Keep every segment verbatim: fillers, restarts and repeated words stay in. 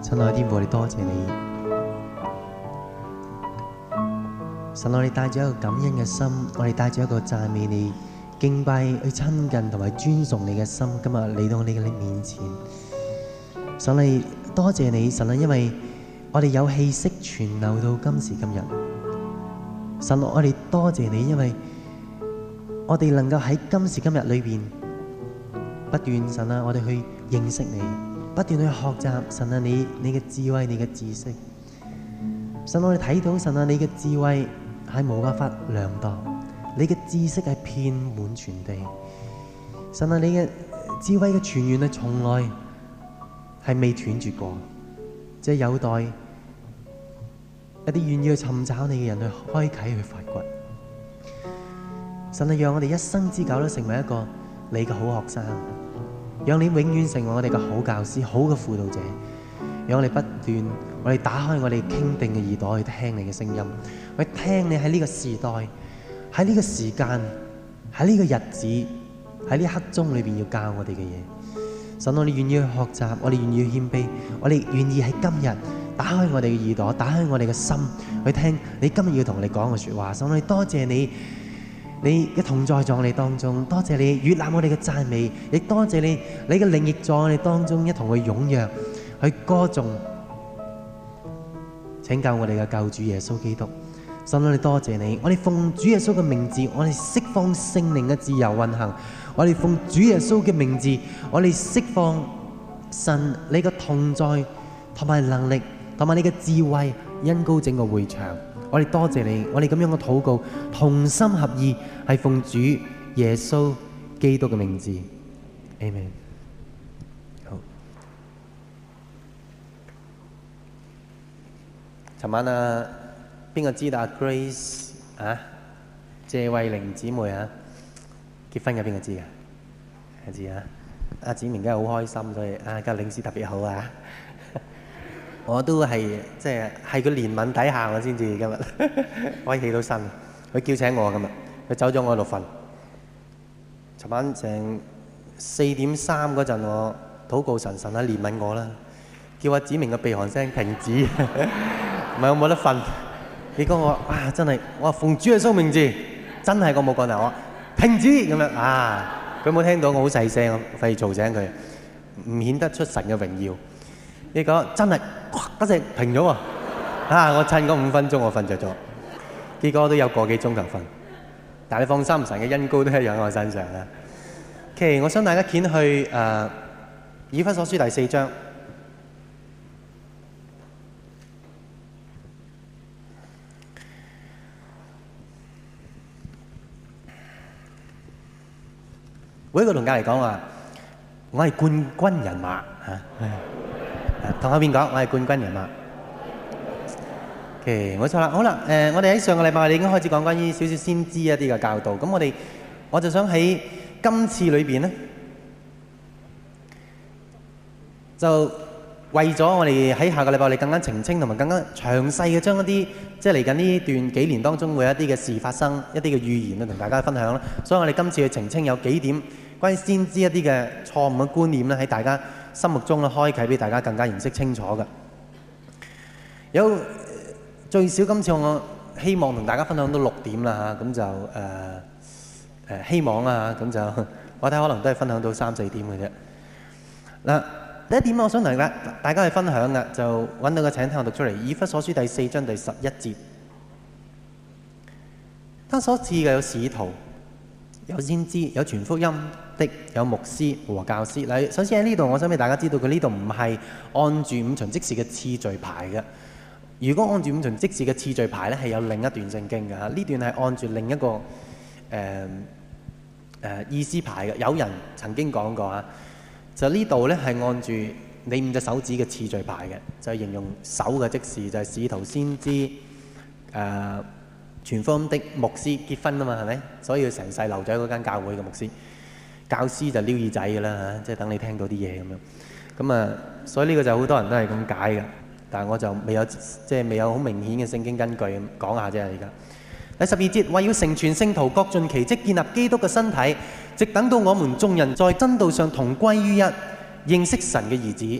親愛的天父，我哋多謝你。神，我哋帶住一個感恩嘅心，我哋帶住一個讚美你、敬拜、去親近同埋尊崇你嘅心，今日嚟到你嘅面前。神，我哋多謝你，神啊，因為我哋有氣息存留到今時今日。神，我哋多謝你，因為我哋能夠喺今時今日裏邊不斷，神啊，我哋去認識你，不斷去學習，神啊，你你嘅智慧、你嘅知識。神，我哋睇到神啊，你嘅智慧係冇辦法量度，你嘅知識係遍滿全地。神啊，你嘅智慧嘅泉源係從來係未斷絕過，即係有待一啲願意去尋找你嘅人去開啟去發掘。神啊，讓我哋一生之久都成為一個你嘅好學生，讓你永遠成為我哋嘅好教師、好嘅輔導者。讓我哋不斷，我哋打開我哋傾定嘅耳朵去聽你嘅聲音，去聽你喺呢個時代、喺呢個時間、喺呢個日子、喺呢一刻鐘裏邊要教我哋嘅嘢。神，我哋願意去學習，我哋願意去謙卑，我哋願意喺今日打開我哋嘅耳朵，打開我哋嘅心去聽你今日要同我哋講嘅說話。神，我哋多謝你。你嘅同在在我哋當中，多謝你悅納我哋嘅讚美，亦多謝你，你嘅靈亦在我哋當中一同去踴躍去歌頌拯救我哋嘅救主耶穌基督。神，我哋多謝你，我哋奉主耶穌嘅名字，我哋釋放聖靈嘅自由運行，我哋奉主耶穌嘅名字，我哋釋放神你嘅同在同埋能力同埋你嘅智慧恩膏整個會場。我哋多謝你，我哋咁樣嘅禱告，同心合意，係奉主耶穌基督嘅名字，Amen。好，尋晚啊，邊個知道阿 Grace 啊，謝慧玲姊妹啊，結婚嘅邊個知㗎？知啊，阿子明梗係好開心，所以啊，今日領事特別好啊。我都係即係係佢憐憫底下我先至今日可以起到身。佢叫醒我今日，佢走咗我喺度瞓。尋晚成四點三嗰陣，我禱告神，神啊憐憫我啦，叫阿子明嘅鼻鼾聲停止，唔係我冇得瞓。結果我啊真係，我話奉主耶穌名字，真係我冇講大話，停止咁樣啊！佢冇聽到，我好細聲，費事嘈醒佢，唔顯得出神嘅榮耀。結果真係，嗰隻停咗喎！啊，我趁嗰五分鐘我瞓着咗，結果都有個幾鐘頭瞓。但係你放心，神嘅恩膏都係喺我身上啦。OK， 我想大家掀去誒、呃、以弗所書第四章。每一個同家嚟講話，我係冠軍人馬嚇。同後邊講，我係冠軍人馬。OK， 冇錯啦。好啦，誒、呃，我哋喺上個禮拜我哋已經開始講關於少少先知一啲嘅教導。咁我哋，我就想喺今次裏邊咧，就為咗我哋喺下個禮拜我哋更加澄清同埋更加詳細嘅將一啲即係嚟緊呢段幾年當中會有一啲嘅事發生，一啲嘅預言啊，同大家分享啦。所以我哋今次去澄清有幾點關於先知一啲嘅錯誤嘅觀念咧，喺大家心目中咧開啟俾大家更加認識清楚嘅。有最少今次我希望同大家分享到六點啦嚇，咁就誒誒、呃呃、希望啦嚇，咁就我睇可能都係分享到三四點嘅啫。嗱，第一點我想同大家大家去分享嘅，就揾到個請聽我讀出嚟，以弗所書第四章第十一節。他所賜嘅有使徒，有先知，有傳福音的，有牧師和教師。嗱，首先喺呢度，我想俾大家知道，佢呢度唔係按住五旬即時嘅次序排嘅。如果按住五旬即時嘅次序排咧，係有另一段聖經嘅嚇。呢段係按住另一個誒誒、呃呃、意思排嘅。有人曾經講過嚇，就呢度咧係按住你五隻手指嘅次序排嘅，就係、是、形容手嘅即時，就係、是、使徒、先知、誒、呃、傳福音的、牧師結婚啊嘛，係咪？所以要成世留咗喺嗰間教會嘅牧師。教師就撩耳仔嘅啦嚇，即係等你聽到啲嘢咁樣。咁啊，所以呢個就好多人都係咁解嘅，但係我就未有即係未有好明顯嘅聖經根據咁講下啫。而家第十二節，為要成全聖徒，各盡其職，建立基督嘅身體，直等到我們眾人在真道上同歸於一，認識神嘅兒子，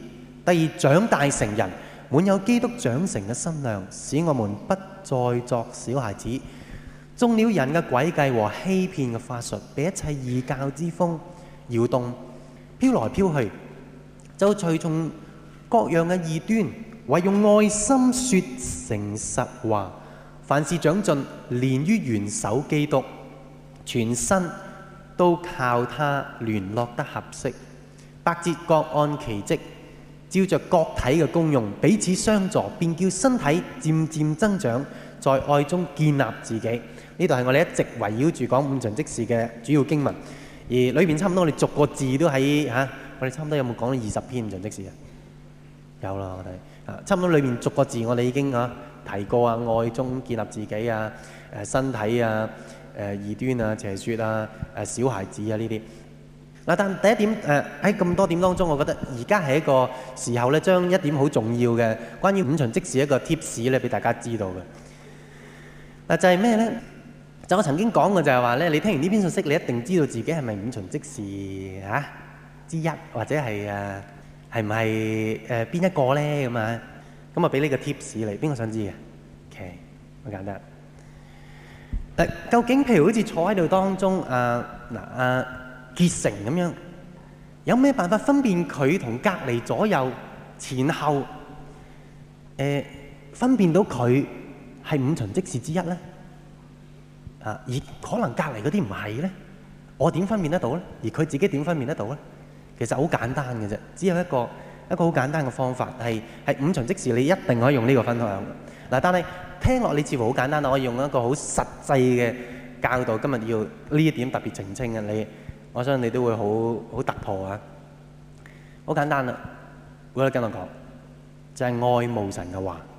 第二，長大成人，滿有基督長成嘅身量，使我們不再作小孩子，中了人嘅詭計和欺騙嘅法術，被一切異教之風搖動，飄來飄去，就隨從各樣嘅異端，唯用愛心說誠實話。凡事長進，連於元首基督，全身都靠他聯絡得合適，百節各按其職，照着各體嘅功用，彼此相助，便叫身體漸漸增長，在愛中建立自己。呢度係我哋一直圍繞住講五旬職事嘅主要經文，而裏面差唔多我哋逐個字都喺嚇、啊，我哋差唔多有冇講到二十篇五旬職事啊？有啦，我哋啊，差唔多裏面逐個字我哋已經嚇、啊、提過啊，愛中建立自己啊，誒身體啊，誒異端啊，邪説啊，誒小孩子啊呢啲。嗱，但第一點誒喺咁多點當中，我覺得而家係一個時候咧，將一點好重要嘅關於五旬職事一個 tips 咧，俾大家知道嘅。嗱就係咩咧？就我曾經講過就係話咧，你聽完呢篇信息，你一定知道自己係咪五旬職事嚇之一，或者係誒係唔係誒邊一個咧咁啊？咁啊俾呢個 tips 你，邊個想知嘅 ？OK， 好簡單。誒，究竟譬如好似坐喺度當中啊嗱啊結成咁樣，有咩辦法分辨佢同隔離左右前後誒分辨到佢係五旬職事之一咧？啊！而可能隔離嗰啲唔係咧，我點分辨得到咧？而佢自己點分辨得到咧？其實好簡單嘅啫，只有一個一個好簡單嘅方法，係係五旬職事，你一定可以用呢個分享嗱。但係聽落你似乎好簡單，我可以用一個好實際嘅教導。今日要呢一點特別澄清嘅，你我相信你都會好好突破啊！好簡單啦，我覺得跟我講就係、是、愛慕神嘅話。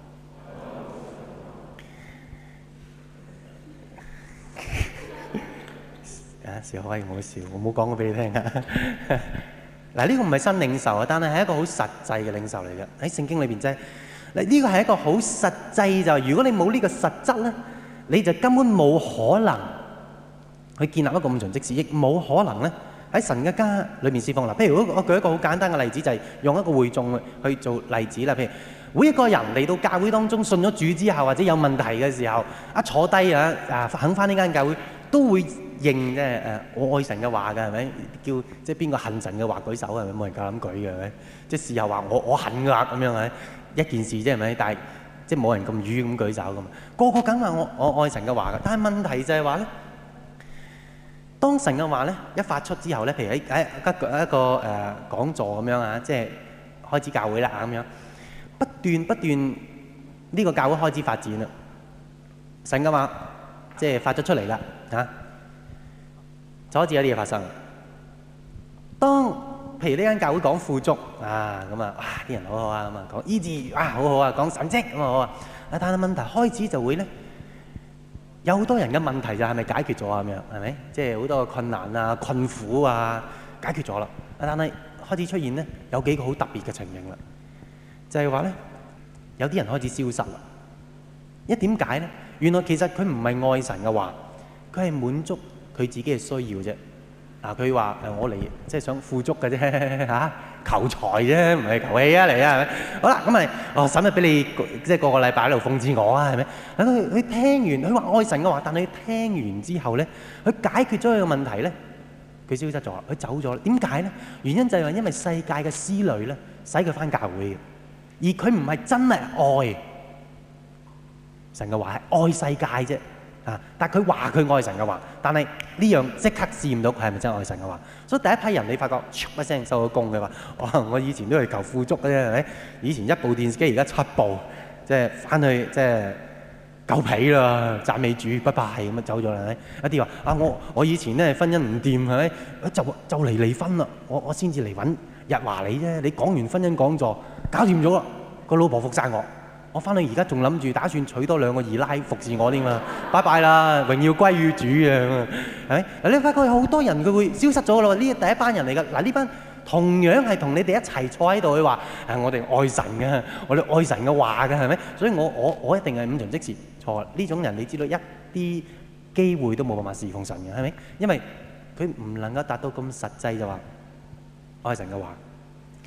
笑可以唔好笑，我冇講過俾你聽啊！嗱，呢個唔係新領受啊，但係係一個好實際嘅領受嚟嘅。喺聖經裏邊啫，嗱呢個係一個好實際就係，如果你冇呢個實質咧，你就根本冇可能去建立一個五旬職事，亦冇可能咧喺神嘅家裏面侍奉。嗱，譬如我舉一個好簡單嘅例子，就係用一個會眾去做例子啦。譬如每一個人嚟到教會當中信咗主之後，或者有問題嘅時候，一坐低啊啊肯返呢間教會，都會認即係誒我愛神嘅話㗎，係咪？叫即係邊個恨神嘅話舉手，係咪？冇人夠膽舉嘅，係咪？即係事後話我我恨㗎咁樣係一件事啫，係咪？但係即係冇人咁愚咁舉手㗎嘛。個個梗話我我愛神嘅話㗎，但係問題就係話咧，當神嘅話咧一發出之後咧，譬如喺喺一個一個誒講座咁樣啊，即係開始教會啦咁樣，不斷不斷呢個教會開始發展啦，神嘅話即係發咗出嚟啦嚇。就開始有啲嘢發生。當譬如呢間教會講富足啊，咁啊，哇啲人好好啊，咁啊講醫治啊，好好啊，講神蹟咁啊好啊。但係問題開始就會咧，有好多人嘅問題就係咪解決咗啊？咁樣係咪？即係好多嘅困難啊、困苦啊，解決咗啦。但係開始出現咧，有幾個好特別嘅情形啦，就係話咧，有啲人開始消失啦。一點解咧？原來其實佢唔係愛神嘅話，佢係滿足佢自己嘅需要啫。啊，佢話誒我嚟即係想富足嘅啫嚇，求財啫，唔係求氣啊嚟啊，係咪？好啦，咁咪哦使乜俾你即係個個禮拜喺度諷刺我啊？係咪？佢佢聽完，佢話愛神嘅話，但係佢聽完之後咧，佢解決咗佢嘅問題咧，佢消失咗，佢走咗啦。點解咧？原因就係話因為世界嘅思慮咧，使佢翻教會嘅，而佢唔係真係愛神嘅話，係愛世界啫。啊！但係佢話佢愛神嘅話，但係呢樣即刻試唔到佢係咪真係愛神嘅話。所以第一批人你發覺唰一聲收咗工嘅話，哇！我以前都係求富足嘅啫，係咪？以前一部電視機而家七部，即係翻去即係夠皮啦，讚美主，拜拜咁樣走咗啦，係咪？一啲話啊，我我以前咧婚姻唔掂，係咪？就就嚟離婚啦，我我先至嚟揾日華你啫。你講完婚姻講座，搞掂咗啦，個老婆服曬我。我翻去而家仲諗住打算娶多兩個二奶服侍我添嘛，拜拜啦，榮耀歸於主啊，係咪？嗱，你發覺有好多人佢會消失咗咯，呢第一班人嚟㗎。嗱，呢班同樣係同你哋一齊坐喺度去話，誒我哋愛神嘅，我哋愛神嘅話嘅，係咪？所以我我我一定係五旬職事錯。呢種人你知道一啲機會都冇辦法侍奉神嘅，係咪？因為佢唔能夠達到咁實際就話愛神嘅話。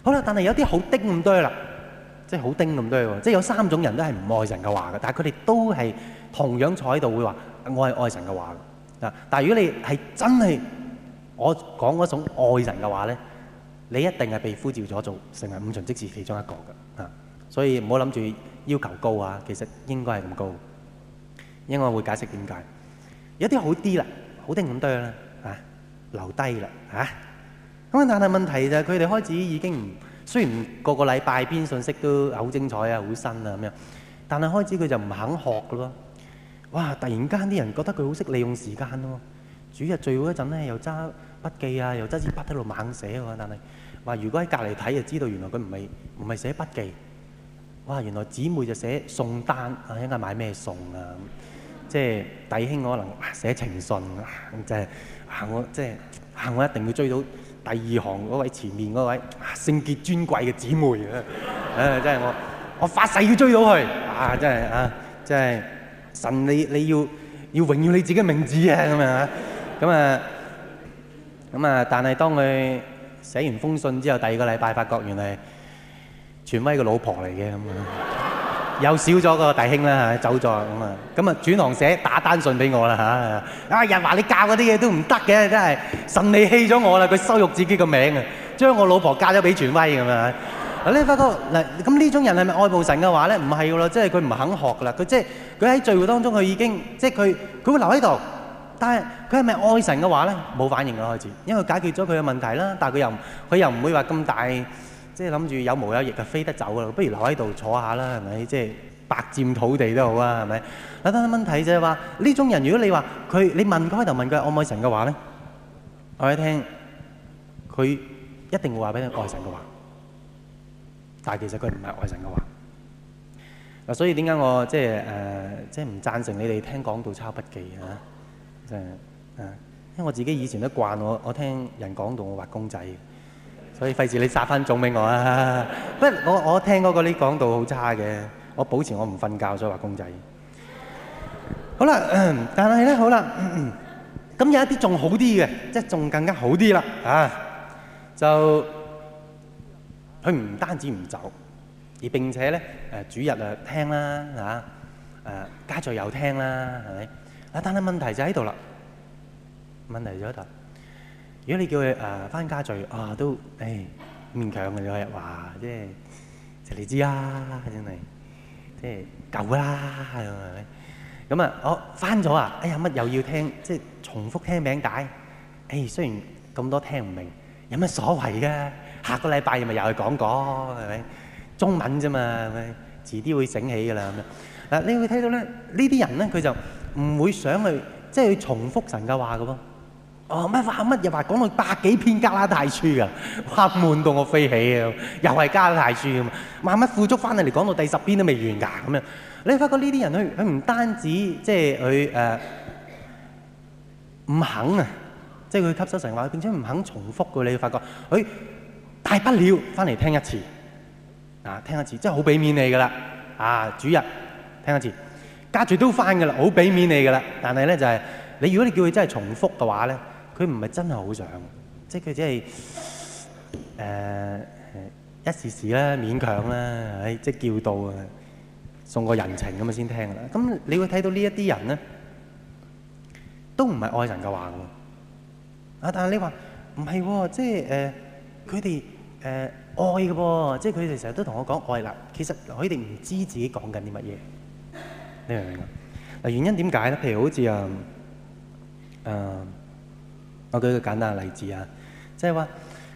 好啦，但係有啲好丁咁多啦，即係好丁咁多喎，即係有三種人都係唔愛神嘅話嘅，但係佢哋都係同樣坐喺度會話我係愛神嘅話嘅。啊，但係如果你係真係我講嗰種愛神嘅話咧，你一定係被呼召咗做成為五旬職事其中一個嘅。啊，所以唔好諗住要求高啊，其實應該係咁高。應該會解釋點解。有啲好啲啦，好丁咁多啦，啊留低啦，嚇。咁但係問題就係佢哋開始已經唔，雖然個個禮拜篇信息都好精彩啊、好新啊咁樣，但係開始佢就唔肯學嘅咯。哇！突然間啲人覺得佢好識利用時間咯。主日聚會嗰陣咧，又揸筆記啊，又揸支筆喺度猛寫喎。但係話如果喺隔離睇就知道，原來佢唔係唔係寫筆記。哇！原來姊妹就寫餸單啊，應該買咩餸啊？即係弟兄可能寫情信啊，就係啊我即係啊我一定要追到第二行嗰位前面嗰位聖潔尊貴嘅姊妹啊！誒真係我我發誓要追到佢啊！真係啊，真係神你你要要榮耀你自己嘅名字啊！咁啊咁啊咁啊！但係當佢寫完封信之後，第二個禮拜發覺原來權威嘅老婆嚟嘅咁啊！又少咗個弟兄啦，走咗咁啊！咁啊轉行寫打單信俾我啦嚇！啊人話你教嗰啲嘢都唔得嘅，真係神你棄咗我啦！佢羞辱自己個名啊，將我老婆嫁咗俾權威咁啊！嗱你發覺嗱咁呢種人係咪愛慕神嘅話咧？唔係㗎咯，即係佢唔肯學㗎啦。佢即係佢喺聚會當中，佢已經即係佢佢會留喺度，但係佢係咪愛神嘅話咧？冇反應啦開始，因為解決咗佢嘅問題啦。但係佢又佢又唔會話咁大。即係諗住有毛有翼就飛得走啦，不如留喺度坐下啦，係咪？即係白佔土地都好啊，係咪？嗱，但係問題就係話呢種人，如果你話佢，你問佢開頭問佢愛唔愛神嘅話咧，我一聽佢一定會話俾你愛神嘅話，但係其實佢唔係愛神嘅話。嗱，所以點解我即係誒即係唔贊成你哋聽講道抄筆記啊？即係啊，因為我自己以前都慣我我聽人講道我畫公仔。所以費事你殺翻種俾我啊！不過我我聽嗰個啲講道好差嘅，我保持我唔瞓覺，所以畫公仔。好啦，但係咧好啦，咁有一啲仲好啲嘅，即係仲更加好啲啦啊！就佢唔單止唔走，而並且咧誒主日啊聽啦嚇，誒家聚又聽啦，係咪？啊，但係問題就喺度啦，問題就喺度。如果你叫佢誒翻家聚啊，都誒勉強嘅啫，話即係就你知啦，真係即係夠啦，係咪？咁啊，我翻咗啊，哎呀乜又要聽，即係重複聽名帶。誒雖然咁多聽唔明，有乜所謂嘅？下個禮拜咪又去講講，係咪？中文啫嘛，係咪？遲啲會醒起㗎啦咁樣。嗱，你會睇到咧，呢啲人咧佢就唔會想去即係去重複神嘅話嘅噃。哦乜話乜又話講到百幾篇加拉太書㗎，哇悶到我飛起啊！又係加拉太書咁啊，萬乜富足翻嚟嚟講到第十篇都未完㗎咁樣。你發覺呢啲人佢佢唔單止即係佢誒唔肯啊，即係佢吸收神話，並且唔肯重複㗎。你發覺佢大不了翻嚟聽一次啊，聽一次即係好俾面你㗎啦啊！主日聽一次，家聚都翻㗎啦，好俾面你㗎啦。但係咧就係、是、你如果你叫佢真係重複嘅話咧。佢唔係真係好想，即係佢只係誒一時時啦，勉強啦，唉，即係叫到啊，送個人情咁啊先聽啦。咁你會睇到呢一啲人咧，都唔係愛神嘅話喎。啊，但係你話唔係喎，即係誒佢哋誒愛嘅噃，即係佢哋成日都同我講愛啦。其實佢哋唔知自己講緊啲乜嘢，你明唔明啊？嗱，原因點解咧？譬如好似啊誒。呃我舉一個簡單嘅例子啊，即係話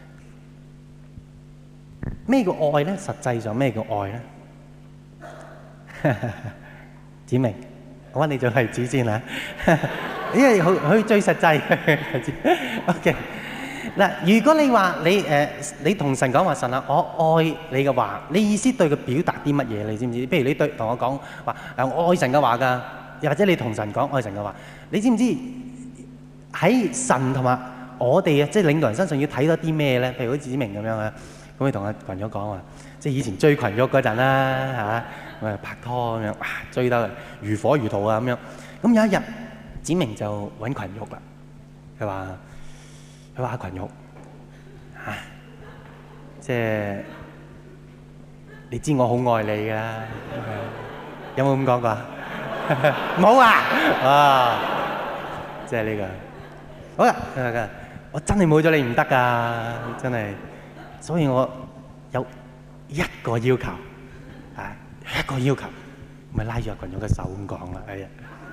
咩叫愛咧？實際上咩叫愛咧？子明，我揾你做例子先啦，因為佢佢最實際。OK，嗱，如果你話你誒你同神講話神啊，我愛你嘅話，你意思對佢表達啲乜嘢？你知唔知？譬如你對同我講話誒我愛神嘅話㗎，又或者你同神講愛神嘅話，你知唔知？喺神同埋我哋啊，即係領導人身上要睇多啲咩咧？譬如好似子明咁樣啊，咁佢同阿群玉講話，即係以前追群玉嗰陣啦嚇，我哋拍拖咁樣，哇追得如火如荼啊咁樣。咁有一日，子明就揾群玉啦。佢話：佢話阿群玉嚇， 即係你知我好愛你㗎，有冇咁講過？冇啊！啊，即係呢個。好啦，我真係冇咗你唔得㗎，真係。所以我有一個要求，啊，一個要求，咪拉住阿群友嘅手咁講啦。哎呀，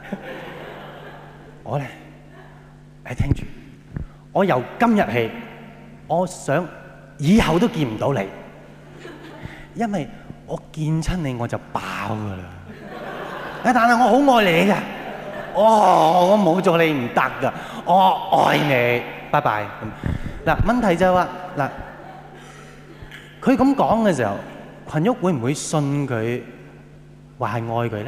我咧，你聽住，我由今日起，我想以後都見唔到你，因為我見親你我就飽㗎啦。誒，但係我好愛你㗎，哦，我冇咗你唔得㗎，我愛你，拜拜。嗱，問題就係話嗱。佢咁講嘅時候，群玉會唔會信佢話係愛佢咧？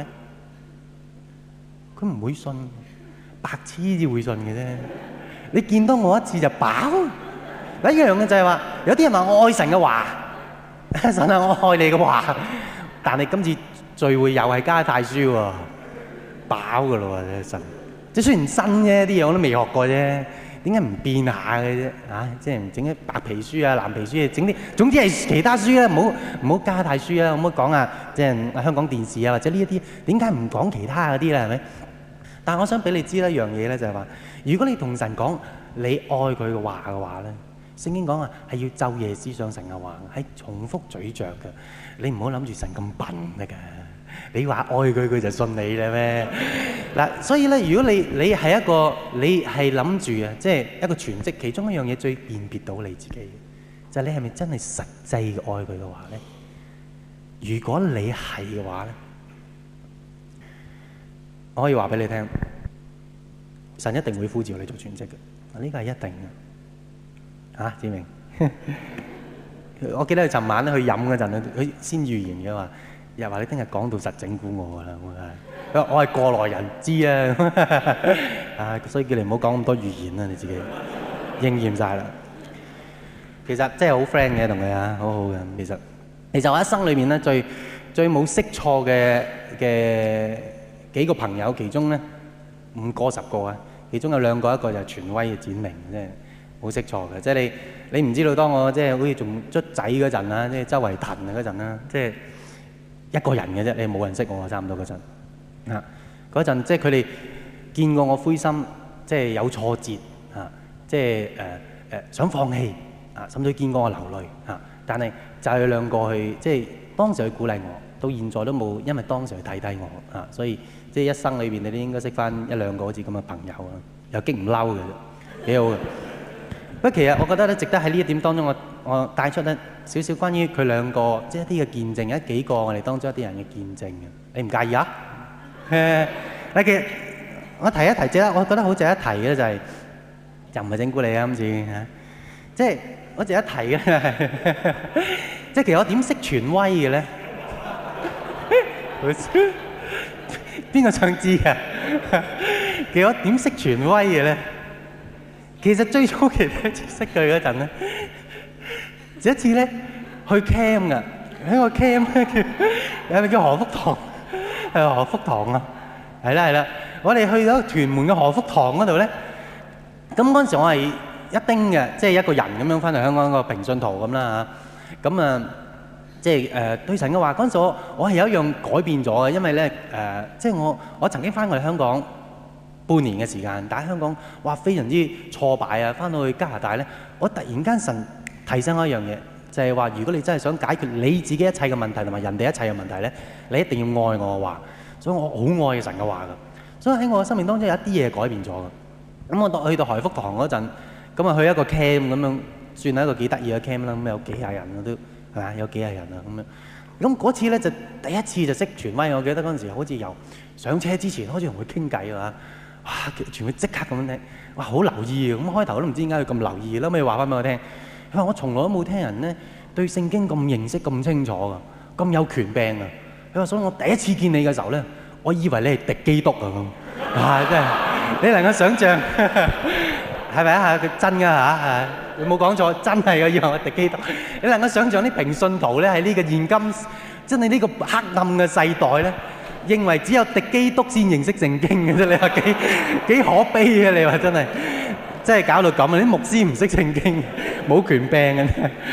佢唔會信，白痴至會信嘅啫。你見到我一次就飽。一樣嘅就係話，有啲人話我愛神嘅話，神啊，我愛你嘅話，但係今次聚會又係加太書喎，飽㗎咯喎，神。即係雖然新啫，啲嘢我都未學過啫。點解唔變下嘅啫？啊，即係唔整啲白皮書啊、藍皮書啊，整啲總之係其他書啦，唔好唔好加太書啊，可唔可以講啊？即係香港電視啊，或者呢一啲，點解唔講其他嗰啲咧？係咪？但係我想俾你知一樣嘢咧，就係話，如果你同神講你愛佢嘅話嘅話咧，聖經講啊係要晝夜思想神嘅話，係重複咀嚼嘅。你唔好諗住神咁笨得㗎。你話愛佢，佢就信你啦咩？嗱，所以咧，如果你你係一個你係諗住啊，即係一個全職，其中一樣嘢最辨別到你自己嘅，就係你係咪真係實際嘅愛佢嘅話咧？如果你係嘅話咧，我可以話俾你聽，神一定會呼召你做全職嘅，呢個係一定嘅。啊，志明，我記得佢尋晚咧去飲嗰陣咧，佢先預言嘅話。又話你聽日講到實整蠱我啦，我係我係過來人知啊，啊，所以叫你唔好講咁多預言啦，你自己應驗晒啦。其實真係好 friend 嘅同佢啊，好好嘅。其實其實我一生裏面咧最最冇識錯嘅嘅幾個朋友，其中咧五個十個啊，其中有兩個，一個就係權威嘅展明，即係冇識錯嘅。即係你你唔知道，當我即係好似仲卒仔嗰陣啊，即係周圍騰啊嗰陣啦，即係。一個人嘅啫，你冇人識我啊，差唔多嗰陣啊，嗰陣即係佢哋見過我灰心，即係有挫折啊，即係誒誒想放棄啊，甚至見過我流淚啊，但係就係兩個去即係當時去鼓勵我，到現在都冇，因為當時去睇低我啊，所以即係一生裏邊你都應該識翻一兩個好似咁嘅朋友啊，又激唔嬲嘅啫，幾好嘅。不過其實我覺得咧，值得喺呢一點當中我，我我帶出咧少少關於佢兩個，即係一啲嘅見證，一幾個我哋當中一啲人嘅見證嘅。你唔介意啊？誒，嗱，其實我提一提啫，我覺得好值得一提嘅就係、是，又唔係整蠱你啊今次嚇，即係我值得一提嘅，即係其實我點識權威嘅咧？邊個想知啊？其實我點識權威嘅咧？其實最初期咧識佢嗰陣咧，有一次咧去 camp 噶，喺個 camp 咧叫有咪叫何福堂，係何福堂啊，係啦係啦，我哋去到屯門嘅何福堂嗰度咧，咁嗰陣時我係一丁嘅，即係一個人咁樣翻嚟香港個平信徒咁啦嚇，咁啊即係誒對神嘅話，嗰陣時我我係有一樣改變咗嘅，因為咧誒即係我我曾經翻過嚟香港半年嘅時間，但喺香港哇非常之挫敗啊！翻到去加拿大咧，我突然間神提醒我一樣嘢，就係話如果你真係想解決你自己一切嘅問題同埋人哋一切嘅問題咧，你一定要愛我嘅話，所以我好愛神嘅話㗎。所以喺我嘅生命當中有一啲嘢改變咗㗎。咁我到去到海福堂嗰陣，咁啊去一個 camp 咁樣，算係一個幾得意嘅 camp 啦。咁有幾廿人啊都係嘛，有幾廿人啊咁樣。咁嗰次咧就第一次就識傳威，我記得嗰陣時好似由上車之前開始同佢傾偈啊。哇！全部即刻咁樣聽，哇！好留意啊！咁開頭都唔知點解佢咁留意，後尾話翻俾我聽，佢話我從來都冇聽人咧對聖經咁認識咁清楚噶，咁有權柄啊！佢話所以我第一次見你嘅時候咧，我以為你係敵基督啊咁，哇！真係你能夠想像係咪啊？佢真㗎嚇，你冇講錯，真係嘅，以為我敵基督。你能夠想像啲平信徒咧喺呢個現今真係呢個黑暗嘅世代咧？認為只有敵基督先認識聖經嘅啫，你話幾幾可悲啊！你話真係，真係搞到咁啊！啲牧師唔識聖經，冇權柄嘅，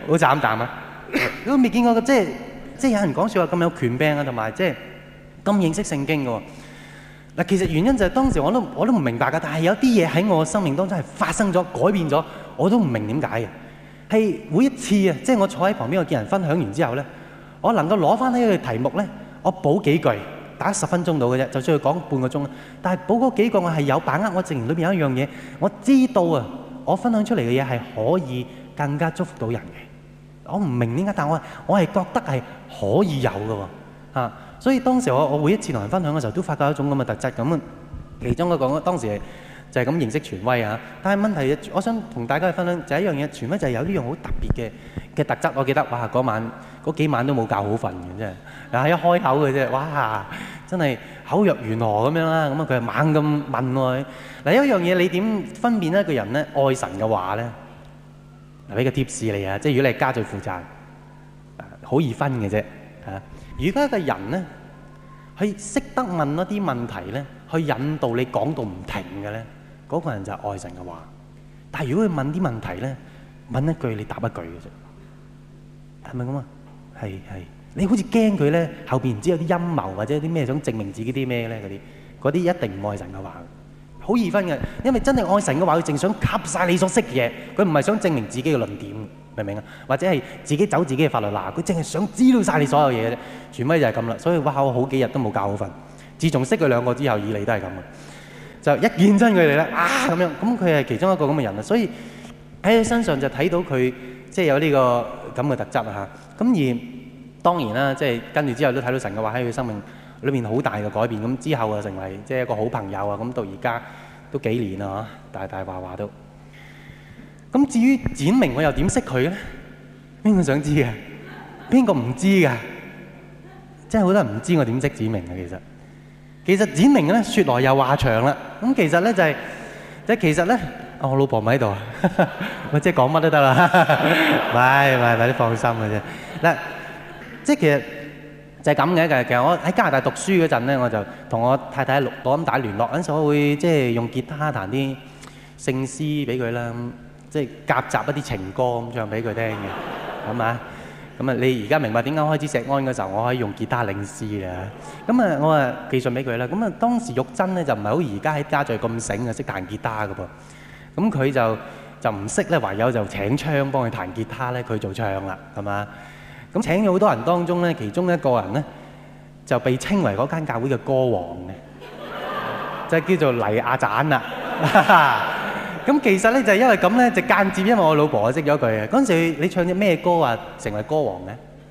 好慘淡啊！都未見過即係即係有人講説話咁有權柄啊，同埋即係咁認識聖經嘅喎。嗱，其實原因就係當時我都我都唔明白㗎，但係有啲嘢喺我生命當中係發生咗、改變咗，我都唔明點解嘅。係每一次啊，即係我坐喺旁邊，我見人分享完之後咧，我能夠攞翻呢個題目咧，我補幾句，打十分鐘到嘅啫，就算佢講半個鐘。但係補嗰幾個我係有把握，我證明裏邊有一樣嘢，我知道啊，我分享出嚟嘅嘢係可以更加祝福到人嘅。我唔明點解，但我我係覺得係可以有嘅喎，啊！所以當時我我每一次同人分享嘅時候，都發覺一種咁嘅特質咁啊。其中我講當時就係咁認識權威啊。但係問題，我想同大家去分享就係一樣嘢，權威就係有呢樣好特別嘅嘅特質。我記得哇，嗰晚嗰幾晚都冇覺好瞓嘅，真係嗱一開口嘅啫，哇！真係口若懸河咁樣啦。咁啊，佢係猛咁問我嗱，有一樣嘢你點分辨一個人咧愛神嘅話咧？嗱，俾個貼士你啊，即係如果你係家最負責，好易分嘅啫嚇。如果一個人咧，佢識得問一啲問題咧，去引導你講到唔停嘅咧，嗰個人就係愛神嘅話。但係如果佢問啲問題咧，問一句你答一句嘅啫，係咪咁啊？係係，你好似驚佢咧後邊唔知有啲陰謀或者啲咩想證明自己啲咩咧嗰啲，嗰啲一定唔愛神嘅話。好易分嘅，因為真係愛神嘅話，佢淨想吸晒你所識嘅嘢，佢唔係想證明自己嘅論點，明唔明啊？或者係自己走自己嘅法律嗱，佢淨係想知道晒你所有嘢嘅啫。全威就係咁啦，所以哇，我好幾日都冇覺好瞓。自從識佢兩個之後，以嚟都係咁嘅，就一見真佢哋咧啊咁樣，咁佢係其中一個咁嘅人啊。所以喺佢身上就睇到佢即係有呢個咁嘅特質啊嚇。咁而當然啦，即係跟住之後都睇到神嘅話喺佢生命裏面好大嘅改變，咁之後啊成為即係一個好朋友啊，咁到而家都幾年啦嚇，大大話話都。咁至於展明我又點識佢咧？邊個想知嘅？邊個唔知㗎？即係好多人唔知我點識展明嘅其實。其實展明咧説來又話長啦，咁其實咧就係即係其實咧，我老婆唔喺度啊，我即係講乜都得啦，唔係唔係唔係，你放心嘅啫。嗱，即係其實。就係咁嘅，其實我喺加拿大讀書嗰陣咧，我就同我太太錄錄音帶聯絡，嗰陣時我會即係用吉他彈啲聖詩俾佢啦，即係夾雜一啲情歌咁唱俾佢聽嘅，咁啊，咁啊，你而家明白點解開始石安嗰時候我可以用吉他領詩啦？咁啊，我啊寄信俾佢啦。咁啊，當時玉珍咧就唔係好而家喺家聚咁醒啊，識彈吉他嘅噃。咁佢就就唔識咧，唯有就請槍幫佢彈吉他咧，佢做唱啦，係嘛？咁請咗好多人當中咧，其中一個人咧就被稱為嗰間教會嘅歌王嘅，就係叫做黎亞盞啦。咁其實咧就係因為咁咧，就間接因為我老婆識咗佢嘅。嗰陣時你唱隻咩歌啊，成為歌王嘅？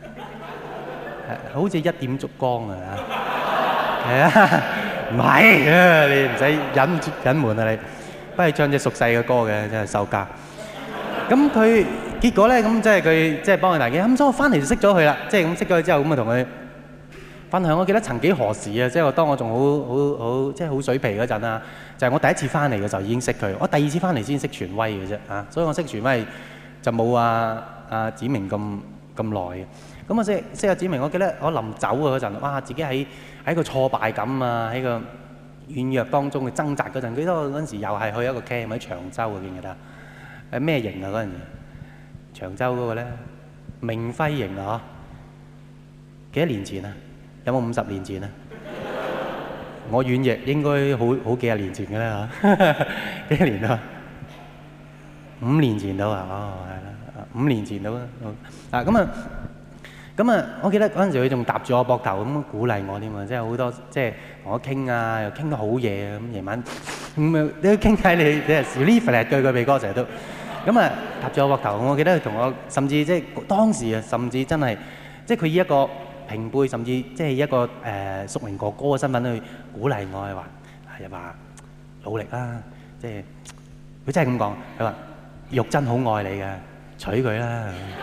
好似一點燭光啊！係啊，唔係啊，你唔使隱隱瞞啊你，不如唱隻熟悉嘅歌嘅，真係收家。咁佢結果咧，咁即係佢即係幫佢大嘅。咁所以我翻嚟就識咗佢啦，即係咁識咗佢之後，咁啊同佢分享。我記得曾幾何時啊，即係我當我仲好好好即係好水皮嗰陣啊，就係我第一次翻嚟嘅時候已經識佢。我第二次翻嚟先識權威嘅啫啊，所以我識權威就冇啊啊展明咁咁耐嘅。咁我識識阿展明，我記得我臨走啊嗰陣，哇！自己喺喺個挫敗感啊，喺個軟弱當中嘅掙扎嗰陣，記得我嗰陣時又係去一個 camp 喺長洲嘅，記唔記得？係咩營啊嗰陣時？長洲嗰個咧，明輝營啊，嗬？幾多年前啊？有冇五十年前啊？我軟弱應該好好幾廿年前嘅啦嚇，幾多年啊？五年前到啊，哦係啦，五年前到啊，啊咁啊，咁啊，我記得嗰陣時佢仲搭住我膊頭咁鼓勵我添啊，即係好多即係同我傾啊，又傾得好嘢啊，咁夜晚咁啊，你傾偈你你係少呢份對佢鼻哥成日都。咁啊，搭住我膊頭，我記得佢同我，甚至即係當時啊，甚至真係，即係佢以一個平輩，甚至即係一個誒屬靈哥哥嘅身份去鼓勵我，係話係話努力啦，即係佢真係咁講，佢話玉珍好愛你嘅，娶佢啦。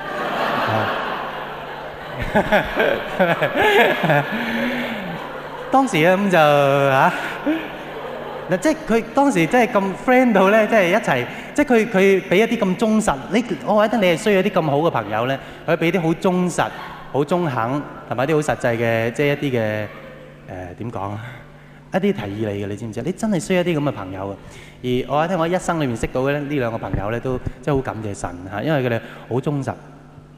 當時咧咁就嚇。嗱，即係佢當時真係咁 friend 到咧，即係一齊，即係佢佢俾一啲咁忠實，你我覺得你係需要一啲咁好嘅朋友咧，佢俾啲好忠實、好中肯同埋啲好實際嘅，即係一啲嘅誒點講啊，一啲提議你嘅，你知唔知啊？你真係需要一啲咁嘅朋友啊！而我喺聽我一生裏面識到嘅呢兩個朋友咧，都即係好感謝神嚇，因為佢哋好忠實、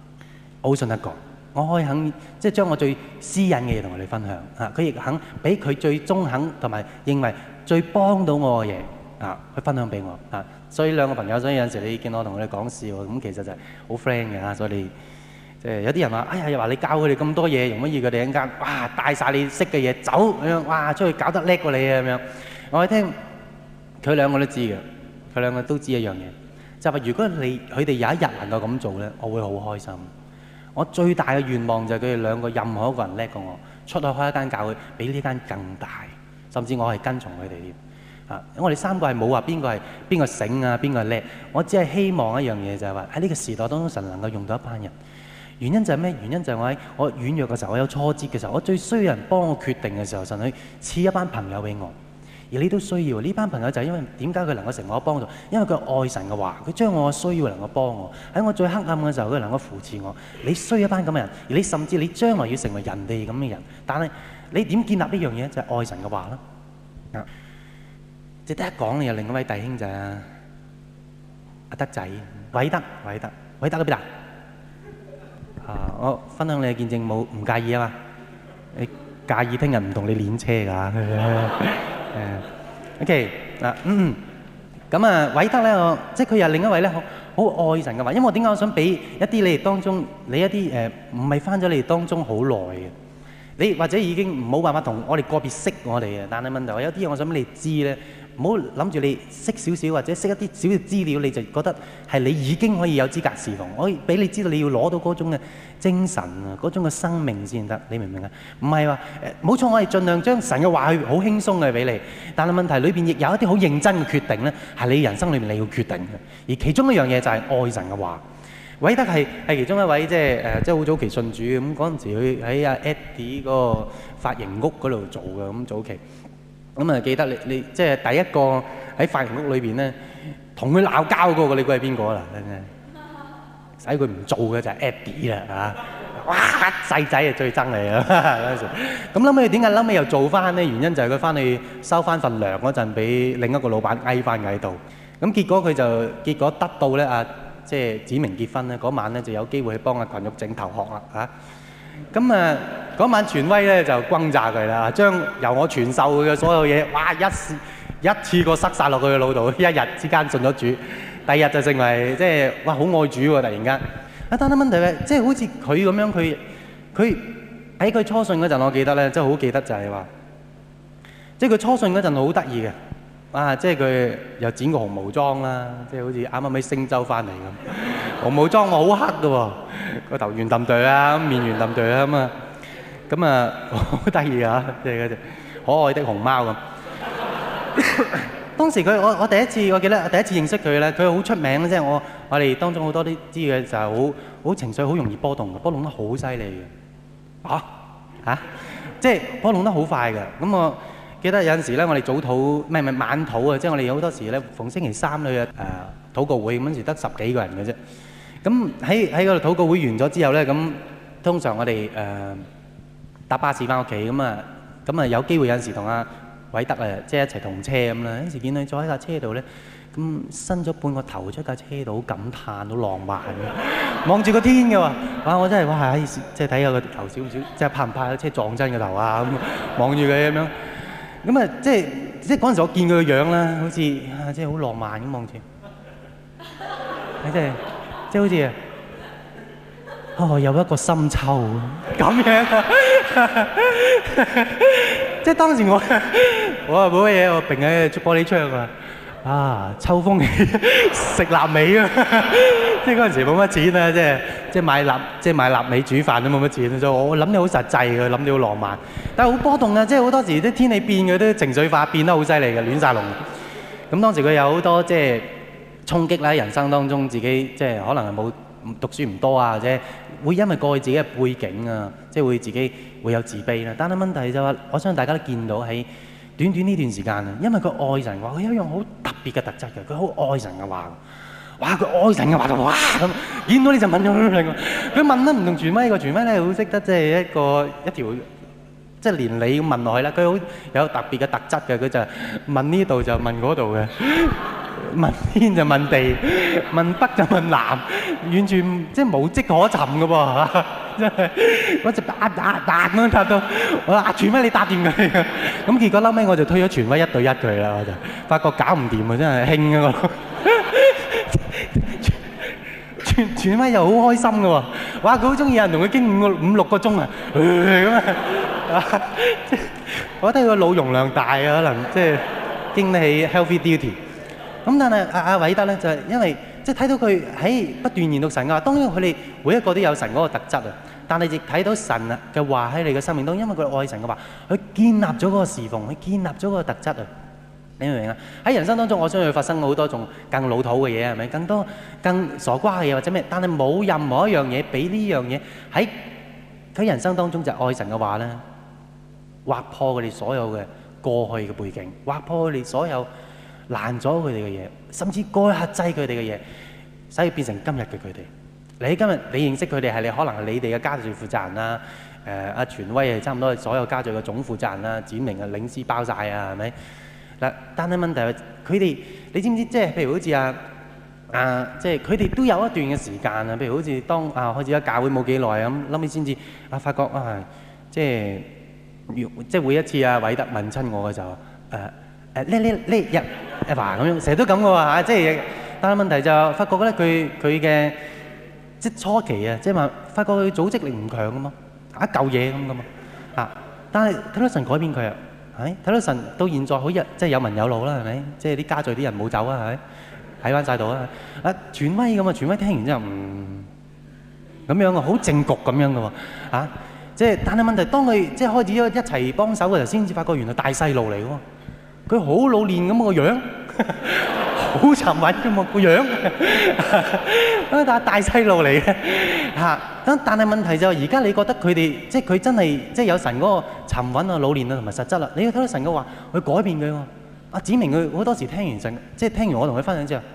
我好信得過，我可以肯即係將我最私隱嘅嘢同佢哋分享啊！佢亦肯俾佢最中肯同埋認為最幫到我嘅嘢啊，去分享俾我啊！所以兩個朋友，所以有陣時你見我同佢哋講笑咁，其實就係好 friend 嘅嚇。所以你即係有啲人話：哎呀，又話你教佢哋咁多嘢，容乜易佢哋一陣間哇帶曬你識嘅嘢走咁樣，哇出去搞得叻過你啊咁樣。我聽佢兩個都知嘅，佢兩個都知一樣嘢，就係話如果你佢哋有一日能夠咁做咧，我會好開心。我最大嘅願望就係佢哋兩個任何一個人叻過我，出去開一間教會，比呢間更大，甚至我係跟從佢哋添。啊，我哋三個係冇話邊個係邊個醒啊，邊個係叻。我只係希望一樣嘢就係話喺呢個時代當中，神能夠用到一班人。原因就係咩？原因就係我喺我軟弱嘅時候，我有挫折嘅時候，我最需要人幫我決定嘅時候，神去賜一班朋友俾我。而你都需要呢班朋友，就係因為點解佢能夠成為我幫助？因為佢愛神嘅話，佢將我嘅需要能夠幫我。喺我最黑暗嘅時候，佢能夠扶持我。你需要一班咁嘅人，而你甚至你將來要成為人哋咁嘅人。但係你點建立呢樣嘢？就係愛神嘅話啦。啊，值得一講嘅有另一位弟兄就係阿德仔，偉德，偉德，偉德喺邊啊？啊，我分享你嘅見證冇唔介意啊嘛？你介意聽日唔同你練車㗎？誒 ，OK 嗱，嗯，咁啊，偉德咧，我即係佢又另一位咧，好好愛神嘅話，因為我點解我想俾一啲你哋當中，你一啲誒唔係翻咗你哋當中好耐嘅，你或者已經冇辦法同我哋個別識我哋嘅，但係問題有啲嘢我想俾你知咧，唔好諗住你識少少或者識一啲少少資料，你就覺得係你已經可以有資格侍奉，我可以俾你知道你要攞到嗰種嘅精神啊，嗰種嘅生命先得，你明唔明啊？唔係話誒，冇錯，我係盡量將神嘅話去好輕鬆嘅俾你，但係問題裏邊亦有一啲好認真嘅決定咧，係你人生裏面你要決定嘅，而其中一樣嘢就係愛神嘅話。偉德係係其中一位即係誒，即係好早期信主咁，嗰陣時佢喺阿 Eddie 嗰個髮型屋嗰度做嘅，咁早期咁啊，記得你你即係第一個喺髮型屋裏邊咧同佢鬧交嗰個，你估係邊個啦？真係使佢唔做嘅就係 Eddie 啦嚇！哇，細仔啊最憎你啊嗰陣時。咁諗起點解諗起又做翻咧？原因就係佢翻去收翻份糧嗰陣，俾另一個老闆翳翻喺度。咁結果佢就結果得到咧啊！即係指明結婚咧，嗰晚咧就有機會去幫阿群玉整頭殼啦嚇。咁啊嗰晚傳威咧就轟炸佢啦，將由我傳授佢嘅所有嘢，哇一一次過塞曬落佢嘅腦度，一日之間信咗主，第二日就成為即係哇好愛主喎！突然間啊，單單問題嘅，即係好似佢咁樣，佢佢喺佢初信嗰陣，我記得咧，即係好記得就係話，即係佢初信嗰陣好得意嘅。啊！即係佢又剪個紅毛裝啦，即係好似啱啱喺星洲翻嚟咁。紅毛裝我好黑嘅喎，個頭圓揼對啊，面圓揼對啊咁啊，咁啊好得意啊！即係嗰隻可愛的熊貓咁。當時佢我我第一次我記得第一次認識佢咧，佢好出名，即係我我哋當中好多啲知嘅就係好好情緒好容易波動嘅，波動得好犀利嘅。嚇嚇，即係波動得好快嘅。咁我記得有陣時咧，我哋早禱唔係唔係晚禱啊，即係我哋好多時咧，逢星期三去誒禱告會，嗰陣時得十幾個人嘅啫。咁喺喺嗰度禱告會完咗之後咧，咁通常我哋誒搭巴士翻屋企咁啊，咁啊有機會有陣時同阿偉德啊，即係一齊同車咁啦。有陣時見佢坐喺架車度咧，咁伸咗半個頭出架車度，好感嘆，好浪漫嘅，望住個天嘅喎。哇！我真係哇，即係睇下個頭少少，即係怕唔怕架車撞親個頭啊？咁望住佢咁樣。咁啊，即係即係嗰陣時，我見佢個樣啦，好似啊，即係好浪漫咁望住，你即係即係好似啊，哦，有一個深秋咁樣啊！即係當時我我啊冇乜嘢，我並喺玻璃窗啊，啊，秋風起食臘味啊！即係嗰陣時冇乜錢啊，即係即係買臘即係買臘味煮飯都冇乜錢，所以我諗你好實際嘅，諗你好浪漫，但係好波動啊！即係好多時啲天氣變嘅，都情緒化變得好犀利嘅，亂曬龍。咁當時佢有好多即係衝擊啦，喺人生當中自己即係可能係冇讀書唔多啊，或者會因為過去自己嘅背景啊，即係會自己會有自卑啦。但係問題就係，我相信大家都見到喺短短呢段時間啊，因為佢愛神嘅話，佢有一樣好特別嘅特質嘅，佢好愛神嘅話。哇！佢愛神嘅話就哇咁，見到你就問咗佢。佢問得唔同傳威個傳威咧，好識得即係一個一條即係連你咁問落去啦。佢好有特別嘅特質嘅，佢就問呢度就問嗰度嘅。 問天就問地，問北就問南，完全即係無跡可尋嘅噃，真係我就打打打咁樣打到，我話傳威你打掂佢，咁結果後尾我就推咗傳威一對一佢啦，我就發覺搞唔掂啊，真係興啊我。傳傳威又好開心嘅喎，哇！佢好中意有人同佢傾五個五六個鐘啊，咁啊，我覺得佢個腦容量大啊，可能即係經得起 healthy duty。咁但係阿阿偉德咧就係因為即係睇到佢喺不斷研讀神嘅話，當然佢哋每一個都有神嗰個特質啊，但係亦睇到神啊嘅話喺你嘅生命當中，因為佢愛神嘅話，佢建立咗嗰個侍奉，佢建立咗嗰個特質啊。你明唔明啊？喺人生當中，我相信會發生好多種更老土嘅嘢，係咪？更多更傻瓜嘅嘢或者咩？但係冇任何一樣嘢比呢樣嘢喺佢人生當中就係愛神嘅話咧，劃破佢哋所有嘅過去嘅背景，劃破佢哋所有攔咗佢哋嘅嘢，甚至過去克制佢哋嘅嘢，使佢變成今日嘅佢哋。你今日你認識佢哋係你可能係你哋嘅家族負責人啦，誒阿傳威係差唔多係所有家族嘅總負責人啦，展明啊領事包曬啊，係咪？嗱，但係問題係佢哋，你知唔知？即係譬如好似啊啊，即係佢哋都有一段嘅時間啊。譬如好似當啊開始咗教會冇幾耐咁，後尾先至啊發覺啊，即係即係每一次啊偉德問親我嘅時候，誒誒呢呢呢日阿華咁樣，成日都咁嘅喎嚇，即係但係問題就發覺咧，佢佢嘅即係初期啊，即係話發覺佢組織力唔強嘅嘛，一嚿嘢咁嘅嘛啊，但係睇到神改變佢啊。係睇到神到現在好日，即係有文有路啦，係咪？即係啲家族啲人冇走啊，係咪？喺翻曬度啊！啊，傳威咁啊，傳威聽完之後，嗯，咁樣啊，好正局咁樣嘅喎，啊，即係但係問題，當佢即係開始咗一齊幫手嘅時候，先至發覺原來大細路嚟嘅喎，佢好老練咁個樣，好沉穩嘅嘛個樣，啊，但係大細路嚟嘅嚇。咁但係問題就係而家你覺得佢哋即係佢真係即係有神嗰個沉穩啊、老練啊同埋實質啦。你要睇到神嘅話，去改變佢喎。阿子明佢好多時聽完神，即係聽完我同佢分享之後，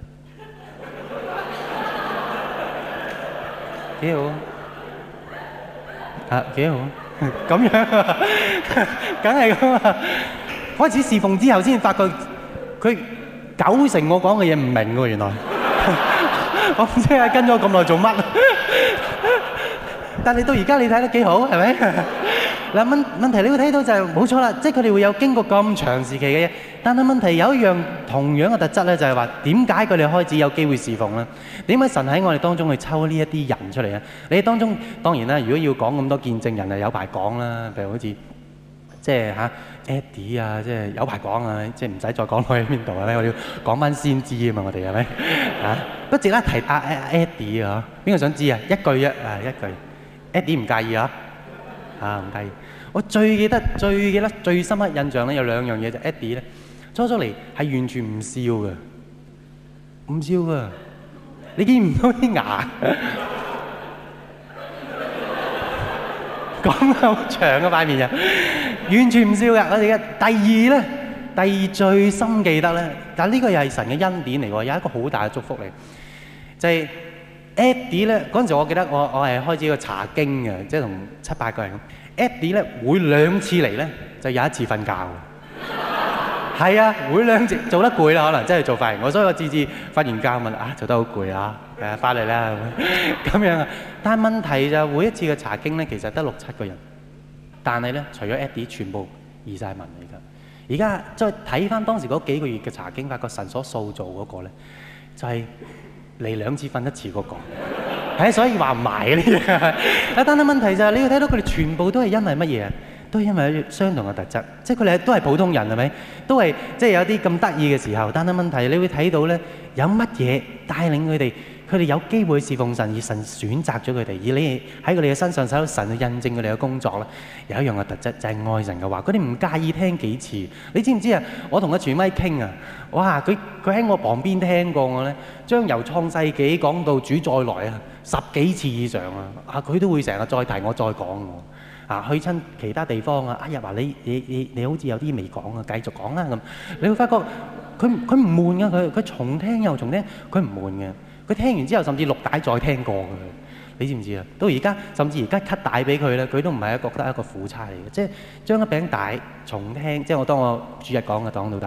幾好啊，幾好咁樣啊，梗係咁啊！開始侍奉之後先發覺佢九成我講嘅嘢唔明喎，原來我唔知係跟咗咁耐做乜。但係到而家你睇得幾好，係咪？嗱，問問題你會睇到就係冇錯啦，即係佢哋會有經過咁長時期嘅嘢。但係問題有一樣同樣嘅特質咧，就係話點解佢哋開始有機會侍奉咧？點解神喺我哋當中去抽呢一啲人出嚟咧？你哋當中當然啦，如果要講咁多見證人啊，有排講啦。譬如好似即係嚇 Eddie 啊，即係有排講啊，即係唔使再講落去邊度啊咧。我哋要講翻先知啊嘛，我哋係咪嚇？不值得提阿阿 Eddie 啊？邊個想知啊？一句啫啊，一句。Eddie 唔介意啊？啊唔介意。我最記得、最記得、最深刻印象咧有兩樣嘢，就 Eddie 咧初初嚟係完全唔笑嘅，唔笑嘅，你見唔到啲牙，講好長嘅塊面啊，完全唔笑嘅。我哋嘅第二咧，第二最深記得咧，但係呢個又係神嘅恩典嚟喎，有一個好大嘅祝福嚟，就係、是。Eddie 咧嗰陣時，我記得我我係開始個查經嘅，即係同七八個人咁。Eddie 咧每兩次嚟咧就有一次瞓覺。係啊，每兩次做得攰啦，可能真係做髮型。我所以我次次瞓完覺問啊，做得好攰啊，誒、啊，翻嚟啦咁樣啊。但係問題就每一次嘅查經咧，其實得六七個人，但係咧除咗 Eddie，全部移晒民嚟㗎。而家再睇翻當時嗰幾個月嘅查經，發覺神所塑造嗰個咧就係、是。嚟兩次瞓一次嗰個，係所以話唔埋呢啲。啊，但係問題就係你要睇到佢哋全部都係因為乜嘢啊？都係因為相同嘅特質，即係佢哋都係普通人係咪？都係即係有啲咁得意嘅時候。但係問題你會睇到咧，有乜嘢帶領佢哋？佢哋有機會侍奉神，而神選擇咗佢哋，而你喺佢哋嘅身上使到神去印證佢哋嘅工作啦。有一樣嘅特質就係、是、愛神嘅話，佢哋唔介意聽幾次。你知唔知啊？我同阿傳威傾啊，哇！佢佢喺我旁邊聽過我咧，將由創世紀講到主再來啊，十幾次以上啊！啊，佢都會成日再提我再講我啊，去親其他地方啊，哎呀話你你你你好似有啲未講啊，繼續講啦咁。你會發覺佢佢唔悶噶，佢佢重聽又重聽，佢唔悶嘅。佢聽完之後，甚至錄帶再聽過嘅，你知唔知啊？到而家，甚至而家 cut 帶俾佢咧，佢都唔係一個覺得一個苦差嚟嘅，即係將一餅帶重聽，即係我當我主日講嘅講到帶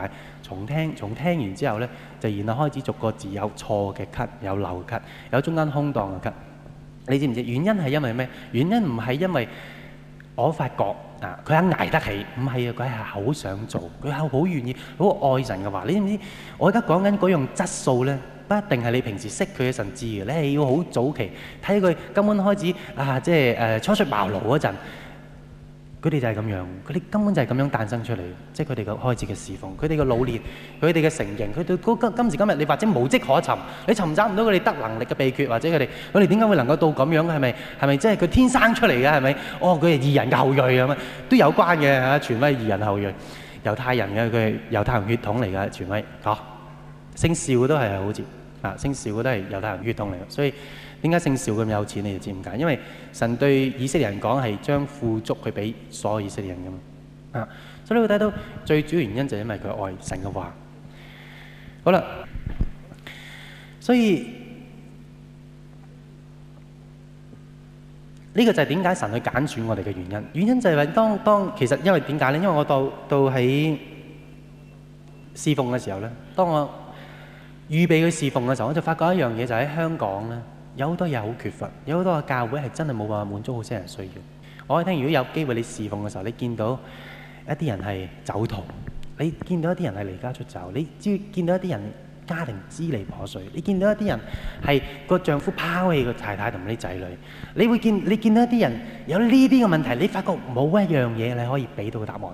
重聽，從聽完之後呢，就然後開始逐個字有錯嘅咳，有漏咳，有中間空檔嘅咳。你知唔知原因係因為咩？原因唔係因為我發覺啊，佢肯捱得起，唔係啊，佢係好想做，佢係好願意，好愛神嘅話。你知唔知？我而家講緊嗰樣質素呢，不一定係你平時識佢嘅神知嘅，你係要好早期睇佢根本開始啊，即係誒初出茅廬嗰陣。佢哋就係咁樣，佢哋根本就係咁樣誕生出嚟，即係佢哋嘅開始嘅侍奉，佢哋嘅老練，佢哋嘅成形，佢到今今時今日，你或者無跡可尋，你尋找唔到佢哋得能力嘅秘訣，或者佢哋佢哋點解會能夠到咁樣？係咪係咪即係佢天生出嚟嘅？係咪？哦，佢係義人嘅後裔咁啊，都有關嘅嚇，權威義人後裔，猶太人嘅，佢係猶太人血統嚟嘅權威，嚇，姓邵嘅都係好似啊，姓邵嘅都係猶太人血統嚟嘅，所以。點解姓邵咁有錢？你就知點解？因為神對以色列人講係將富足去俾所有以色列人噶嘛啊！所以你會睇到最主要原因就係因為佢愛神嘅話。好啦，所以呢個就係點解神去揀選我哋嘅原因。原因就係話當當其實因為點解咧？因為我到到喺侍奉嘅時候咧，當我預備去侍奉嘅時候，我就發覺一樣嘢就喺香港咧。有好多嘢好缺乏，有好多嘅教會係真係冇辦法滿足好些人需要。我可以聽，如果有機會你侍奉嘅時候，你見到一啲人係走徒，你見到一啲人係離家出走，你知見到一啲人家庭支離破碎，你見到一啲人係個丈夫拋棄個太太同啲仔女，你會見你見到一啲人有呢啲嘅問題，你發覺冇一樣嘢你可以俾到個答案佢，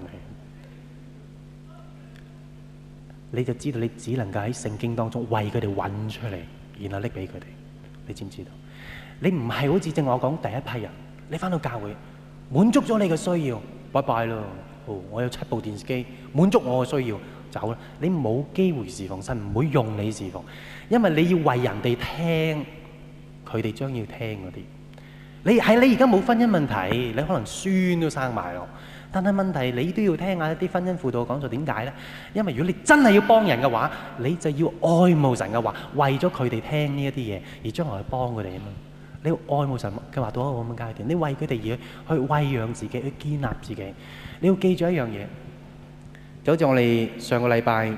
你就知道你只能夠喺聖經當中為佢哋揾出嚟，然後拎俾佢哋。你知唔知道？你唔係好似正我講第一批人，你返到教會滿足咗你嘅需要，拜拜咯。哦，我有七部電視機，滿足我嘅需要，走啦。你冇機會侍奉神，唔會用你侍奉，因為你要為人哋聽，佢哋將要聽嗰啲。你係你而家冇婚姻問題，你可能孫都生埋咯。但係問題你都要聽下一啲婚姻輔導講座，點解呢？因為如果你真係要幫人嘅話，你就要愛慕神嘅話，為咗佢哋聽呢一啲嘢，而將來去幫佢哋啊嘛。你要愛慕神嘅話到一個咁嘅階段，你為佢哋而去餵養自己，去建立自己。你要記住一樣嘢，就好似我哋上個禮拜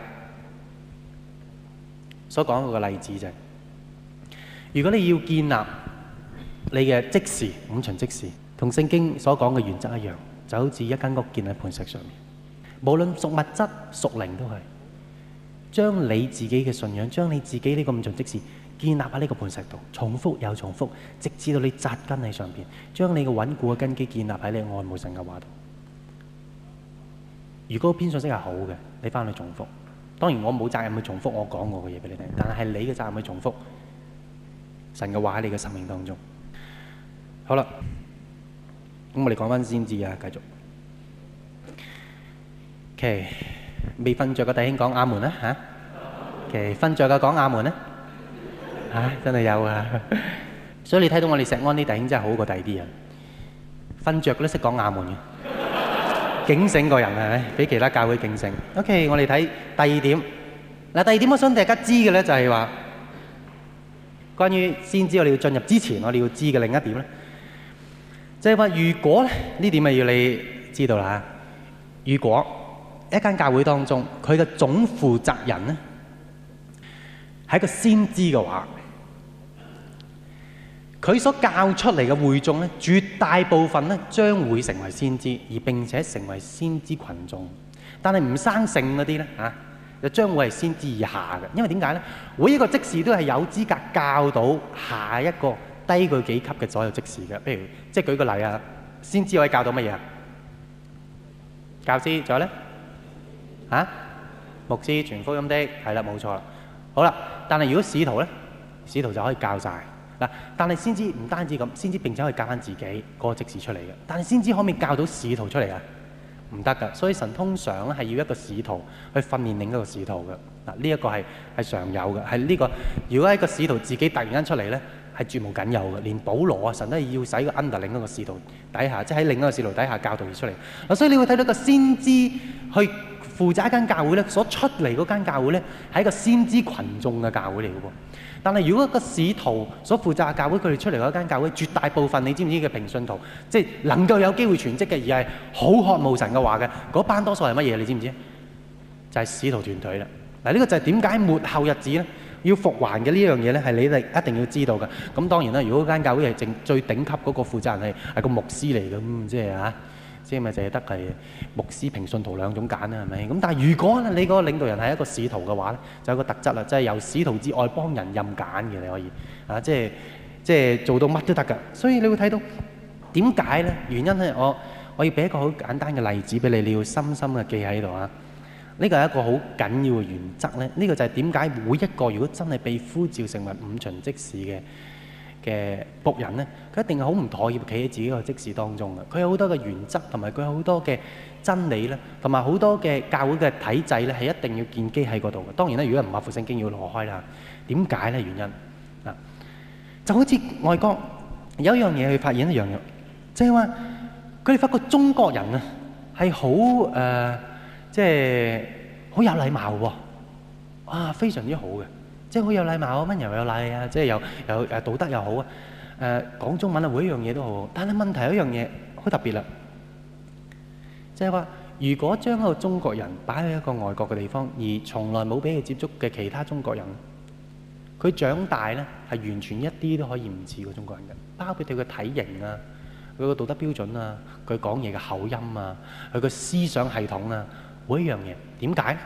所講嗰個例子就係，如果你要建立你嘅即時五旬即時，同聖經所講嘅原則一樣。就好似一間屋建喺磐石上面，無論屬物質屬靈都係，將你自己嘅信仰，將你自己呢個五旬即時建立喺呢個磐石度，重複又重複，直至到你扎根喺上邊，將你嘅穩固嘅根基建立喺你愛慕神嘅話度。如果篇信息係好嘅，你翻去重複。當然我冇責任去重複我講過嘅嘢俾你聽，但係你嘅責任去重複神嘅話喺你嘅生命當中。好啦。咁我哋講翻先知啊，繼續。OK，未瞓着嘅弟兄講阿門啦嚇。OK，瞓着嘅講阿門啦。嚇，真係有啊！所以你睇到我哋石安啲弟兄真係好過第二啲人，瞓着都識講阿門嘅，警醒個人係咪？比其他教會警醒。OK，我哋睇第二點。嗱，第二點我想大家知嘅咧就係話，關於先知我哋要進入之前，我哋要知嘅另一點咧。就係話，如果咧呢點咪要你知道啦。如果一間教會當中，佢嘅總負責人咧係一個先知嘅話，佢所教出嚟嘅會眾咧，絕大部分咧將會成為先知，而並且成為先知群眾。但係唔生性嗰啲咧嚇，就將會係先知以下嘅。因為點解咧？每一個職事都係有資格教到下一個低佢幾級嘅所有職事嘅。譬如即係舉個例啊，先知可以教到乜嘢啊？教師，仲有咧嚇？牧師傳福音的，係啦，冇錯啦。好啦，但係如果使徒咧，使徒就可以教晒嗱。但係先知唔單止咁，先知並且可以教翻自己嗰個職事出嚟嘅。但係先知可唔可以教到使徒出嚟啊？唔得㗎。所以神通常咧係要一個使徒去訓練另一個使徒嘅嗱。呢一個係係常有嘅，係呢個。如果一個使徒自己突然間出嚟咧，係絕無僅有嘅。連保羅啊，神都係要使個 under 另一個使徒底下，即係喺另一個使徒底下教導而出嚟嗱。所以你會睇到一個先知去負責一間教會咧，所出嚟嗰間教會咧係一個先知群眾嘅教會嚟嘅喎。但係如果一個使徒所負責嘅教會，佢哋出嚟嗰間教會，絕大部分你知唔知嘅平信徒，即係能夠有機會傳職嘅，而係好渴慕神嘅話嘅嗰班，多數係乜嘢？你知唔知？ 就係使徒團隊啦。嗱，呢個就係點解末後日子咧要復還嘅呢樣嘢咧，係你哋一定要知道嘅。咁當然啦，如果間教會係正最頂級嗰個負責人係係個牧師嚟嘅，咁即係啊，即係咪淨係得係牧師平信徒兩種揀啦，係咪？咁但係如果你嗰個領導人係一個使徒嘅話咧，就有個特質啦，即係由使徒之外幫人任揀嘅，你可以啊，即係即係做到乜都得㗎。所以你會睇到點解咧？原因咧，我我要俾一個好簡單嘅例子俾你，你要深深嘅記喺度啊！呢個係一個好緊要嘅原則咧。呢個就係點解每一個如果真係被呼召成為五旬職事嘅嘅僕人咧，佢一定係好唔妥協，企喺自己個職事當中嘅。佢有好多嘅原則，同埋佢有好多嘅真理咧，同埋好多嘅教會嘅體制咧，係一定要建基喺嗰度嘅。當然啦，如果唔合乎聖經，要攞開啦。點解咧？原因啊，就好似外國有一樣嘢去發現一樣嘢，即係話佢哋發覺中國人啊係好誒。即係好有禮貌喎，啊非常之好嘅，即係好有禮貌啊，温柔有禮啊，即係有有誒道德又好啊，誒講中文啊，每一樣嘢都好。但係問題有一樣嘢好特別啦，即係話如果將一個中國人擺喺一個外國嘅地方，而從來冇俾佢接觸嘅其他中國人，佢長大咧係完全一啲都可以唔似個中國人嘅，包括佢嘅體型啊、佢個道德標準啊、佢講嘢嘅口音啊、佢個思想系統啊。每一樣嘢點解？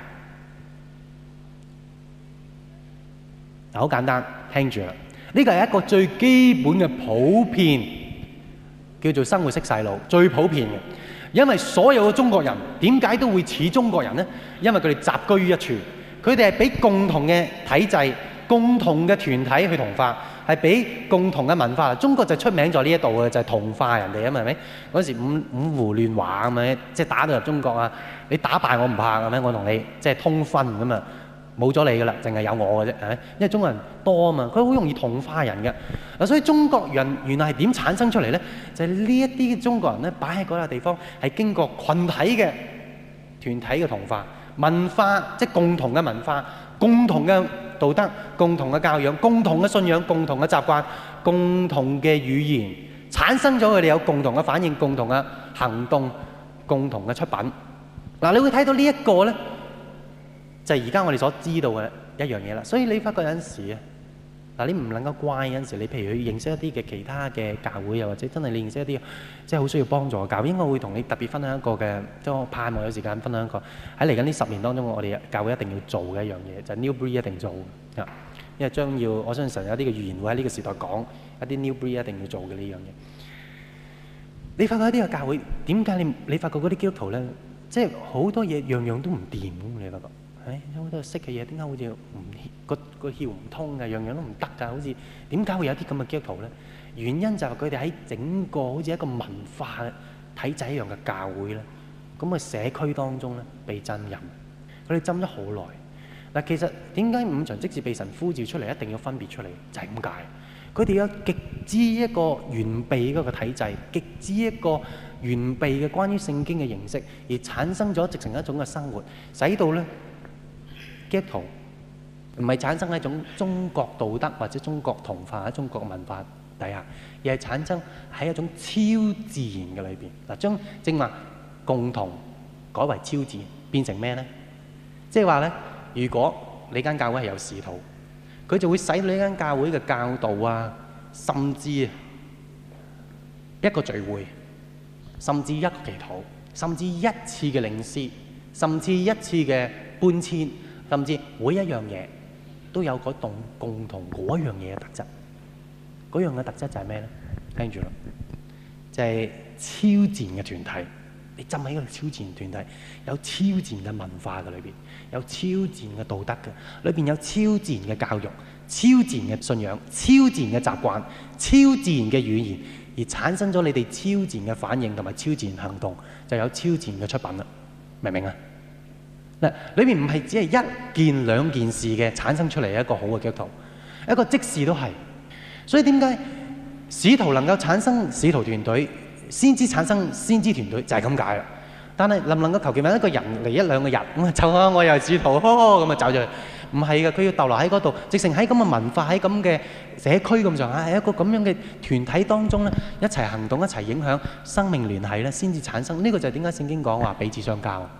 嗱，好簡單，聽住啦。呢個係一個最基本嘅普遍，叫做生活式洗腦，最普遍嘅。因為所有嘅中國人點解都會似中國人呢？因為佢哋集居於一處，佢哋係俾共同嘅體制、共同嘅團體去同化，係俾共同嘅文化。中國就出名在呢一度嘅，就係同化人哋啊嘛，係咪？嗰時五五胡亂華咁樣，即係打到入中國啊！你打敗我唔怕，係咪？我同你即係通婚咁啊，冇咗你噶啦，淨係有我嘅啫，係咪？因為中國人多啊嘛，佢好容易同化人嘅。嗱，所以中國人原來係點產生出嚟咧？就係呢一啲中國人咧，擺喺嗰個地方係經過群體嘅團體嘅同化，文化即係共同嘅文化、共同嘅道德、共同嘅教養、共同嘅信仰、共同嘅習慣、共同嘅語言，產生咗佢哋有共同嘅反應、共同嘅行動、共同嘅出品。嗱，你會睇到呢一個咧，就係而家我哋所知道嘅一樣嘢啦。所以你發覺有陣時啊，嗱，你唔能夠怪有陣時，你譬如去認識一啲嘅其他嘅教會，又或者真係你認識一啲即係好需要幫助嘅教會，應該會同你特別分享一個嘅，即係我盼望有時間分享一個喺嚟緊呢十年當中，我哋教會一定要做嘅一樣嘢，就係 New Breed 一定做嘅，因為將要我相信神有啲嘅預言會喺呢個時代講一啲 New Breed 一定要做嘅呢樣嘢。你發覺一啲嘅教會點解你你發覺嗰啲基督徒咧？即係好多嘢樣樣都唔掂咁，你發覺？誒，有好多識嘅嘢，點解好似唔個個竅唔通嘅，樣樣都唔得㗎？好似點解會有啲咁嘅基督徒咧？原因就係佢哋喺整個好似一個文化體制一樣嘅教會咧，咁嘅社區當中咧被浸淫，佢哋浸咗好耐。嗱，其實點解五旬職事被神呼召出嚟，一定要分別出嚟，就係咁解。佢哋有極之一個完備嗰個體制，極之一個完備嘅關於聖經嘅認識，而產生咗直成一種嘅生活，使到咧基督徒唔係產生喺一種中國道德或者中國同化喺中國文化底下，而係產生喺一種超自然嘅裏邊。嗱，將正話共同改為超自然，變成咩咧？即係話咧，如果你間教會係有使徒，佢就會使你呢間教會嘅教導啊，甚至一個聚會，甚至一個祈禱，甚至一次嘅領詩，甚至一次嘅搬遷，甚至每一樣嘢都有嗰種共同嗰樣嘢嘅特質。嗰樣嘅特質就係咩咧？聽住啦，就係超自然嘅團體。你浸喺個超自然團體，有超自然嘅文化嘅裏邊，有超自然嘅道德嘅，裏邊有超自然嘅教育、超自然嘅信仰、超自然嘅習慣、超自然嘅語言，而產生咗你哋超自然嘅反應同埋超自然行動，就有超自然嘅出品啦。明唔明啊？嗱，裏邊唔係只係一件兩件事嘅產生出嚟一個好嘅基督徒，一個職事都係。所以點解使徒能夠產生使徒團隊？先知產生先知團隊就係咁解啦。但係能唔能夠求其揾一個人嚟一兩個日咁啊？就啊，我又係使徒，咁啊走咗去。唔係嘅，佢要逗留喺嗰度，直情喺咁嘅文化、喺咁嘅社區咁上下，喺一個咁樣嘅團體當中咧，一齊行動、一齊影響生命聯繫咧，先至產生。呢個就係點解聖經講話彼此相交。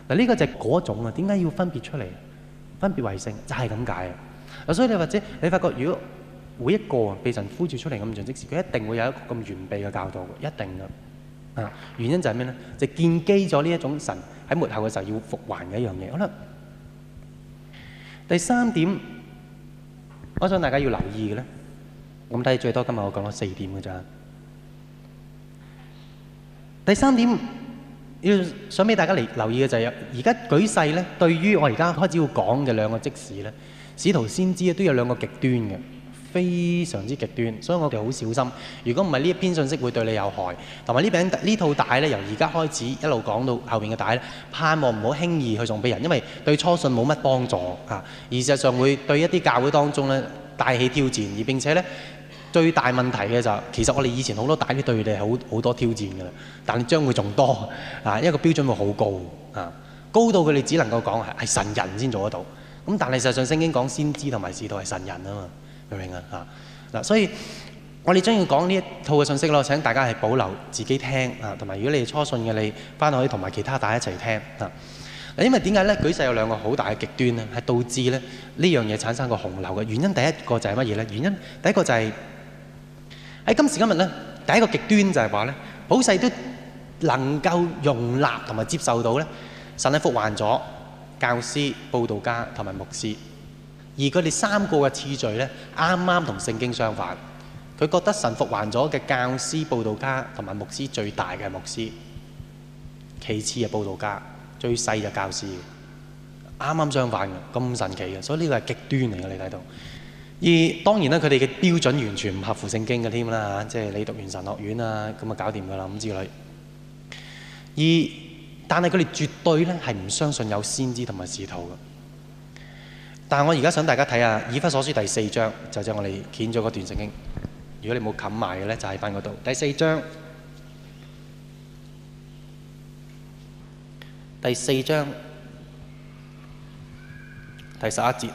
嗱，呢個就係嗰種啊，點解要分別出嚟？分別為聖就係咁解啊！嗱，所以你或者你發覺，如果每一個被神呼召出嚟咁盡職時，佢一定會有一個咁完備嘅教導嘅，一定嘅。啊，原因就係咩咧？就係建基咗呢一種神喺末後嘅時候要復還嘅一樣嘢。好啦，第三點，我想大家要留意嘅咧，咁睇最多今日我講咗四點嘅咋。第三點要想俾大家嚟留意嘅就係，而家舉世咧，對於我而家開始要講嘅兩個職事咧，使徒先知都有兩個極端嘅。非常之極端，所以我哋好小心。如果唔係呢一篇信息會對你有害，同埋呢餅呢套帶咧，由而家開始一路講到後邊嘅帶咧，盼望唔好輕易去送俾人，因為對初信冇乜幫助啊。而事實上會對一啲教會當中咧帶起挑戰，而並且咧最大問題嘅就係，其實我哋以前好多帶都對你哋好好多挑戰㗎啦，但係將會仲多啊，因為個標準會好高啊，高到佢哋只能夠講係係神人先做得到。咁但係事實上聖經講先知同埋使徒係神人啊嘛。明唔明啊？嚇嗱，所以我哋將要講呢一套嘅信息咯。請大家係保留自己聽啊，同埋如果你係初信嘅，你翻去可以同埋其他大家一齊聽啊。嗱，因為點解咧？舉世有兩個好大嘅極端咧，係導致咧呢樣嘢產生個洪流嘅原因。第一個就係乜嘢咧？原因第一個就係喺今時今日咧，第一個極端就係話咧，普世都能夠容納同埋接受到咧，神係復還咗教師、佈道家同埋牧師。而佢哋三個嘅次序咧，啱啱同聖經相反。佢覺得神復還咗嘅教師、佈道家同埋牧師最大嘅牧師，其次係佈道家，最細嘅教師。啱啱相反嘅，咁神奇嘅，所以呢個係極端嚟嘅，你睇到。而當然啦，佢哋嘅標準完全唔合乎聖經嘅添啦嚇，即係你讀完神學院啊，咁啊搞掂㗎啦咁之類。而但係佢哋絕對咧係唔相信有先知同埋使徒嘅。但係我而家想大家睇下《以弗所書》第四章，就即係我哋掀咗嗰段聖經。如果你冇冚埋嘅咧，就喺翻嗰度。第四章，第四章第十一節。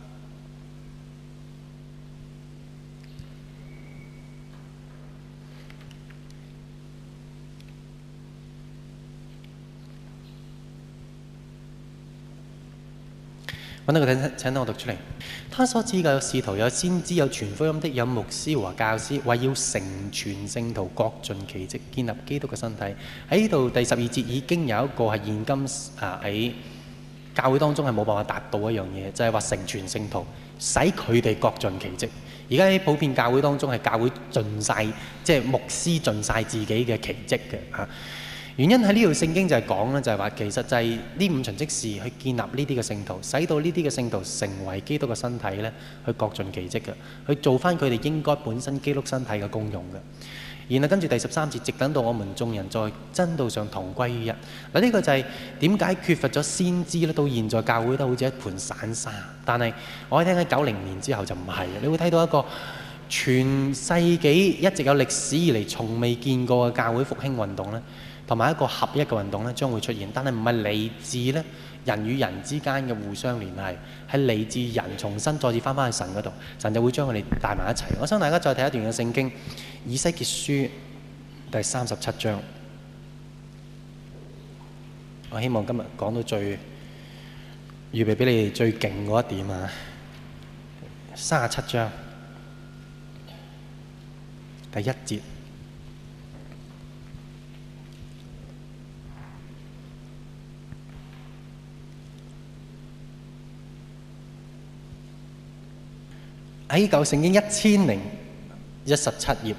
揾到個請請我讀出嚟。他所指嘅有使徒、有先知、有傳福音的、有牧師和教師，為要成全聖徒，各盡其職，建立基督嘅身體。喺呢度第十二節已經有一個係現今啊喺教會當中係冇辦法達到一樣嘢，就係話成全聖徒，使佢哋各盡其職。而家喺普遍教會當中係教會盡晒，即係牧師盡晒自己嘅奇蹟嘅嚇。原因喺呢條聖經就係講咧，就係話其實就係呢五旬職事去建立呢啲嘅聖徒，使到呢啲嘅聖徒成為基督嘅身體咧，去各盡其職嘅，去做翻佢哋應該本身基督身體嘅功用嘅。然後跟住第十三節，直等到我們眾人在真道上同歸於一。嗱，呢個就係點解缺乏咗先知咧？到現在教會都好似一盤散沙。但係我喺聽喺九零年之後就唔係，你會睇到一個全世紀一直有歷史以嚟從未見過嘅教會復興運動咧。同埋一個合一嘅運動咧，將會出現，但係唔係嚟自咧人與人之間嘅互相聯繫，係嚟自人重新再次翻返去神嗰度，神就會將佢哋帶埋一齊。我想大家再睇一段嘅聖經，以西結書第三十七章。我希望今日講到最預備俾你哋最勁嗰一點啊，三十七章第一節。喺舊聖經一千零一十七頁，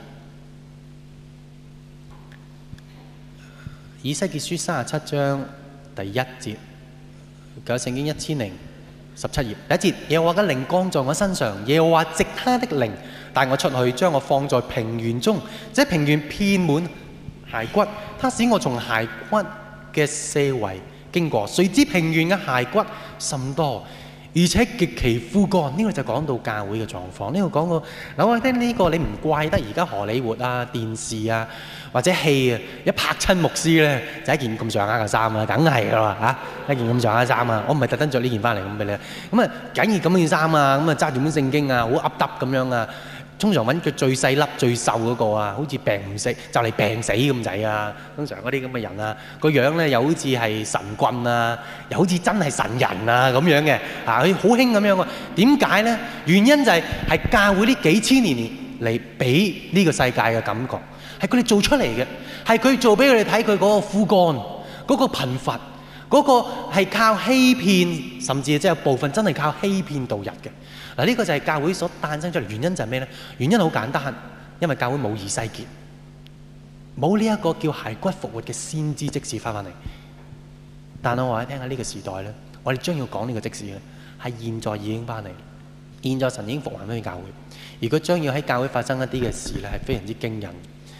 以西結書三十七章第一節，舊聖經一千零十七頁第一節，耶和華嘅靈降在我身上，耶和華藉他的靈帶我出去，將我放在平原中，這平原遍滿骸骨，他使我從骸骨嘅四圍經過，誰知平原嘅骸骨甚多，而且極其枯乾。呢、這個就講到教會嘅狀況。呢、這個講到嗱，我聽呢個你唔怪得而家荷里活啊、電視啊或者戲啊，一拍親牧師咧就一件咁上下嘅衫啊，梗係噶啦嚇，一件咁上下嘅衫啊，我唔係特登着呢件翻嚟咁俾你。咁啊，梗係咁件衫啊，咁啊揸住本聖經啊，好噏耷咁樣啊， 通常揾佢最細粒、最瘦嗰個啊，好似病唔死，就嚟病死咁滯啊。通常嗰啲咁嘅人啊，個樣咧又好似係神棍啊，又好似真係神人啊咁樣嘅，啊佢好興咁樣喎。點解咧？原因就係係教會呢幾千年嚟俾呢個世界嘅感覺，係佢哋做出嚟嘅，係佢做俾佢哋睇佢嗰個枯乾、嗰個貧乏。嗰個係靠欺騙，甚至即係有部分真係靠欺騙度日嘅。嗱，呢個就係教會所誕生出嚟。原因就係咩呢？原因好簡單，因為教會冇以西結，冇呢一個叫骸骨復活嘅先知即時翻返嚟。但係我話你聽下呢個時代呢，我哋將要講呢個即時呢，係現在已經翻嚟。現在神已經復還翻去教會，而佢將要喺教會發生一啲嘅事呢，係非常之驚人。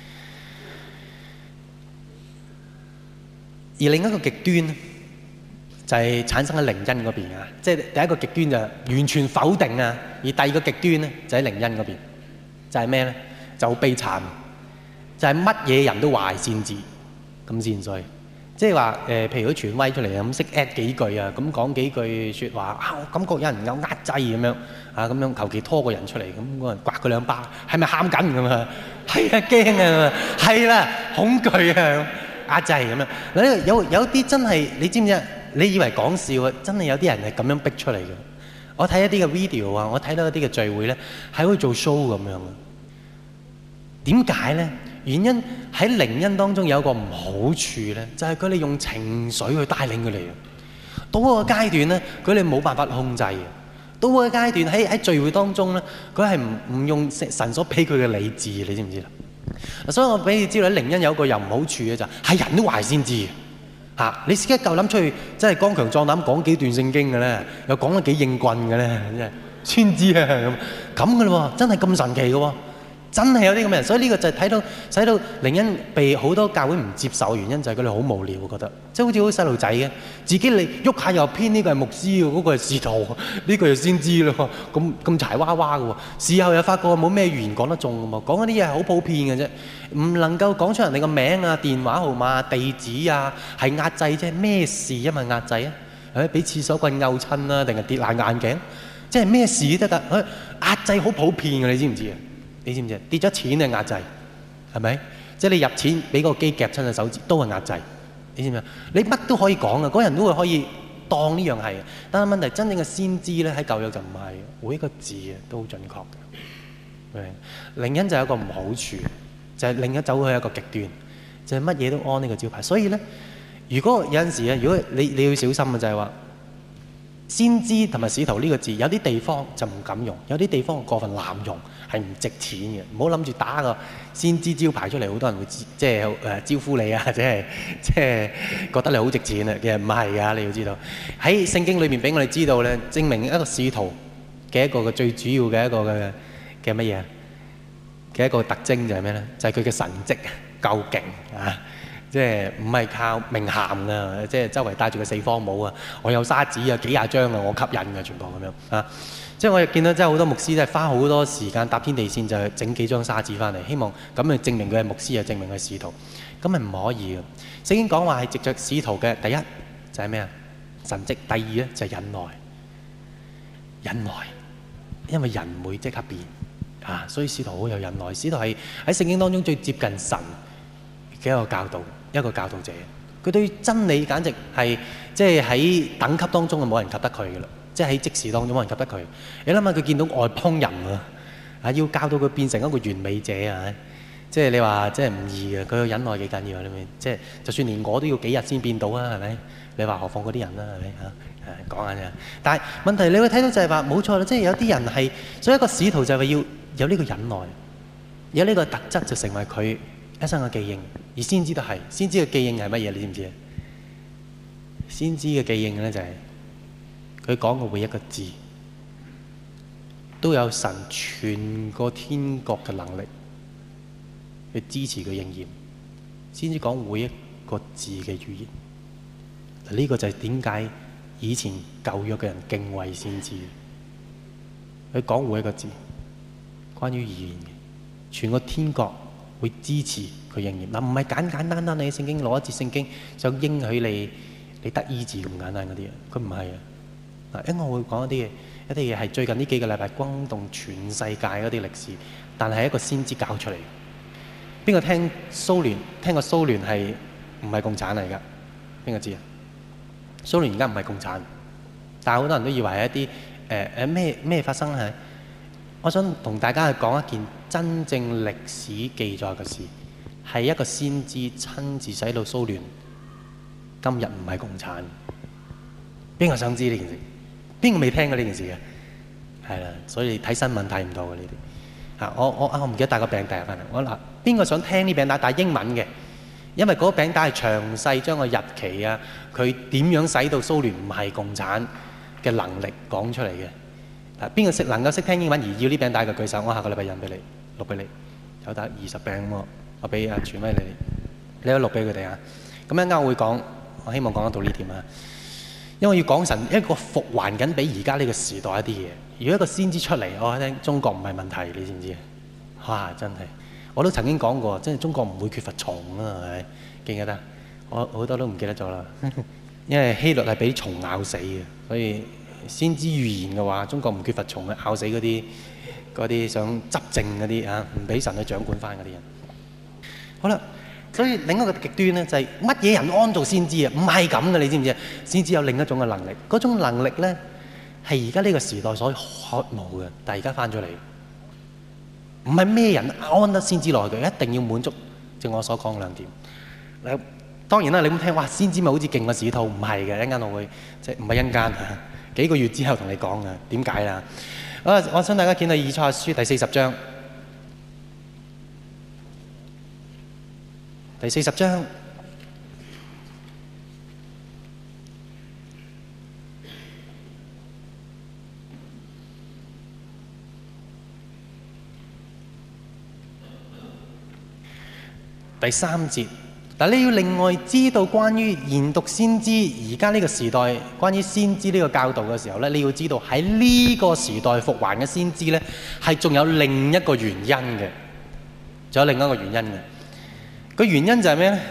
而另一個極端就係產生喺靈恩嗰邊啊，即係第一個極端就完全否定啊，而第二個極端咧就喺靈恩嗰邊，就係咩咧？就好悲慘，就係乜嘢人都話先知咁先衰，即係話誒，譬如佢傳威出嚟啊，咁識 at 幾句啊，咁講幾句説話啊，我感覺有人有壓制咁樣啊，咁樣求其拖個人出嚟，咁嗰人刮佢兩巴，係咪喊緊咁啊？係啊，驚啊，係啦，恐懼啊，壓制咁樣。嗱，有有啲真係你知唔知啊？你以為講笑啊？真係有啲人係咁樣逼出嚟嘅。我睇一啲嘅 video 啊，我睇到一啲嘅聚會咧，係好似做 show 咁樣嘅。點解咧？原因喺靈恩當中有一個唔好處咧，就係佢哋用情緒去帶領佢哋。到嗰個階段咧，佢哋冇辦法控制嘅。到嗰個階段喺喺聚會當中咧，佢係唔唔用神所俾佢嘅理智，你知唔知啦？所以我俾你知道，喺靈恩有一個又唔好處嘅就係、係人都話先知。嚇、啊！你自己夠膽出去，真係剛強壯膽講幾段聖經嘅咧，又講得幾應棍嘅咧，真係先知啊咁咁嘅咯喎，真係咁神奇嘅喎，真係有啲咁嘅人。所以呢個就係睇到使到靈恩被好多教會唔接受嘅原因，就係佢哋好無聊，我覺得即係好似好細路仔嘅，自己你喐下又偏呢個係牧師喎，嗰、嗰個係使徒，呢個又先知咯，咁咁柴娃娃嘅喎。事後又發覺冇咩語言講得中嘅嘛，講嗰啲嘢係好普遍嘅啫。唔能夠講出人哋個名啊、電話號碼、地址啊，係壓制啫。咩事因為壓制啊？誒，俾廁所棍毆親啊，定係跌爛眼鏡？即係咩事都得。誒，壓制好普遍嘅，你知唔知啊？你知唔知啊？跌咗錢係壓制，係咪？即係你入錢俾個機夾親隻手指都係壓制，你知唔知啊？你乜都可以講啊，嗰人都會可以當呢樣係。但係問題真正嘅先知咧，喺舊約就唔係，每一個字啊都好準確嘅。靈恩就有一個唔好處。就係另一走去一個極端，就係乜嘢都安呢個招牌。所以咧，如果有陣時啊，如果你你要小心嘅就係話，先知同埋使徒呢個字，有啲地方就唔敢用，有啲地方過分濫用，係唔值錢嘅。唔好諗住打個先知招牌出嚟，好多人會即係誒招呼你啊，或者係即係覺得你好值錢啊。其實唔係㗎，你要知道喺聖經裏面俾我哋知道咧，證明一個使徒嘅一個嘅最主要嘅一個嘅嘅乜嘢嘅一個特徵就係咩咧？就係佢嘅神蹟夠勁啊！即係唔係靠名銜啊？即係周圍帶住個四方帽啊！我有沙紙啊，幾廿張啊，我吸引嘅全部咁樣啊！即係我亦見到真係好多牧師都係花好多時間搭天地線，就係整幾張沙紙翻嚟，希望咁嚟證明佢係牧師啊，證明佢係使徒。咁係唔可以嘅。聖經講話係藉着使徒嘅第一就係咩啊？神蹟。第二咧就係忍耐，忍耐，因為人唔會即刻變。啊，所以使徒好有忍耐，使徒係喺聖經當中最接近神嘅一個教導，一個教導者。佢對真理簡直係即係喺等級當中就冇人及得佢嘅啦，即係喺即時當中冇人及得佢。你諗下佢見到外邦人啊，啊要教到佢變成一個完美者啊，即係你話即係唔易嘅。佢嘅忍耐幾緊要啊？你咪即係就算連我都要幾日先變到啊？係咪？你話何況嗰啲人啦？係咪嚇？誒講下啫。但係問題你會睇到就係話冇錯啦，即係有啲人係，所以一個使徒就係要有呢個忍耐，有呢個特質就成為佢一生嘅記憶。而先知都係，先知嘅記憶係乜嘢？你知唔知啊？先知嘅記憶咧就係佢講嘅每一個字都有神全個天國嘅能力去支持佢應驗。先知講每一個字嘅語言，嗱呢個就係點解以前舊約嘅人敬畏先知。佢講每一個字。關於語言嘅，全個天國會支持佢應驗。嗱，唔係簡簡單單你聖經攞一節聖經就應許你你得醫治咁簡單嗰啲嘢，佢唔係啊。嗱，因為我會講一啲嘢，一啲嘢係最近呢幾個禮拜轟動全世界嗰啲歷史， 但係一個先知教出嚟。邊個聽蘇聯聽過蘇聯係唔係共產嚟㗎？邊個知啊？蘇聯而家唔係共產，但係好多人都以為係一啲誒誒咩咩發生係。我想同大家去講一件真正歷史記載嘅事，係一個先知親自使到蘇聯今日唔係共產。邊個想知呢件事？邊個未聽過呢件事嘅？係啦，所以睇新聞睇唔到嘅呢啲。嚇，我我啊，我唔記得帶個餅帶翻嚟。我嗱，邊個想聽呢餅帶？帶英文嘅，因為嗰個餅帶係詳細將個日期啊，佢點樣使到蘇聯唔係共產嘅能力講出嚟嘅。嗱，邊個識能夠識聽英文而要呢餅帶嘅舉手？我下個禮拜印俾你，錄俾你，有得二十餅喎，我俾阿傳威你，你可以錄俾佢哋啊。咁一陣間我會講，我希望講得到呢點啊。因為要講神一個復還緊俾而家呢個時代一啲嘢。如果一個先知出嚟，我聽中國唔係問題，你知唔知啊？哇！真係，我都曾經講過，真係中國唔會缺乏蟲啊，係咪？記唔記得？我好多都唔記得咗啦。因為希律係俾蟲咬死嘅，所以先知預言嘅話，中國唔缺乏蟲嘅，咬死嗰啲嗰啲想執政嗰啲啊，唔俾神去掌管翻嗰啲人。好啦。所以另一個極端咧，就係乜嘢人安做先知啊？唔係咁嘅，你知唔知啊？先知有另一種嘅能力，嗰種能力咧係而家呢個時代所渴慕嘅，但係而家翻咗嚟，唔係咩人安得先知落去嘅，一定要滿足正我所講嘅兩點。嗱，當然啦，你咁聽，哇，先知咪好似勁過使徒？唔係嘅，一陣間我會即係唔係一陣間啊？幾個月之後同你講嘅，點解啦？啊，我想大家見到以賽亞書第四十章。第四十章第三節，但你要另外知道關於研讀先知而家呢個時代關於先知呢個教導嘅時候咧，你要知道喺呢個時代復還嘅先知咧，係仲有另一個原因嘅，仲有另一個原因嘅。個原因就係咩咧？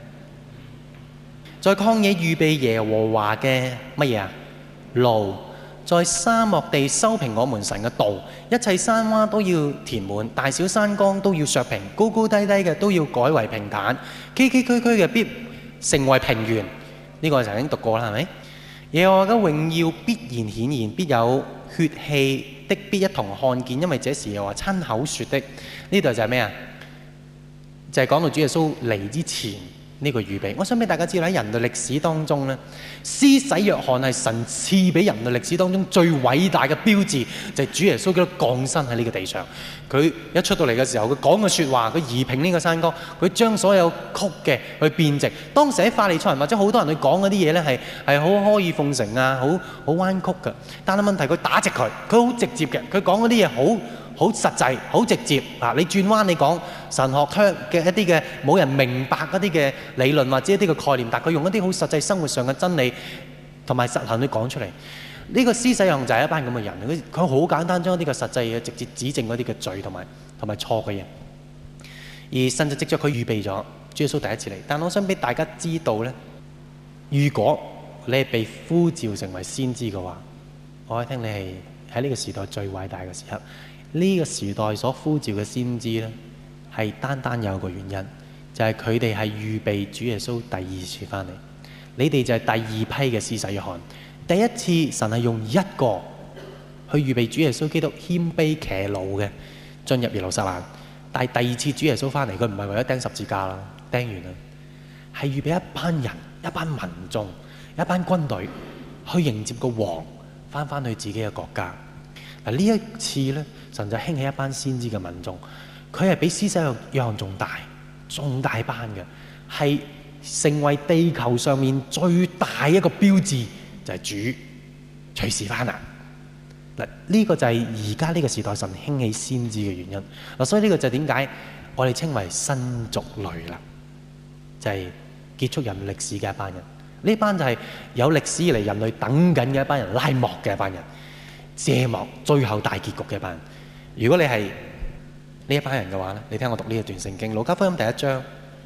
在曠野預備耶和華嘅乜嘢啊？路，在沙漠地修平我們神嘅道，一切山窪都要填滿，大小山崗都要削平，高高低低嘅都要改為平坦，崎崎嶇嶇嘅必成為平原。呢、這個我曾經讀過啦，係咪？耶和華嘅榮耀必然顯現，必有血氣的必一同看見，因為這是耶和華親口說的。呢度就係咩啊？就係講到主耶穌嚟之前呢個預備。我想俾大家知道喺人類歷史當中咧，施洗約翰係神賜俾人類歷史當中最偉大嘅標誌，就係主耶穌基督降生喺呢個地上。佢一出到嚟嘅時候，佢講嘅説話，佢移平呢個山崗，佢將所有曲嘅去變直。當時喺法利賽人或者好多人去講嗰啲嘢咧，係係好阿諛奉承啊，好好彎曲嘅。但係問題佢打直佢，佢好直接嘅，佢講嗰啲嘢好好實際、好直接啊！你轉彎，你講神學嘅一啲嘅冇人明白嗰啲嘅理論或者一啲嘅概念，但佢用一啲好實際生活上嘅真理同埋實行去講出嚟。呢、這個施洗約翰就係一班咁嘅人，佢佢好簡單將一啲嘅實際嘅直接指正嗰啲嘅罪同埋同埋錯嘅嘢，而甚至藉著佢預備咗主耶穌第一次嚟。但我想俾大家知道咧，如果你係被呼召成為先知嘅話，我可以聽你係喺呢個時代最偉大嘅時刻。呢、這個時代所呼召嘅先知呢，係單單有一個原因，就係佢哋係預備主耶穌第二次翻嚟。你哋就係第二批嘅施洗約翰。第一次神係用一個去預備主耶穌基督謙卑騎驢嘅進入耶路撒冷，但係第二次主耶穌翻嚟，佢唔係為咗釘十字架啦，釘完啦，係預備一班人、一班民眾、一班軍隊去迎接個王翻返去自己嘅國家。嗱，呢一次咧，神就興起一班先知嘅民眾，佢係比施洗約翰仲大、仲大班嘅，係成為地球上面最大一個標誌，就係、是、主隨時翻嚟。嗱，呢個就係而家呢個時代神興起先知嘅原因。嗱，所以呢個就係點解我哋稱為新族類啦，就係、是、結束人類歷史嘅一班人。呢班就係有歷史以嚟人類等緊嘅一班人，拉幕嘅一班人。謝幕最後大結局嘅一班人。如果你係呢一班人嘅話咧，你聽我讀呢一段聖經，路加福音第一章，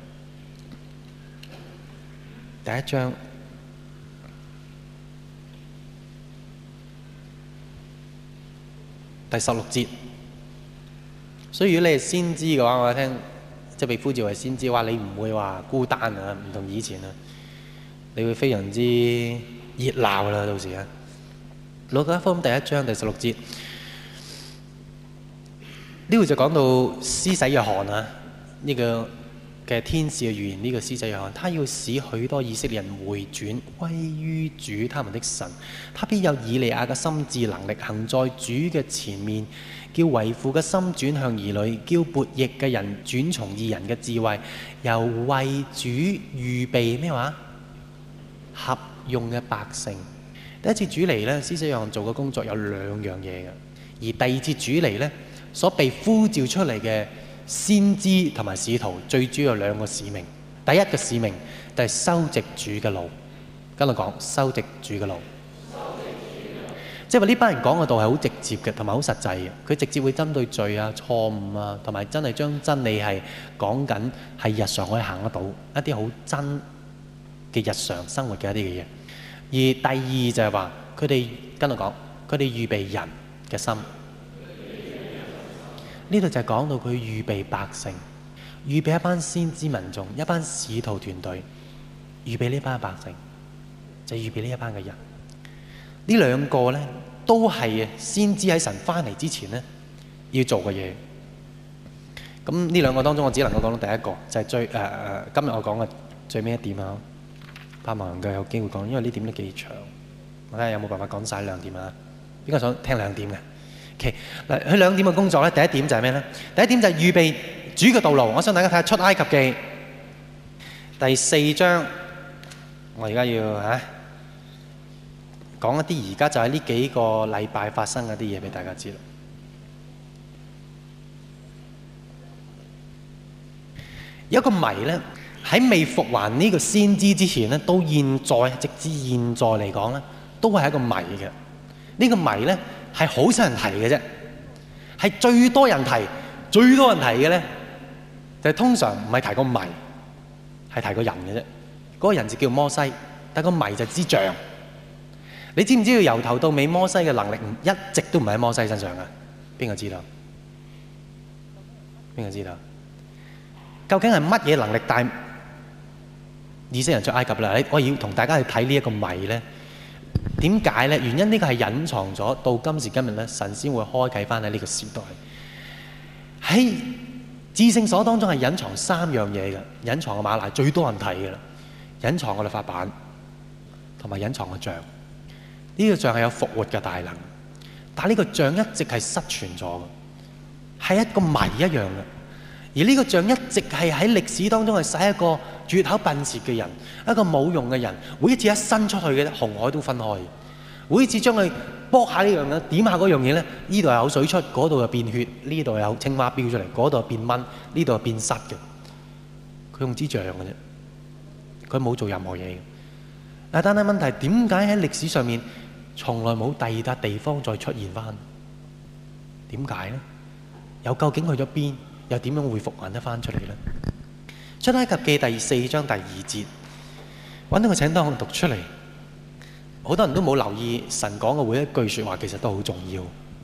第一章第十六節， 所以如果你係先知嘅話，我聽即係被呼召為先知嘅話，你唔會話孤單啊，唔同以前啊，你會非常之熱鬧啦，到時啊。路加福音第一章第十六節，呢度就講到施洗約翰啊，呢、這個嘅天使嘅預言，呢、這個施洗約翰，他要使許多以色列人回轉歸於主他們的神，他必有以利亞嘅心志能力行在主嘅前面，叫為父嘅心轉向兒女，叫悖逆嘅人轉從義人嘅智慧，又為主預備咩話合用嘅百姓。第一次主嚟呢，施洗約翰做嘅工作有兩樣嘢嘅，而第二次主嚟呢，所被呼召出嚟嘅先知同埋使徒，最主要有兩個使命。第一個使命就係修直主嘅路，跟我講修直主嘅路。即係話呢班人講嘅道係好直接嘅，同埋好實際嘅。佢直接會針對罪啊、錯誤啊，同埋真係將真理係講緊係日常可以行得到一啲好真嘅日常生活嘅一啲嘅嘢。而第二就係話佢哋跟我講，佢哋預備人嘅心。呢度就係講到佢預備百姓，預備一班先知民眾，一班使徒團隊，預備呢班百姓，就預備呢一班嘅人。呢兩個呢，都係先知喺神翻嚟之前呢要做嘅嘢。咁呢兩個當中，我只能夠講到第一個，就係、是、最誒誒、呃、今日我講嘅最尾一點啊。盼望能夠有機會講，因為呢點都幾長。我睇下有冇辦法講晒兩點啊？邊個想聽兩點嘅 ？OK， 嗱，佢兩點嘅工作咧，第一點就係咩咧？第一點就係預備主嘅道路。我想大家睇下出埃及記第四章。我而家要啊講一啲而家就喺呢幾個禮拜發生嗰啲嘢俾大家知啦。有一個謎咧。喺未復還呢個先知之前咧，到現在直至現在嚟講咧，都係一個謎嘅。呢個謎咧係好少人提嘅啫，係最多人提、最多人提嘅咧，就係通常唔係提個謎，係提個人嘅啫。嗰個人就叫摩西，但個謎就支杖。你知唔知道由頭到尾摩西嘅能力唔一直都唔喺摩西身上啊？邊個知道？邊個知道？究竟係乜嘢能力帶以色列人出埃及啦？我要同大家去睇呢一個謎咧。點解咧？原因呢個係隱藏咗到今時今日咧，神先會開啟翻喺呢個時代。喺至聖所當中係隱藏三樣嘢嘅，隱藏嘅馬拿最多人睇嘅啦，隱藏嘅律法版同埋隱藏嘅像。呢個像係有復活嘅大能，但係呢個像一直係失傳咗嘅，係一個謎一樣嘅。而呢個像一直係喺歷史當中係使一個絕口笨舌嘅人，一個冇用嘅人，每一次一伸出去嘅紅海都分開，每一次將佢剝下呢樣嘢，點下嗰樣嘢咧，呢度係有水出，嗰度又變血，呢度有青蛙飆出嚟，嗰度又變蚊，呢度又變虱嘅。佢用支杖嘅啫，佢冇做任何嘢嘅。但係問題點解喺歷史上面從來冇第二笪地方再出現翻？點解咧？又究竟去咗邊？又點樣會復還得翻出嚟呢？出埃及記第四章第二節，揾到個請當我讀出嚟。好多人都冇留意神講嘅每一句說話，其實都好重要。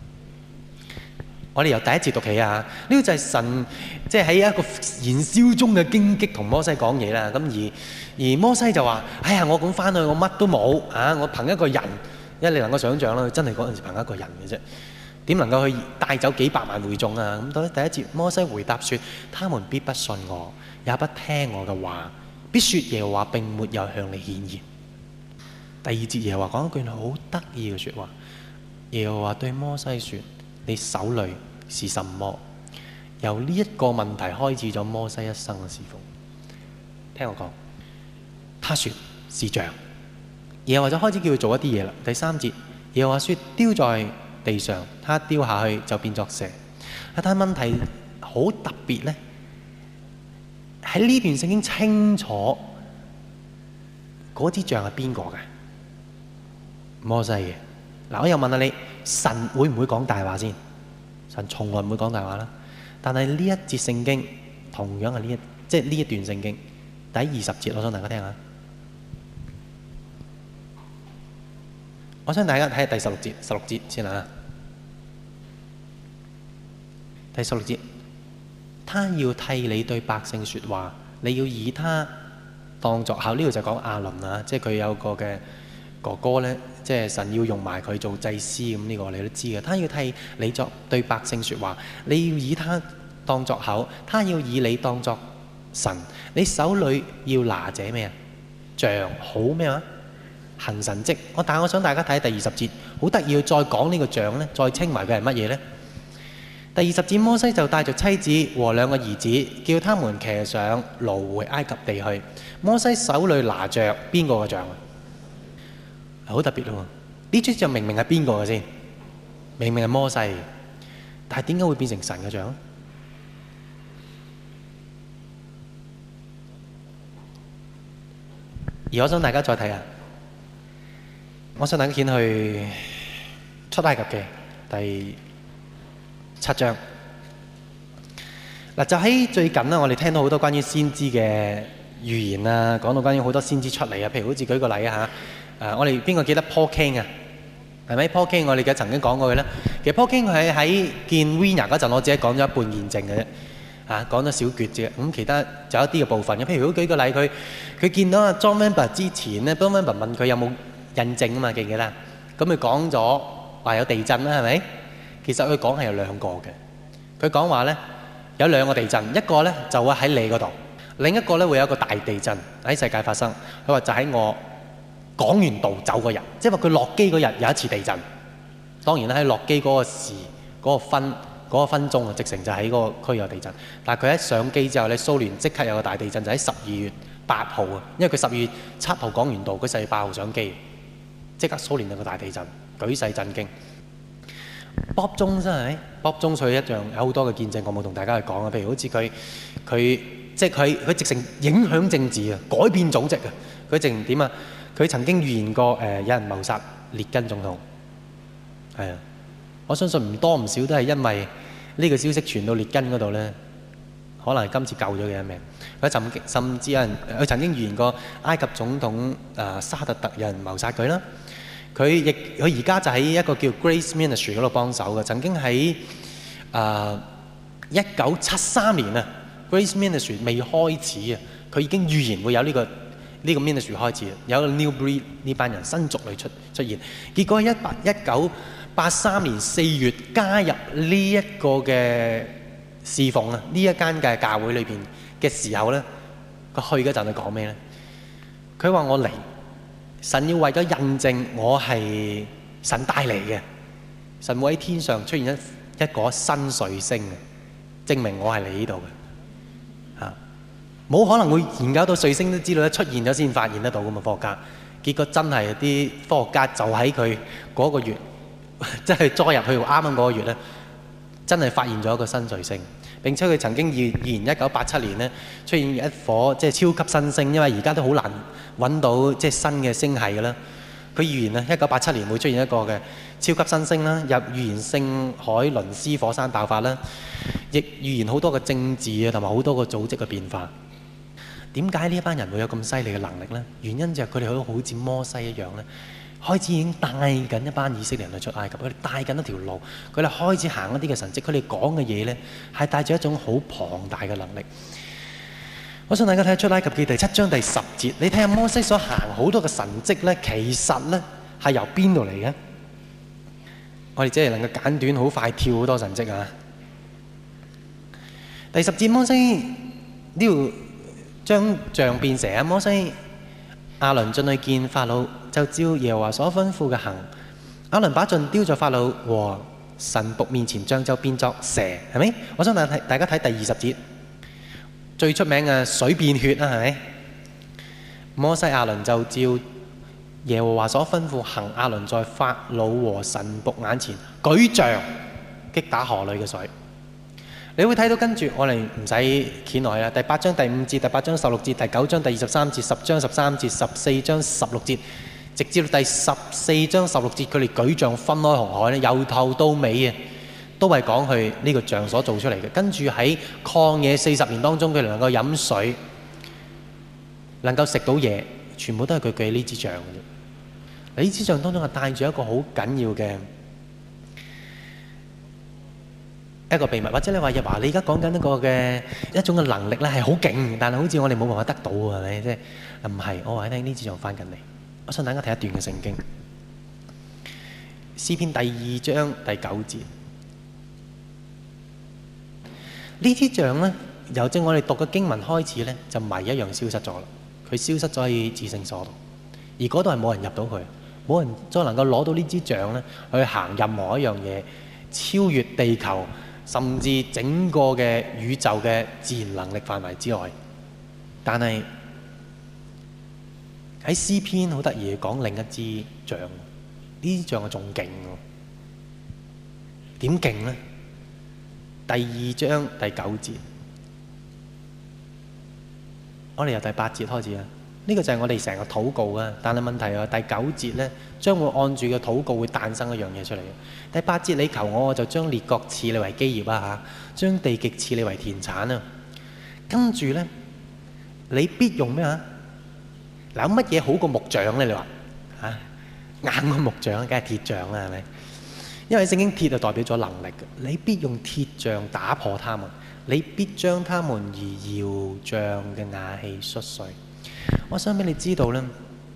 我哋由第一節讀起啊！呢個就係神即係喺一個燃燒中嘅荊棘同摩西講嘢啦。咁而而摩西就話：哎呀，我咁翻去，我乜都冇啊！我憑一個人，因為你能夠想象啦，真係嗰陣時憑一個人嘅啫。點能夠去帶走幾百萬會眾啊？咁到底第一節，摩西回答說：他們必不信我，也不聽我嘅話，必說耶和華並沒有向你顯現。第二節耶和華講一句好得意嘅說話，耶和華對摩西說：你手裏是什麼？由呢一個問題開始咗摩西一生嘅侍奉。聽我講，他說是杖。耶和華就開始叫佢做一啲嘢啦。第三節，耶和華說：丟在地上，他丟下去就變作蛇。但係問題好特別咧，喺呢段聖經清楚嗰支杖係邊個嘅？摩西嘅。嗱，我又問下你，神會唔會講大話先？神從來唔會講大話啦。但係呢一節聖經同樣係呢一即係呢一段聖經第二十節，我想大家聽下。我想大家睇下第十六節，十六節先啊。第十六節， 他要替你對百姓說話，你要以他當作口。呢度就講亞倫啊，即係佢有個嘅哥哥呢，即係神要用埋佢做祭司咁，呢個你都知嘅。他要替你作對百姓說話，你要以他當作口，他要以你當作神。你手裏要拿這咩啊？杖，好咩話？行神蹟。我但係我想大家睇第二十節，好得意，要再講呢個杖呢，再稱為佢係乜嘢呢？第二十節，摩西就帶着妻子和兩個兒子，叫他們騎上驢回埃及地去。摩西手裏拿着邊個嘅杖啊？好特別咯！呢張杖明明係邊個嘅先？明明係摩西，但係點解會變成神嘅杖？而我想大家再睇下，我想大家見去出埃及記第七章。嗱，就喺最近啦，我哋聽到好多關於先知嘅預言啊，講到關於好多先知出嚟啊。譬如好似舉個例啊嚇，誒，我哋邊個記得 Paul King 啊？係咪 Paul King？我哋嘅曾經講過佢咧。其實 Paul King 佢喺見 Wina 嗰陣，我只係講咗一半見證嘅啫。啊，講咗小橛啫，咁其他就有一啲嘅部分嘅。譬如如果舉個例，佢佢見到阿 John Wimber 之前咧 ，John Wimber 問佢有冇印證啊嘛，記唔記得？咁佢講咗話有地震啦，係咪？其實佢講係有兩個嘅。佢講話咧有兩個地震，一個咧就會喺你嗰度，另一個咧會有一個大地震喺世界發生。佢話就喺我講完道走嗰日，即係話佢落機嗰日有一次地震。當然啦，喺落機嗰個時嗰個分。嗰個分鐘啊，直成就喺嗰個區有地震。但係佢一上機之後咧，蘇聯即刻有個大地震，就喺十二月八號啊。因為佢十二月七號講完道，佢十二月八號上機，即刻蘇聯有個大地震，舉世震驚。Bob Jones真係 Bob Jones 佢一樣有好多嘅見證，我冇同大家去講啊。譬如好似佢佢即係佢佢直成影響政治啊，改變組織啊。佢直成點啊？佢曾經預言過誒、呃、有人謀殺列根總統，係啊。我相信唔多唔少都係因為呢個消息傳到列根嗰度呢，可能係今次救咗佢一命。佢甚甚至有人佢曾經預言過埃及總統誒、呃、沙特特有人謀殺佢啦。佢亦佢而家就喺一個叫 Grace Ministry 嗰度幫手嘅。曾經喺誒一九七三年啊 ，Grace Ministry 未開始啊，佢已經預言會有呢、這個呢、這個 Ministry 開始，有一個 New Breed 呢班人新族類出出現。結果喺一八一九八三年四月加入呢一個嘅侍奉啊，呢一間嘅教會裏邊嘅時候咧，佢去嗰陣佢講咩咧？佢話我嚟，神要為咗印證我係神帶嚟嘅，神會喺天上出現一一個新彗星嘅，證明我係嚟呢度嘅嚇。冇可能會研究到彗星都知道咧，出現咗先發現得到㗎嘛，科學家。結果真係啲科學家就喺佢嗰個月。即係栽入去啱啱嗰個月咧，真係發現咗一個新彗星。並且佢曾經預預言一九八七年咧出現一顆即係超級新星，因為而家都好難揾到即係新嘅星系㗎啦。佢預言啊，一九八七年會出現一個嘅超級新星啦，又預言聖海倫斯火山爆發啦，亦預言好多嘅政治啊同埋好多個組織嘅變化。點解呢一班人會有咁犀利嘅能力咧？原因就係佢哋好好似摩西一樣咧。開始已經帶緊一班以色列人去出埃及，佢哋帶緊一條路，佢哋開始行一啲嘅神蹟，佢哋講嘅嘢呢係帶住一種好龐大嘅能力。我想大家睇出埃及記第七章第十節，你睇下摩西所行好多嘅神蹟呢，其實呢係由邊度嚟嘅？我哋只係能夠簡短好快跳好多神蹟啊！第十節，摩西呢度將杖變蛇啊！摩西亞倫進去見法老，就照耶和華所吩咐嘅行。亞倫把杖丟在法老和神僕面前，杖就變作蛇，係咪？我想大家睇大家睇第二十節，最出名嘅水變血啦，係咪？摩西亞倫就照耶和華所吩咐行。亞倫在法老和神僕眼前舉杖擊打河裏嘅水。你會睇到跟住我哋唔使掀耐啦。第八章第五節、第八章十六節、第九章第二十三節、十章十三節、十四章十六節，直至到第十四章十六節，佢哋舉杖分開紅海咧，由頭到尾啊，都係講佢呢個杖所做出嚟嘅。跟住喺曠野四十年當中，佢哋能夠飲水，能夠食到嘢，全部都係佢舉呢支杖嘅啫。呢支杖當中係帶住一個好緊要嘅一個秘密，或者你話日華，你而家講緊一個嘅一種嘅能力咧係好勁，但係好似我哋冇辦法得到喎，係咪？即係唔係？我話你聽，呢支杖翻緊嚟。我想大家睇一段嘅聖經，詩篇第二章第九節。呢支杖咧，由正我哋讀嘅經文開始咧，就謎一樣消失咗啦。佢消失咗喺至聖所度，而嗰度係冇人入到去，冇人再能夠攞到呢支杖咧去行任何一樣嘢，超越地球，甚至整個嘅宇宙嘅自然能力範圍之外。但係喺詩篇好得意講另一支杖，呢支杖係仲勁喎。點勁呢？第二章第九節，我哋由第八節開始啊。呢個就係我哋成個禱告啊。但係問題係第九節呢，將會按住個禱告會誕生一樣嘢出嚟。第八節，你求我，我就將列國賜你為基業啊嚇，將地極賜你為田產啊。跟住呢，你必用咩啊？嗱，有乜嘢好過木杖咧？你話嚇硬過木杖，梗係鐵杖啦，係咪？因為聖經鐵就代表咗能力嘅，你必用鐵杖打破他們，你必將他們如窯匠嘅瓦器摔碎。我想俾你知道咧，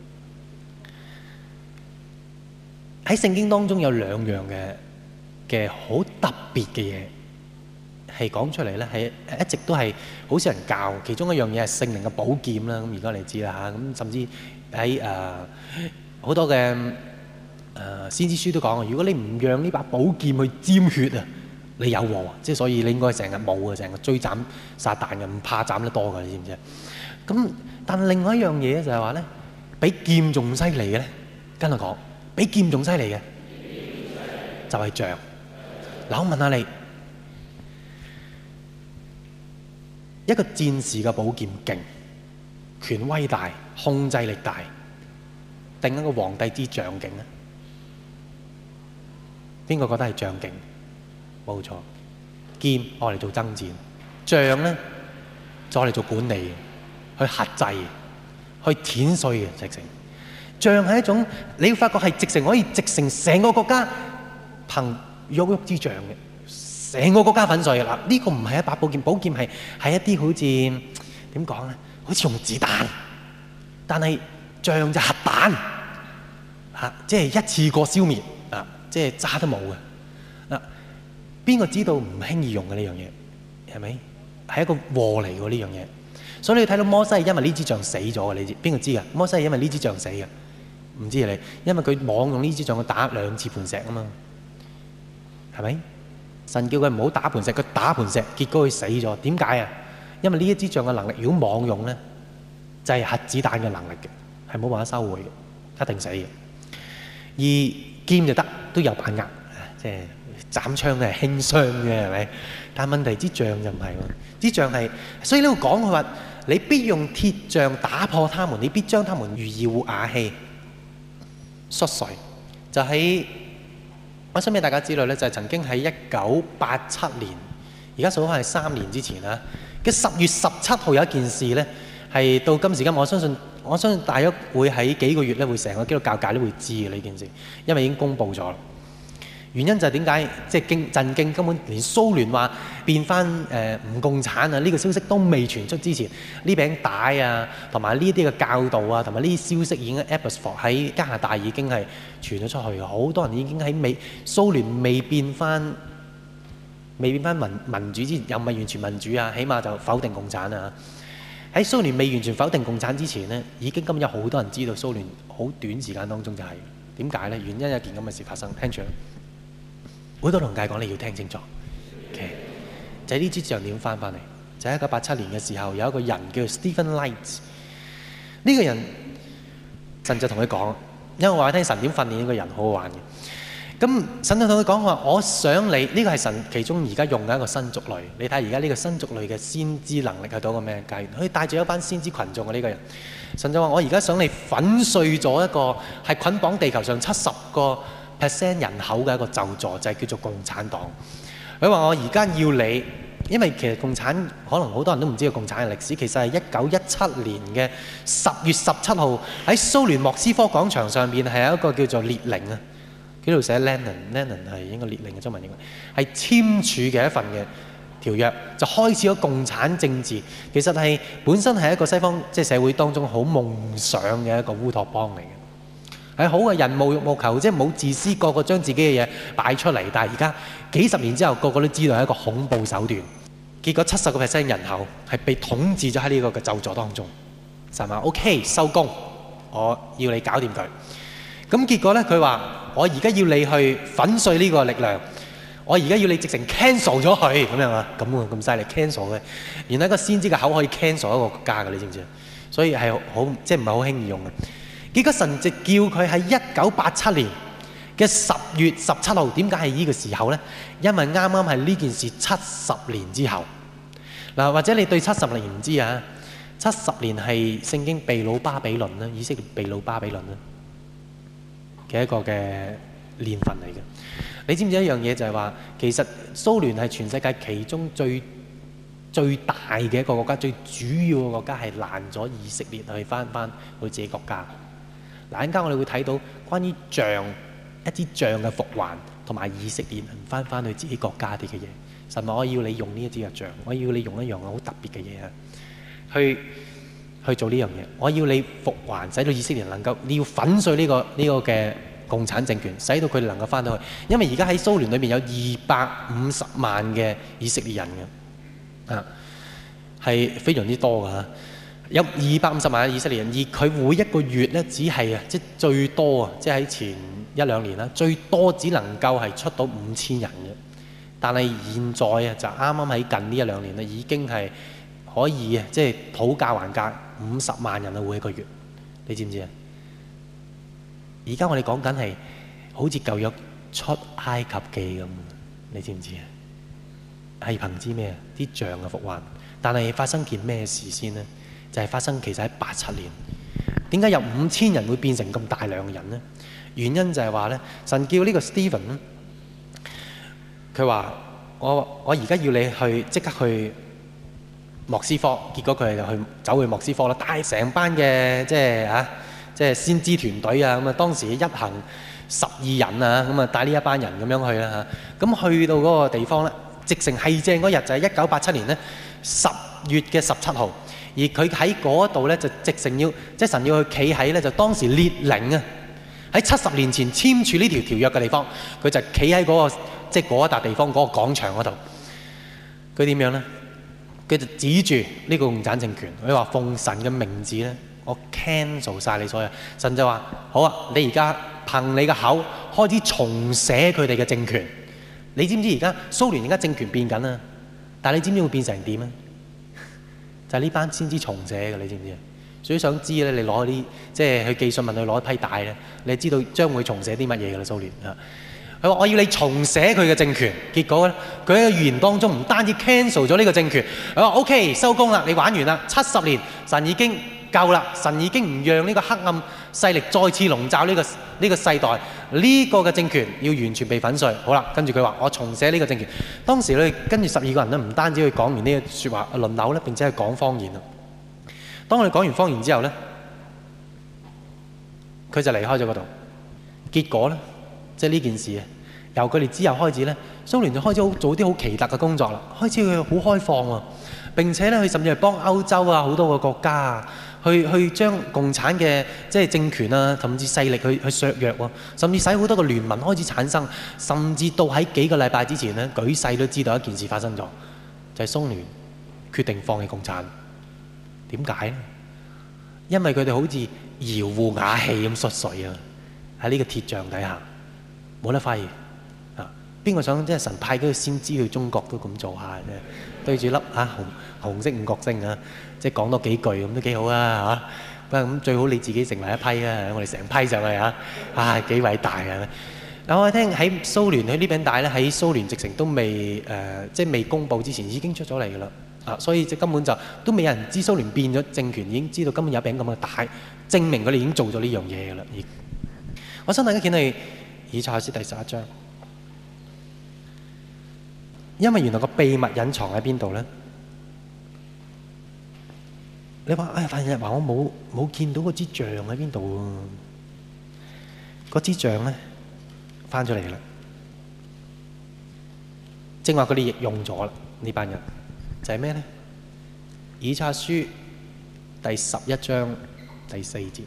喺聖經當中有兩樣嘅嘅好特別嘅嘢係講出嚟咧，係一直都係好少人教。其中一樣嘢係聖靈嘅寶劍啦。咁而家你知啦嚇，咁甚至喺誒好多嘅誒、呃、先知書都講，如果你唔讓呢把寶劍去沾血啊，你有禍。即係所以你應該成日冇啊，成日追斬撒旦嘅，唔怕斬得多㗎，你知唔知啊？咁但另外一樣嘢就係話咧，比劍仲犀利嘅咧，跟我講，比劍仲犀利嘅就係杖。嗱，我問下你，一個戰士嘅寶劍勁、權威大、控制力大，定一個皇帝之杖勁咧？邊個覺得係杖勁？冇錯，劍我嚟做爭戰，杖咧就我嚟做管理，去克制、去碾碎嘅直情。杖係一種你要發覺係直情可以直成成個國家憑郁郁之杖嘅，成個國家粉碎嘅啦。呢、這個唔係一把寶劍，寶劍係係一啲好似點講咧，好似用子彈，但係杖就核彈嚇、啊，即係一次過消滅啊，即係渣都冇嘅。嗱、啊，邊個知道唔輕易用嘅呢樣嘢係咪？係一個禍嚟喎呢樣嘢。所以你睇到摩西係因為呢支杖死咗嘅，你知邊個知㗎？摩西係因為呢支杖死嘅，唔知你，因為佢妄用呢支杖去打兩次磐石啊嘛，係咪？神叫佢唔好打磐石，佢打磐石，結果佢死咗。點解啊？因為呢一支杖嘅能力，如果妄用咧，就係、是、核子彈嘅能力嘅，係冇辦法收回嘅，一定死嘅。而劍就得，都有把握，即係斬槍嘅係輕傷嘅，係咪？但係問題支杖就唔係喎，支杖係，所以呢度講佢話。你必用鐵杖打破他們，你必將他們如窯瓦器摔碎。就喺我想俾大家知道咧，就係、是、曾經喺一九八七年，而家數翻係三年之前啦嘅十月十七號有一件事咧，係到今時今日，我相信我相信大約會喺幾個月咧，會成個基督教界都會知嘅呢件事，因為已經公佈咗。原因就係點解即係驚震驚，根本連蘇聯話變翻誒唔共產啊呢個消息都未傳出之前，呢餅帶啊同埋呢啲嘅教導啊同埋呢啲消息已經喺 Abbotsford 喺加拿大已經係傳咗出去嘅，好多人已經喺美蘇聯未變翻未變翻民民主之前，又唔係完全民主啊，起碼就否定共產啊。喺蘇聯未完全否定共產之前呢，已經今日有好多人知道蘇聯好短時間當中就係點解呢？原因有件咁嘅事發生，聽住。好多同界講你要聽清楚，okay. 就係呢支杖點翻翻嚟？就喺一九八七年嘅時候，有一個人叫 Stephen Light， 呢個人神就同佢講，因為我話聽神點訓練呢個人好好玩嘅。咁神就同佢講話，我想你呢、這個係神其中而家用嘅一個新族類。你睇而家呢個新族類嘅先知能力係到一個咩階段？佢帶住一班先知群眾嘅呢個人，神就話我而家想你粉碎咗一個係捆綁地球上七十個 percent 人口嘅一個咒詛，就係叫做共產黨。佢話我而家要你，因為其實共產可能好多人都唔知道共產嘅歷史，其實係一九一七年嘅十月十七號喺蘇聯莫斯科廣場上邊係有一個叫做列寧啊， 佢度寫 Lenin，Lenin 係應該列寧嘅中文應該係簽署嘅一份嘅條約，就開始咗共產政治。其實係本身係一個西方即係社會當中好夢想嘅一個烏托邦嚟嘅，係好嘅，人無欲無求，即係冇自私，個個將自己嘅嘢擺出嚟。但係而家幾十年之後，個個都知道係一個恐怖手段。結果七十個 percent 人口係被統治咗喺呢個嘅咒詛當中。神話 OK 收工，我要你搞掂佢。咁結果咧，佢話我而家要你去粉碎呢個力量，我而家要你直情 cancel 咗佢咁樣啊，咁啊咁犀利 cancel 嘅。原來一個先知嘅口可以 cancel 一個國家嘅，你知唔知啊？所以係好即係唔係好輕易用嘅。結果神就叫佢喺一九八七年嘅十月十七號，點解係呢個時候咧？因為啱啱係呢件事七十年之後。嗱，或者你對七十年唔知啊？七十年係聖經被擄巴比倫啦，以色列被擄巴比倫啦嘅一個嘅年份嚟嘅。你知唔知一樣嘢就係話，其實蘇聯係全世界其中最最大嘅一個國家，最主要嘅國家係攔咗以色列去翻翻佢自己國家。嗱，陣間我哋會睇到關於杖一支杖嘅復還，同埋以色列人翻翻去自己國家啲嘅嘢。神話我要你用呢一支嘅杖，我要你用一樣好特別嘅嘢啊，去去做呢樣嘢。我要你復還，使到以色列能夠，你要粉碎呢、這個呢、這個嘅共產政權，使到佢哋能夠翻到去。因為而家喺蘇聯裏面有二百五十萬嘅以色列人嘅，啊，係非常之多㗎。有二百五十萬嘅以色列人，而佢每一個月咧，只係啊，即係最多啊，即係喺前一兩年啦，最多只能夠係出到五千人嘅。但係現在啊，就啱啱喺近呢一兩年咧，已經係可以啊，即係討價還價五十萬人啊，每一個月，你知唔知啊？而家我哋講緊係好似舊約出埃及記咁，你知唔知啊？係憑知咩啊？啲杖嘅復還，但係發生件咩事先呢？就係、是、發生其實喺八七年。點解有五千人會變成咁大量嘅人呢？原因就係話咧，神叫呢個 Stephen。佢話：我我而家要你去即刻去莫斯科，結果佢就去走去莫斯科啦，帶成班嘅即係啊，即係先知團隊啊，咁啊當時一行十二人啊，咁啊帶呢一班人咁樣去啦嚇。咁去到嗰個地方咧，直成係正嗰日就係一九八七年咧十月嘅十七號，而佢喺嗰度咧就直成要即係神要去企喺咧就當時列寧啊喺七十年前簽署呢條條約嘅地方，佢就企喺嗰個。即係嗰一笪地方嗰個廣場嗰度，佢點樣咧？佢就指住呢個共產政權，佢話奉神嘅名字咧，我 cancel 晒你所有。神就話：好啊，你而家憑你嘅口開始重寫佢哋嘅政權。你知唔知而家蘇聯而家政權變緊啊？但係你知唔知會變成點啊？就係呢班先知重寫嘅，你知唔知啊？所以想知咧，你攞啲即係去寄信問佢攞一批帶咧，你知道將會重寫啲乜嘢㗎啦？蘇聯啊！佢話：我要你重寫佢嘅政權。結果咧，佢喺個預言當中唔單止 cancel 咗呢個政權，佢話 OK 收工啦，你玩完啦，七十年神已經夠啦，神已經唔讓呢個黑暗勢力再次籠罩呢個呢個世代，呢個嘅政權要完全被粉碎。好啦，跟住佢話：我重寫呢個政權。當時咧，跟住十二個人咧，唔單止去講完呢個説話輪流咧，並且係講方言啦。當我哋講完方言之後咧，佢就離開咗嗰度。結果咧，即係呢件事啊，由佢哋之後開始咧，蘇聯就開始好做啲好奇特嘅工作啦。開始佢好開放喎，並且咧佢甚至係幫歐洲啊好多個國家啊，去去將共產嘅即係政權啊，甚至勢力去去削弱喎，甚至使好多個聯盟開始產生，甚至到喺幾個禮拜之前咧，舉世都知道一件事發生咗，就係蘇聯決定放棄共產。點解咧？因為佢哋好似搖戶瓦器咁縮水啊！喺呢個鐵杖底下冇得揮啊！邊個想即係神派嗰個先知去中國都咁做下啫？對住粒啊紅紅色五角星啊，即係講多幾句咁都幾好啊嚇！不過咁最好你自己成為一批啊！我哋成批上去啊！啊幾偉大啊！嗱我聽喺蘇聯佢呢餅帶咧，喺蘇聯直情都未誒、呃，即係未公佈之前已經出咗嚟㗎啦。啊，所以即根本就都未有人知蘇聯變咗政權，已經知道根本有一餅咁嘅帶，證明佢哋已經做咗呢樣嘢㗎啦。我想大家見到以賽亞書第十一章，因為原來個秘密隱藏喺邊度咧？你話哎，范日華我冇冇見到嗰支杖喺邊度喎？嗰支杖咧， 翻出嚟啦。正話佢哋亦用咗啦，呢班人就係咩呢？以賽亞書第十一章第四節，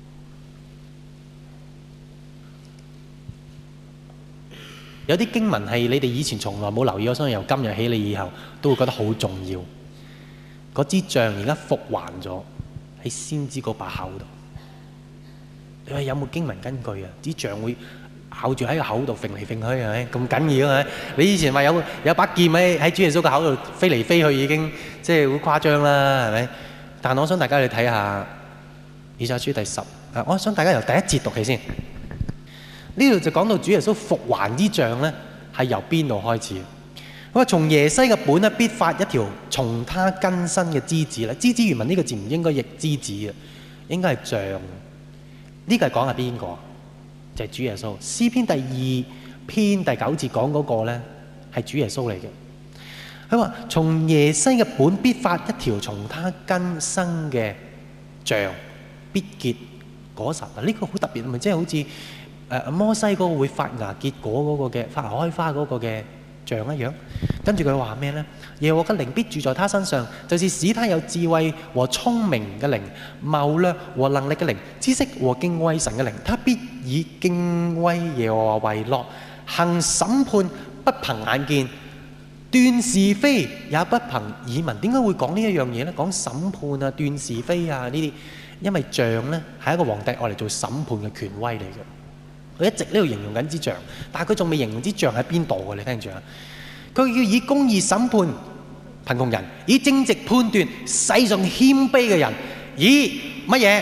有啲經文係你哋以前從來冇留意，我相信由今日起你以後都會覺得好重要。嗰支杖而家復還咗喺先知嗰把口度。你話有冇經文根據啊？支杖會咬住喺個口度揈嚟揈去係咪？咁緊要係咪？你以前話有有把劍喺喺主耶穌個口度飛嚟飛去，已經即係好誇張啦，係咪？但我想大家去睇下以賽亞書第十，啊，我想大家由第一節讀起先。呢度就講到主耶穌復還支杖咧，係由邊度開始？佢話從耶西嘅本咧，必發一條從他根生嘅枝子啦。枝子原文呢個字唔應該譯枝子嘅，應該係杖。呢個係講係邊個？就係主耶穌。詩篇第二篇第九節講嗰個咧係主耶穌嚟嘅。佢話從耶西嘅本必發一條從他根生嘅杖，必結果實。嗱，呢個好特別，咪即係好似誒摩西嗰個會發芽結果嗰個嘅發芽開花嗰個嘅杖一樣。跟住佢話咩呢？耶和華嘅靈必住在他身上，就是使他有智慧和聰明嘅靈、謀略和能力嘅靈、知識和敬畏神嘅靈。他必以敬畏耶和華為樂，行審判不憑眼見，斷是非也不憑耳聞。點解會講呢一樣嘢呢？講審判啊、斷是非啊呢啲，因為杖呢係一個皇帝愛嚟做審判嘅權威嚟嘅。佢一直呢度形容緊支杖，但係佢仲未形容支杖喺邊度嘅。你聽住啊！佢要以公義審判貧窮人，以正直判斷世上謙卑嘅人，以乜嘢？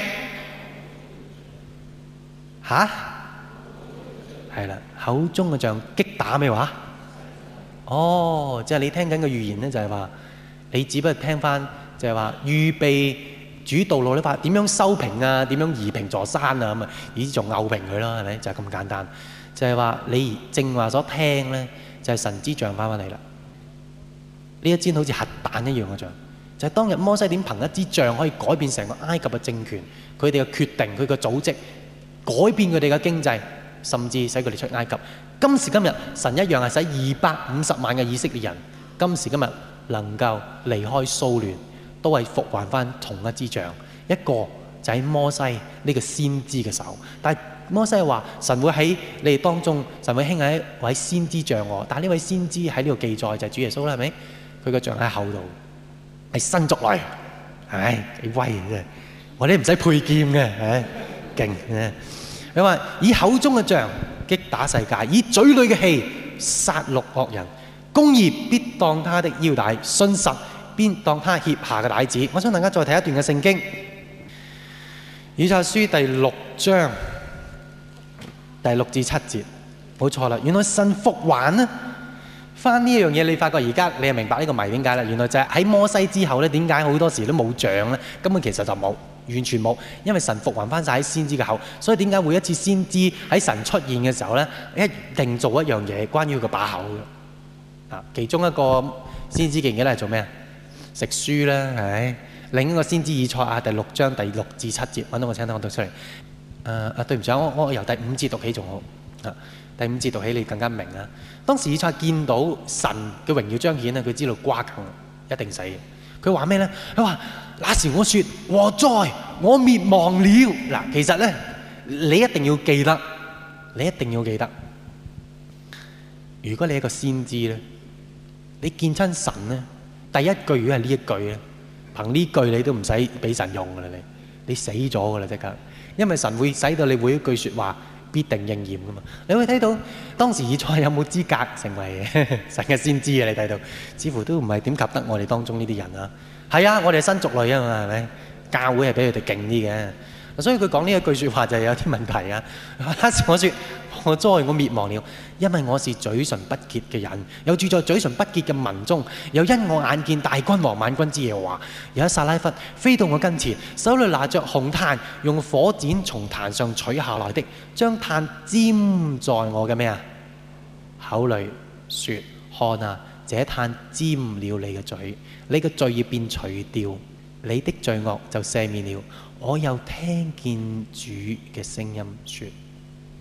吓？係啦，口中嘅杖擊打咩話？哦，即係你聽緊嘅預言咧，就係話你只不過聽翻，就係話預備主道路咧，話點樣修平啊，點樣移平座山啊，咁啊，以仲拗平佢咯，係咪？就係咁簡單。就係話你正話所聽咧，就係神之杖翻返嚟啦。呢一支好似核彈一樣嘅杖，就係當日摩西點憑一支杖可以改變成個埃及嘅政權，佢哋嘅決定，佢嘅組織，改變佢哋嘅經濟，甚至使佢哋出埃及。今時今日，神一樣係使二百五十萬嘅以色列人，今時今日能夠離開騷亂，都係復還翻同一支杖，一個就喺摩西呢個先知嘅手。但係摩西話神會喺你哋當中，神會興起一位先知像我。但係呢位先知喺呢度記載就係主耶穌啦，係咪？佢個杖喺後度，係新族類，係咪？幾威嘅啫！我哋唔使配劍嘅，係勁嘅。佢話以口中嘅杖擊打世界，以嘴裏嘅氣殺戮惡人，公義必當他的腰帶，信實必當他脅下嘅帶子。我想大家再睇一段嘅聖經，以賽亞書第六章第六至七節，冇錯啦。原來神復還呢翻呢一樣嘢，你發覺而家你係明白呢個謎點解啦？原來就係喺摩西之後咧，點解好多時都冇杖咧？根本其實就冇。完全冇，因為神復還翻晒喺先知嘅口，所以點解每一次先知喺神出現嘅時候咧，一定做一樣嘢關於佢個把口嘅。啊，其中一個先知記唔記得係做咩啊？食書啦，係咪？另一個先知以賽亞第六章第六至七節，揾到我請等我讀出嚟。誒、呃、啊，對唔住，我我由第五節讀起仲好。啊，第五節讀起你更加明啊。當時以賽亞見到神嘅榮耀彰顯咧，佢知道瓜梗一定死。佢話咩咧？佢話那時我說禍哉，我滅亡了。嗱，其實咧，你一定要記得，你一定要記得。如果你係一個先知咧，你見親神咧，第一句如果係呢一句咧，憑呢句你都唔使俾神用噶啦，你你死咗噶啦即刻，因為神會使到你每一句説話必定應驗噶嘛。你會睇到當時以賽亞有冇資格成為神嘅先知啊？你睇到似乎都唔係點及得我哋當中呢啲人啊。係啊，我哋係新族類啊嘛，係咪？教會係比佢哋勁啲嘅，所以佢講呢一句説話就係有啲問題啊。當時我説我哉，我滅亡了，因為我是嘴唇不潔嘅人，又住在嘴唇不潔嘅民中，又因我眼見大君王萬軍之耶和華，有一撒拉弗飛到我跟前，手裏拿着紅炭，用火剪從壇上取下來的，將炭沾在我嘅咩啊口裏，説：看啊，這炭沾了你嘅嘴，你嘅罪孽便除掉，你的罪惡就赦免了。我又聽見主嘅聲音説：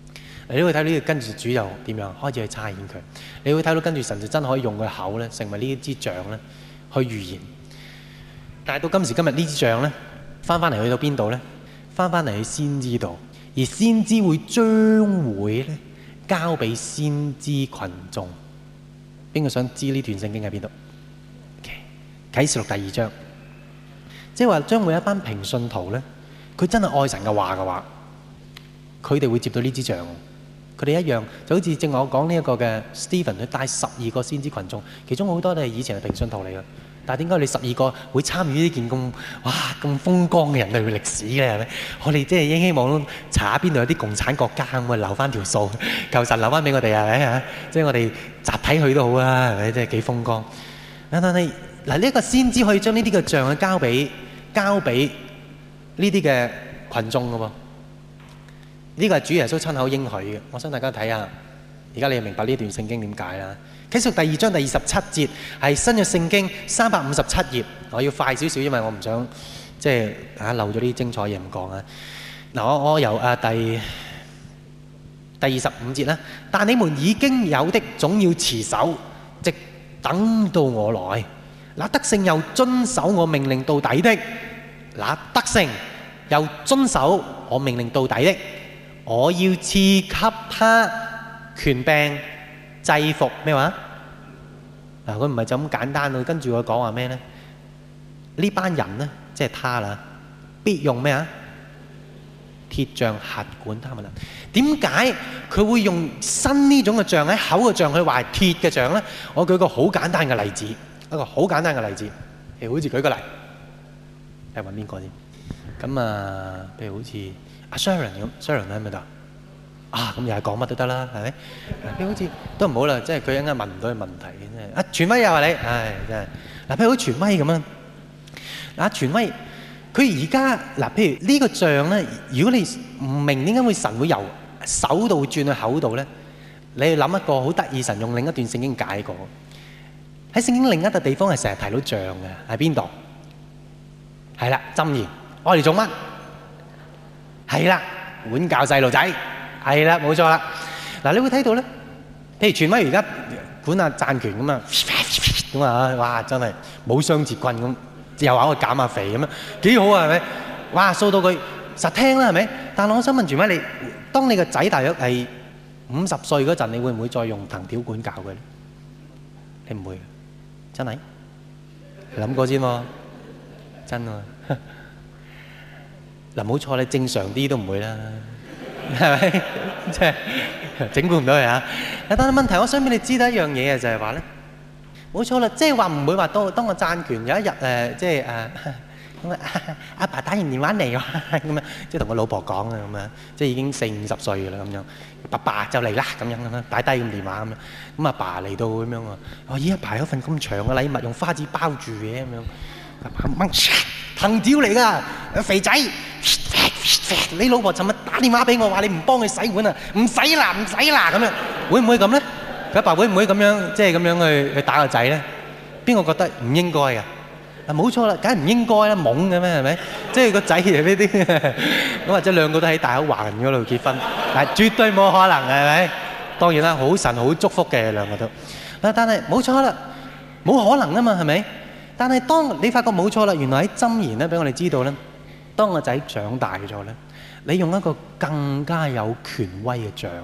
你會睇到呢個跟住主又點樣開始去差遣佢。你會睇到跟住神就真係可以用佢口咧，成為呢一支杖咧去預言。但係到今時今日呢支杖咧，翻翻嚟去到邊度咧？翻翻嚟去先知度，而先知會將會咧交俾先知群眾。邊個想知呢段聖經喺邊度？啟示錄第二章，即係話將會一班平信徒咧，佢真係愛神嘅話嘅話，佢哋會接到呢支杖。佢哋一樣就好似正話我講呢一個嘅 Stephen，佢帶十二個先知群眾，其中好多都係以前係平信徒嚟嘅。但係點解你十二個會參與呢件咁哇咁風光嘅人類嘅歷史咧？係咪？我哋即係希望查下邊度有啲共產國家咁啊，留翻條數，求神留翻俾我哋係咪啊？即係我哋集體去都好啊，係咪？即係幾風光。但係嗱，呢一個先知可以將呢啲嘅杖去交俾交俾呢啲嘅群眾嘅喎。呢個係主耶穌親口應許嘅。我想大家睇下，而家你就明白呢段聖經點解啦？啟示錄第二章第二十七節係新約聖經三百五十七頁。我要快少少，因為我唔想即係啊漏咗啲精彩嘢唔講啊。嗱，我我由啊第第二十五節啦。但你們已經有的總要持守，直等到我來。那得勝又遵守我命令到底的，那得勝又遵守我命令到底的，我要賜給他權柄制服咩話？嗱，佢唔係就咁簡單咯，跟住佢講話咩呢？呢班人呢，即係他啦，必用咩啊？鐵杖轄管他們啦。點解佢會用新呢種嘅杖喺口嘅杖去話係鐵嘅杖呢？我舉個好簡單嘅例子，一個好簡單嘅例子，譬如好似舉個例，係揾邊個先？咁啊，譬如好似阿 Sharon 咁 ，Sharon 喺咪度？啊，咁又係講乜都得啦，係咪？譬如好似都唔好啦，即係佢一陣間問唔到佢問題嘅真係。啊，傳威又話你，唉，真係嗱，譬如好似傳威咁啊，嗱，傳威佢而家嗱，譬如呢個杖咧，如果你唔明點解會神會由手度轉去口度咧，你要諗一個好得意，神用另一段聖經解過。喺聖經另一個地方係成日提到杖嘅，喺邊度？係啦，箴言，我嚟做乜？係啦，管教細路仔。係啦，冇錯啦。嗱，你會睇到咧，譬如傳威而家管下贊權咁啊，咁啊，哇，真係冇雙節棍咁，又話我減下肥咁樣，幾好啊，係咪？哇，掃到佢實聽啦，係咪？但係我想問傳威，你當你個仔大約係五十歲嗰陣，你會唔會再用藤條管教佢咧？你唔會，真係諗過先喎，真喎。嗱，冇錯，你正常啲都唔會啦。係咪？即係整蠱唔到佢啊！但係問題，我想俾你知道一樣嘢啊，就係話咧，冇錯啦，即係話唔會話當當我贊權有一日誒，即係誒咁啊，阿爸打完電話嚟喎，咁啊，即係同我老婆講啊，咁啊，即係已經四五十歲啦，咁樣，爸爸就嚟啦，咁樣咁樣，擺低咁電話咁樣，咁阿爸嚟到咁樣啊，我咦阿爸有份咁長嘅禮物，用花紙包住嘅咁樣，阿爸掹藤條嚟㗎，肥仔。你老婆尋日打電話俾我話你唔幫佢洗碗啊，唔使啦唔使啦咁樣，會唔會咁咧？佢阿爸會唔會咁樣即係咁樣去去打個仔咧？邊個覺得唔應該㗎？啊冇錯啦，梗係唔應該啦，懵嘅咩係咪？即係個仔係呢啲咁，或者兩個都喺大口環嗰度結婚，但係絕對冇可能係咪？當然啦，好神好祝福嘅兩個都，但係冇錯啦，冇可能啊嘛係咪？但係當你發覺冇錯啦，原來喺箴言咧俾我哋知道咧。當個仔長大咗咧，你用一個更加有權威嘅杖，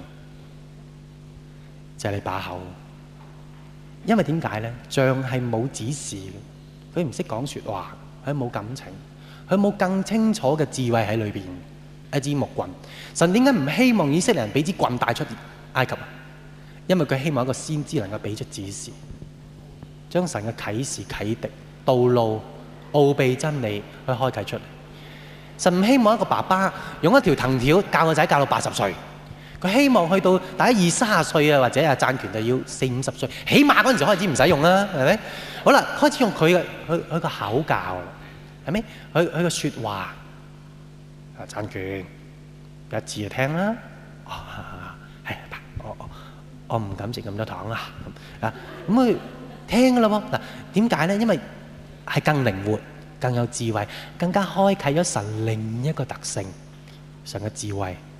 就係你把口。因為點解咧？杖係冇指示嘅，佢唔識講説話，佢冇感情，佢冇更清楚嘅智慧喺裏邊。一支木棍，神點解唔希望以色列人俾支棍帶出埃及啊？因為佢希望一個先知能夠俾出指示，將神嘅啟示啟迪道路、奧秘真理去開啟出嚟。神唔希望一個爸爸用一條藤條教個仔教到八十歲，佢希望去到大概二三十歲啊，或者啊贊權就要四五十歲，起碼嗰陣時開始唔使用啦，係咪？好啦，開始用佢嘅佢佢個口教啦，係咪？佢佢個説話啊贊權一字就聽啦，啊係我我我唔敢食咁多糖啦，啊咁佢聽㗎啦喎。嗱點解咧？因為係更靈活。更有智慧，更加開啟咗神另一個特性，神嘅智慧，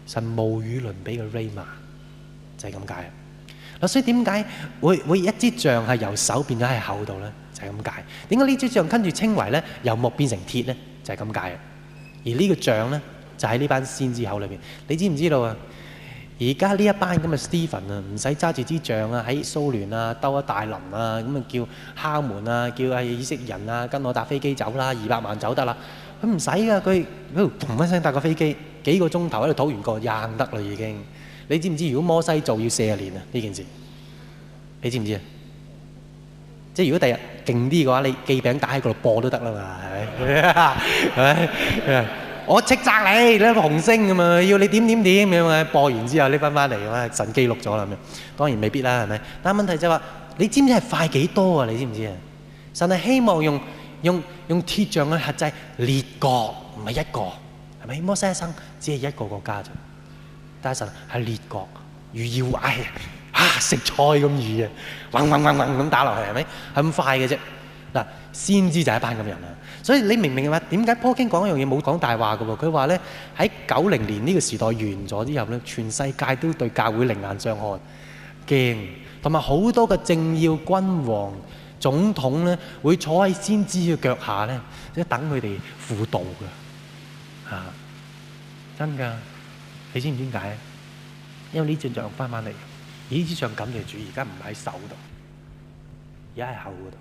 神無與倫比嘅 Rhema 就係咁解。嗱，所以點解會會一支杖係由手變咗喺口度咧？就係咁解。點解呢支杖跟住稱為咧由木變成鐵咧？就係咁解。而呢個杖咧就喺呢班先知口裏邊。你知唔知道啊？而家呢一班咁嘅 Stephen 啊，唔使揸住支杖啊，喺蘇聯啊兜一大輪啊，咁啊叫敲門啊，叫啊以色列人啊跟我搭飛機走啦，二百萬走得啦。佢唔使噶，佢喺度嘭一聲搭個飛機，幾個鐘頭喺度討完個硬得啦已經。你知唔知如果摩西做要四十年啊呢件事？你知唔知啊？即係如果第日勁啲嘅話，你記餅打喺嗰度播都得啦嘛，係咪？係咪？我斥責你，你一個紅星咁嘛，要你點點點咁啊！播完之後拎翻翻嚟咁啊，神記錄咗啦咁樣。當然未必啦，係咪？但係問題就係話，你知唔知係快幾多啊？你知唔知啊？神係希望用用用鐵杖去轄制列國，唔係一個，係咪？摩西一生只係一個國家啫，但係神係列國，如要唉啊食菜咁易啊，嗡嗡嗡嗡咁打落去，係咪？係咁快嘅啫。嗱，先知就係一班咁人啊。所以你明唔明嘅話？點解 Paul King 講一樣嘢冇講大話嘅喎？佢話咧喺九零年呢個時代完咗之後咧，全世界都對教會另眼相看，驚，同埋好多嘅政要、君王、總統咧會坐喺先知嘅腳下咧，即係等佢哋輔導嘅嚇，真㗎！你知唔知點解？因為呢支杖翻返嚟，而呢支杖感謝主，而家唔喺手度，而家喺口嗰度。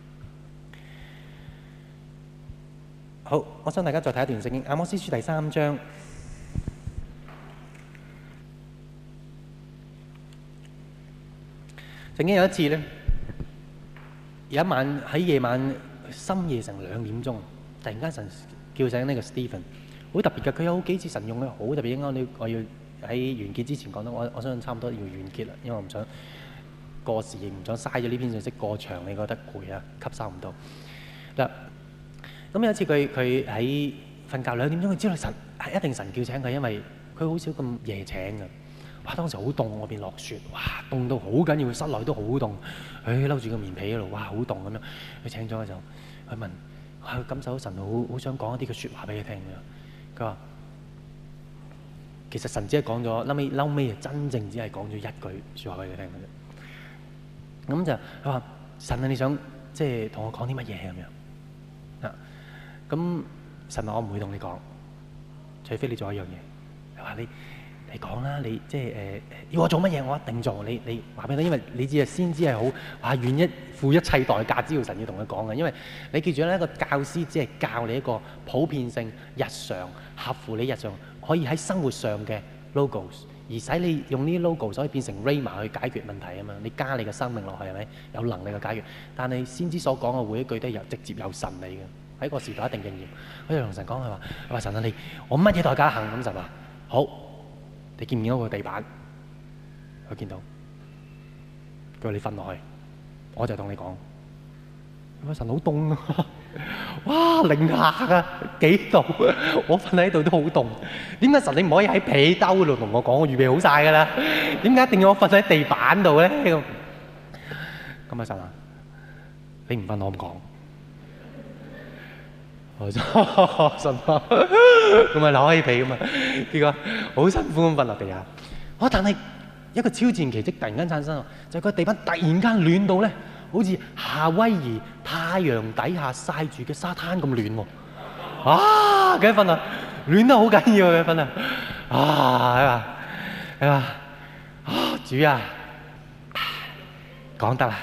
好，我想大家再睇一段聖經，《阿摩司書》第三章。曾經有一次咧，有一晚喺夜晚深夜成兩點鐘，突然間神叫醒呢個 Stephen，好特別嘅。佢有好幾次神用嘅好特別。應該你我要喺完結之前講到，我我相信差唔多要完結啦，因為我唔想過時，亦唔想嘥咗呢篇信息過長，你覺得攰啊，吸收唔到嗱。咁有一次佢佢喺瞓覺兩點鐘，佢知道神係一定神叫醒佢，因為佢好少咁夜醒嘅。哇！當時好凍，外邊落雪，哇！凍到好緊要，室內都好凍。佢摟住個棉被喺度，哇！好凍咁樣。佢醒咗嘅時候，佢問：佢感受到神好好想講一啲嘅説話俾佢聽嘅。佢話：其實神只係講咗，後尾後尾真正只係講咗一句説話俾佢聽嘅啫。咁就佢話：神啊，你想即係同我講啲乜嘢咁樣？咁神話我唔會同你講，除非你做一樣嘢。佢話你你講啦，你即係誒、呃、要我做乜嘢，我一定做。你你話俾佢聽，因為你知啊，先知係好話願意付一切代價，只要神要同佢講嘅。因為你記住咧，一個教師只係教你一個普遍性、日常合乎你日常可以喺生活上嘅 logos， 而使你用呢啲 logos 可以變成 Rhema 去解決問題啊嘛。你加你嘅生命落去係咪有能力去解決？但係先知所講嘅每一句都係由直接由神嚟嘅。喺個時代一定應驗。佢就同神講：佢話，佢話神啊，你我乜嘢代價行？咁神話好，你見唔見到個地板？佢見到。佢話你瞓落去，我就同你講。佢話神好凍啊！哇，零下啊，幾度？我瞓喺度都好凍。點解神你唔可以喺被兜度同我講？我預備好晒㗎啦。點解一定要我瞓喺地板度咧？咁咁啊神啊，你唔瞓我唔講。神啊，咁咪攞起被咁啊，結果好辛苦咁瞓落地下。哇！但係一個超自然奇蹟突然間產生，就係個地板突然間暖到咧，好似夏威夷太陽底下曬住嘅沙灘咁暖喎。啊！幾瞓啊，暖得好緊要嘅瞓啊！啊！係嘛？係嘛？啊！主啊，講得啦。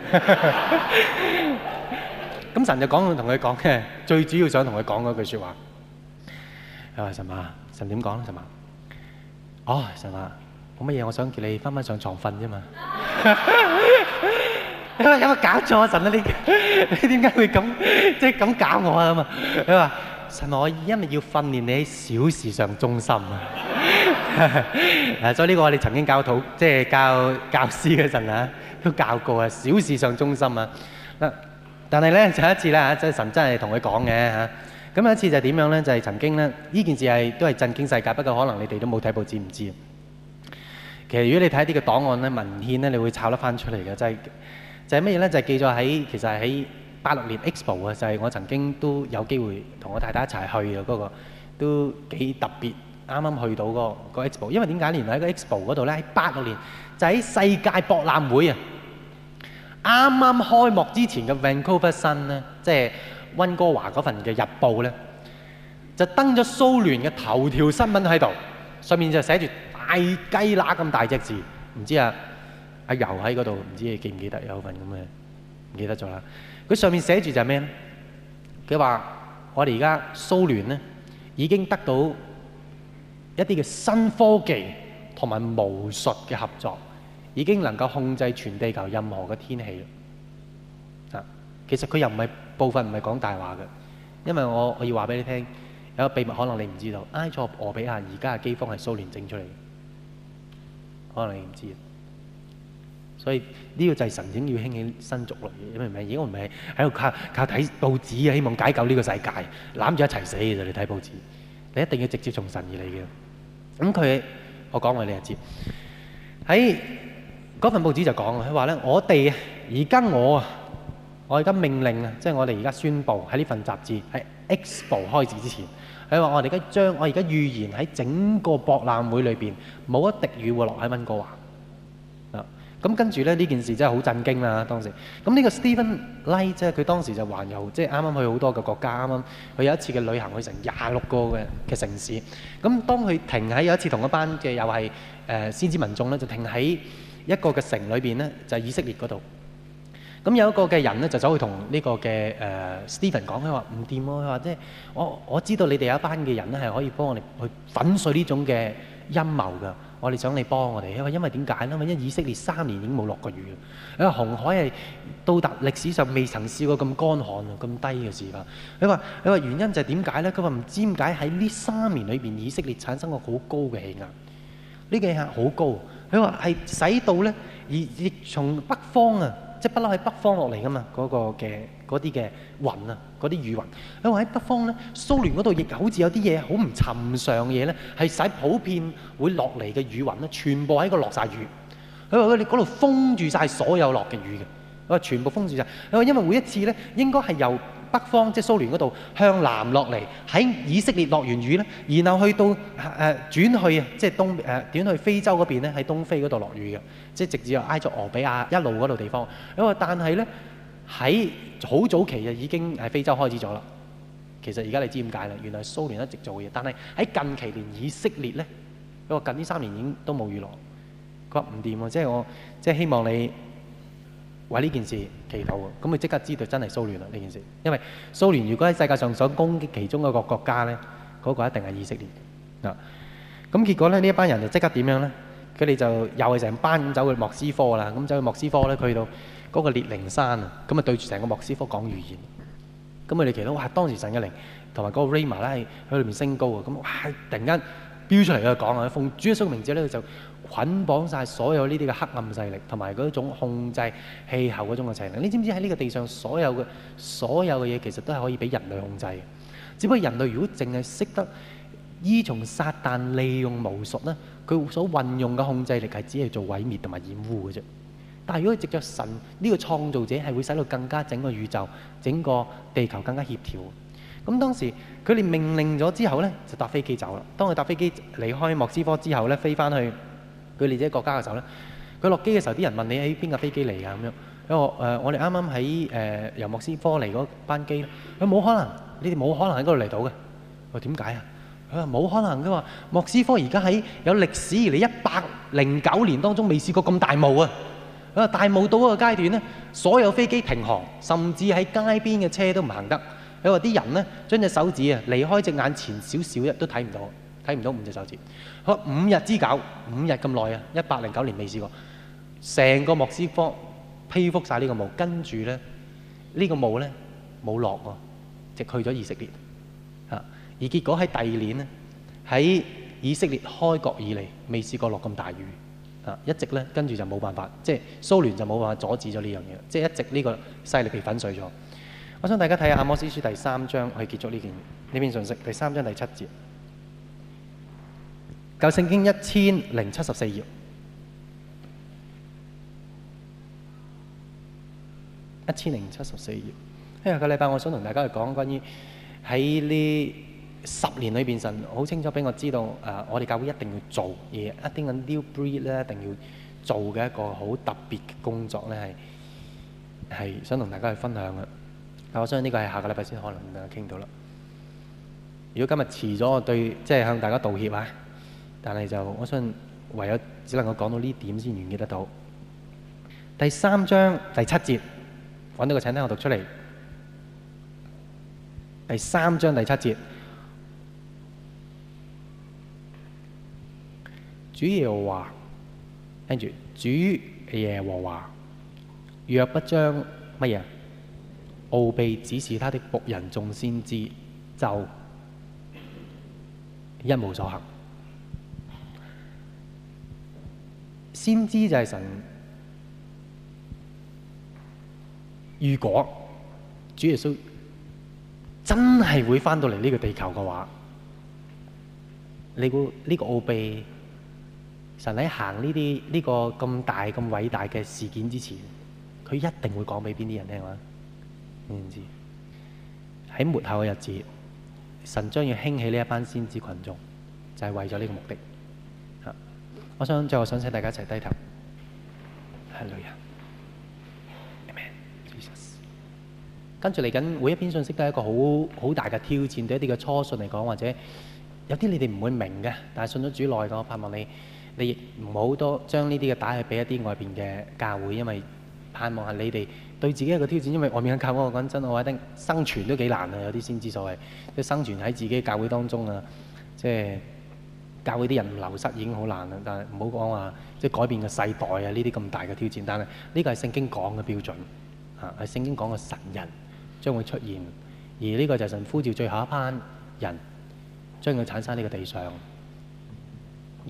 咁神就講同佢講嘅，最主要想同佢講嗰句説話。佢話神啊，神點講咧？神啊，哦，神啊，冇乜嘢，我想叫你翻返上床瞓啫嘛。你話有冇搞錯啊？神啊，你你點解會咁即係咁搞我啊？咁啊，佢話神啊，我因為要訓練你喺小事上忠心啊。誒，所以呢個我哋曾經教徒即係教教師嘅陣啊，都教過啊，小事上忠心啊。嗱。但係咧，就一次咧嚇，即係神真係同佢講嘅嚇。咁有一次就係點樣咧？就係、是、曾經咧，呢件事係都係震驚世界。不過可能你哋都冇睇報紙，唔知。其實如果你睇一啲嘅檔案咧、文獻咧，你會抄得翻出嚟嘅。就係就係乜嘢咧？就係、是、記咗喺其實係喺八六年 Expo 啊，就係我曾經都有機會同我太太一齊去嘅嗰、那個，都幾特別啱啱去到個個 Expo，因為點解原來喺個 Expo 嗰度咧，喺八六年就喺世界博覽會啊，啱啱開幕之前嘅 Vancouver Sun 咧，即係溫哥華嗰份嘅日報咧，就登咗蘇聯嘅頭條新聞喺度，上面就寫住大雞乸咁大隻字，唔知啊阿游喺嗰度，唔知你記唔記得有份咁嘅，唔記得咗啦。佢上面寫住就係咩咧？佢話我哋而家蘇聯咧已經得到一啲嘅新科技同埋巫術嘅合作，已經能夠控制全地球任何嘅天氣啦。啊，其實佢又唔係部分唔係講大話嘅，因為我我要話俾你聽。有個秘密可能你唔知道，埃塞俄比亞而家嘅饑荒係蘇聯整出嚟嘅，可能你唔知。所以呢個就係神整要興起新族類嘅，明唔明？而家我唔係喺度靠靠睇報紙啊，希望解救呢個世界，攬住一齊死嘅啫。你睇報紙，你一定要直接從神而嚟嘅。咁佢我講話你就知，喺嗰份報紙就講佢話咧，我哋而家我啊，我而家命令啊，即係我哋而家宣佈喺呢份雜誌喺 Expo 開始之前。佢話：我哋而家將我而家預言喺整個博覽會裏邊冇一滴雨會落喺溫哥華啊！咁跟住咧呢件事真係好震驚啦！當時咁呢個 Stephen Light 即係佢當時就環遊，即係啱啱去好多嘅國家，啱啱佢有一次嘅旅行去成廿六個嘅嘅城市。咁當佢停喺有一次同一班嘅又係誒先知民眾咧，就停喺一個嘅城裏邊咧，就係以色列嗰度。咁有一個嘅人咧，就走去同呢個嘅誒 Stephen 講，佢話唔掂喎，佢話即係我我知道你哋有一班嘅人咧係可以幫我哋去粉碎呢種嘅陰謀㗎，我哋想你幫我哋。因為因為點解咧？因為以色列三年已經冇落過雨嘅，因為紅海係到達歷史上未曾試過咁乾旱啊、咁低嘅時間。佢話佢話原因就係點解咧？佢話唔知點解喺呢三年裏邊以色列產生過好高嘅氣壓，呢個氣壓好高。佢話係使到咧而亦從北方啊。即係不嬲喺北方落嚟噶嘛，嗰個嘅嗰啲嘅雲啊，嗰啲雨雲。佢話喺北方咧，蘇聯嗰度亦好似有啲嘢好唔尋常嘅嘢咧，係使普遍會落嚟嘅雨雲咧，全部喺嗰度落晒雨。佢話佢哋嗰度封住晒所有落嘅雨嘅，佢話全部封住晒。佢話因為每一次咧，應該係由北方即係蘇聯嗰度向南落嚟，喺以色列落完雨咧，然後去到誒、呃、轉去啊，即係東誒、呃、轉去非洲嗰邊咧，喺東非嗰度落雨嘅，即係直至有埃塞俄比亞一路嗰度地方。因為但係咧喺好早期就已經喺非洲開始咗啦。其實而家你知點解啦？原來蘇聯一直做嘅嘢，但係喺近期連以色列咧，佢話近呢三年已經都冇雨落。佢話唔掂喎，即係我即係希望你為呢件事祈禱啊！咁佢即刻知道真係蘇聯啦呢件事，因為蘇聯如果喺世界上想攻擊其中一個國家咧，嗰、那個一定係以色列啊！咁結果咧呢一班人就即刻點樣咧？佢哋就又係成班咁走去莫斯科啦，咁走去莫斯科咧，去到嗰個列寧山啊，咁啊對住成個莫斯科講預言。咁佢哋祈禱哇，當時神嘅靈同埋嗰個 Rama 咧喺裏面升高啊！咁哇突然間飆出嚟嘅講啊，奉主耶穌嘅名字咧就捆綁晒所有呢啲嘅黑暗勢力，同埋嗰種控制氣候嗰種嘅勢力。你知唔知喺呢個地上所有嘅所有嘅嘢，其實都係可以俾人類控制嘅。只不過人類如果淨係識得依從撒旦利用巫術咧，佢所運用嘅控制力係只係做毀滅同埋掩護嘅啫。但係如果藉著神呢個創造者，係會使到更加整個宇宙、整個地球更加協調。咁當時佢哋命令咗之後咧，就搭飛機走啦。當佢搭飛機離開莫斯科之後咧，飛翻去佢哋自己國家嘅時候咧，佢落機嘅時候，啲人問你喺邊架飛機嚟㗎咁樣。因為誒、呃，我哋啱啱喺誒由莫斯科嚟嗰班機，佢冇可能，你哋冇可能喺嗰度嚟到嘅。我點解啊？佢話冇可能，佢話莫斯科而家喺有歷史以嚟一百零九年當中未試過咁大霧啊！佢話大霧到嗰個階段咧，所有飛機停航，甚至喺街邊嘅車都唔行得。佢話啲人咧將隻手指啊離開隻眼前少少一都睇唔到，睇唔到五隻手指。佢話五日之久，五日咁耐啊，一百零九年未試過。成個莫斯科披覆晒呢個霧，跟住咧呢個霧咧冇落喎，直去咗以色列啊。而結果喺第二年咧，喺以色列開國以嚟未試過落咁大雨啊，一直咧跟住就冇辦法，即係蘇聯就冇辦法阻止咗呢樣嘢，即係一直呢個勢力被粉碎咗。我想大家睇下《阿摩司書》第三章去結束呢件呢篇信息，第三章第七節，舊聖經一千零七十四頁，一千零七十四頁。下個禮拜我想同大家去講關於喺呢十年裏邊，神好清楚俾我知道，誒、呃，我哋教會一定要做，而一啲嘅 new breed 咧，一定要做嘅一個好特別嘅工作咧，係係想同大家去分享嘅。但我相信呢個係下個禮拜先可能同大家傾到啦。如果今日遲咗，我對即係向大家道歉啊！但係就我相信唯有只能夠講到呢點先完結得到。第三章第七節，揾到個請聽我讀出嚟。第三章第七節，主耶和華，跟住主耶和華，若不將乜嘢奧秘指示他的僕人眾先知，就一無所行。先知就係神，如果主耶穌真係會返到嚟呢個地球嘅話，你估呢個奧秘，神喺行呢啲呢個咁大咁偉大嘅事件之前，佢一定會講俾邊啲人聽啊？你唔知喺末後嘅日子，神將要興起呢一班先知群眾，就係為咗呢個目的。嚇！我想最後想請大家一齊低頭。哈利路亞。跟住嚟緊每一篇信息都係一個好好大嘅挑戰，對一啲嘅初信嚟講，或者有啲你哋唔會明嘅，但係信咗主耐嘅，我盼望你你亦唔好多將呢啲嘅帶去俾一啲外邊嘅教會，因為盼望係你哋對自己一個挑戰，因為外面嘅教會我講真，我覺得生存都幾難啊！有啲先知所謂，即係生存喺自己嘅教會當中啊，即係教會啲人流失已經好難啦，但係唔好講話即係改變個世代啊呢啲咁大嘅挑戰，但係呢個係聖經講嘅標準嚇，係聖經講嘅神人將會出現，而呢個就係神呼召最後一班人將佢產生喺呢個地上。而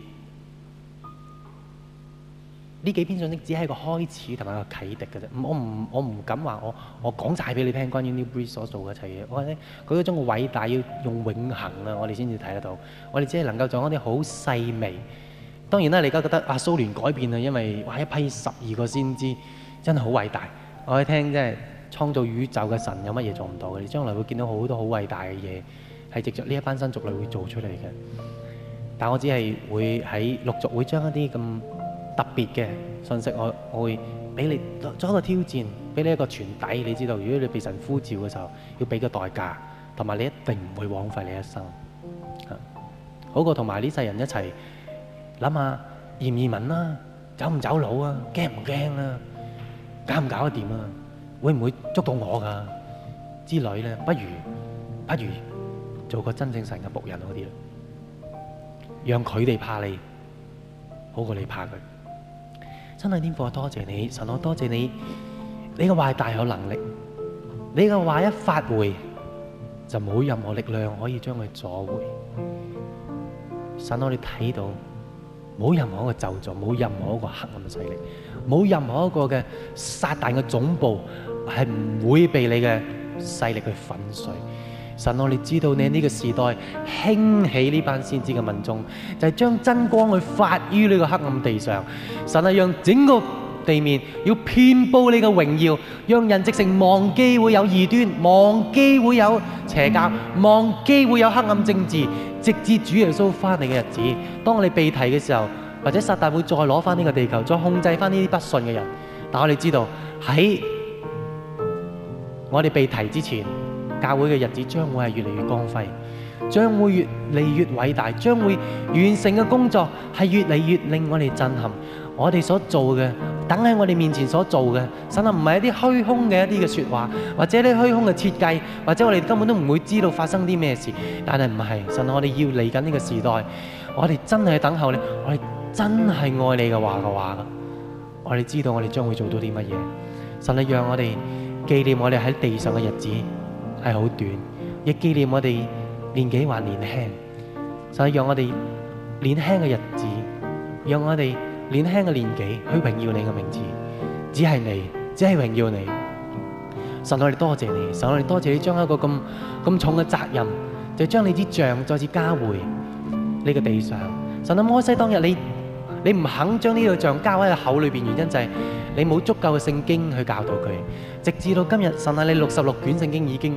呢幾篇信息只係一個開始同埋一個啟迪嘅啫。我唔我唔敢話我我講晒俾你聽關於 New Breed 所做嘅一切嘢。我覺得佢嗰種嘅偉大要用永恆啊，我哋先至睇得到。我哋只係能夠做一啲好細微。當然啦，你而家覺得啊蘇聯改變啦，因為哇一批十二個先知真係好偉大。我哋聽即係。創造宇宙嘅神有乜嘢做唔到嘅？你將來會見到好多好偉大嘅嘢，係藉着呢一班新族類會做出嚟嘅。但我只係會喺陸續會將一啲咁特別嘅信息，我我會俾你做一個挑戰，俾你一個傳底。你知道，如果你被神呼召嘅時候，要俾個代價，同埋你一定唔會枉費你一生。好過同埋呢世人一齊諗下移唔移民啦，走唔走佬啊，驚唔驚啊，搞唔搞得掂啊？會唔會捉到我㗎之類咧？不如不如做個真正神嘅僕人好啲啦，讓佢哋怕你，好過你怕佢。真係天父，我多謝你，神我多謝你，你嘅話係大有能力，你嘅話一發回就冇任何力量可以將佢阻回。神我哋睇到冇任何一個咒詛，冇任何一個黑暗嘅勢力，冇任何一個嘅撒旦嘅總部係唔會被你嘅勢力去粉碎。神，我哋知道你喺呢個時代興起呢班先知嘅民眾，就係將真光去發於呢個黑暗地上。神係讓整個地面要遍佈你嘅榮耀，讓人直情忘記會有異端，忘記會有邪教，忘記會有黑暗政治，直至主耶穌翻嚟嘅日子。當我哋被提嘅時候，或者撒旦會再攞翻呢個地球，再控制翻呢啲不信嘅人。但我哋知道喺我哋被提之前，教會嘅日子將會係越嚟越光輝，將會越嚟越偉大，將會完成嘅工作係越嚟越令我哋震撼。我哋所做嘅，等喺我哋面前所做嘅，神啊，唔係一啲虛空嘅一啲嘅説話，或者啲虛空嘅設計，或者我哋根本都唔會知道發生啲咩事。但係唔係，神啊，我哋要嚟緊呢個時代，我哋真係等候你，我哋真係愛你嘅話嘅話，我哋知道我哋將會做到啲乜嘢。神啊，讓我哋紀念我哋喺地上嘅日子係好短，亦紀念我哋年紀還年輕。神啊，讓我哋年輕嘅日子，讓我哋年輕嘅年紀去榮耀你嘅名字，只係你，只係榮耀你。神，我哋多謝你，神，我哋多謝你將一個咁咁重嘅責任，就將你支杖再次交回呢個地上。神啊，摩西當日你你唔肯將呢個杖交喺佢口裏邊，原因就係你冇足夠嘅聖經去教導佢。直至到今日，神啊，你六十六卷聖經已經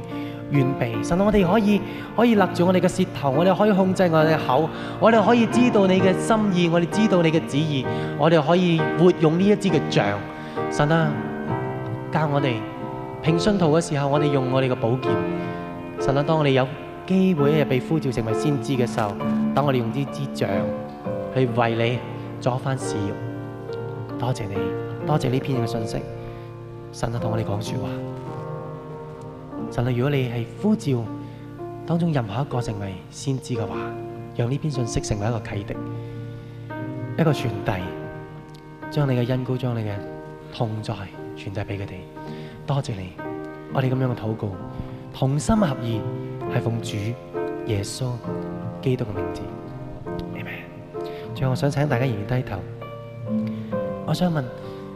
完備。神啊，我哋可以可以勒住我哋嘅舌頭，我哋可以控制我哋嘅口，我哋可以知道你嘅心意，我哋知道你嘅旨意，我哋可以活用呢一支嘅杖。神啊，教我哋平信徒嘅時候，我哋用我哋嘅寶劍。神啊，當我哋有機會一日被呼召成為先知嘅時候，等我哋用呢支杖去為你作翻事業。多謝你，多謝呢篇嘅信息。神啊，同我哋講說話。神啊，如果你係呼召當中任何一個成為先知嘅話，讓呢篇信息成為一個啟迪，一個傳遞，將你嘅恩膏，將你嘅同在傳遞俾佢哋。多謝你，我哋咁樣嘅禱告，同心合意，係奉主耶穌基督嘅名字。阿們。最後我想請大家仍然低頭，我想問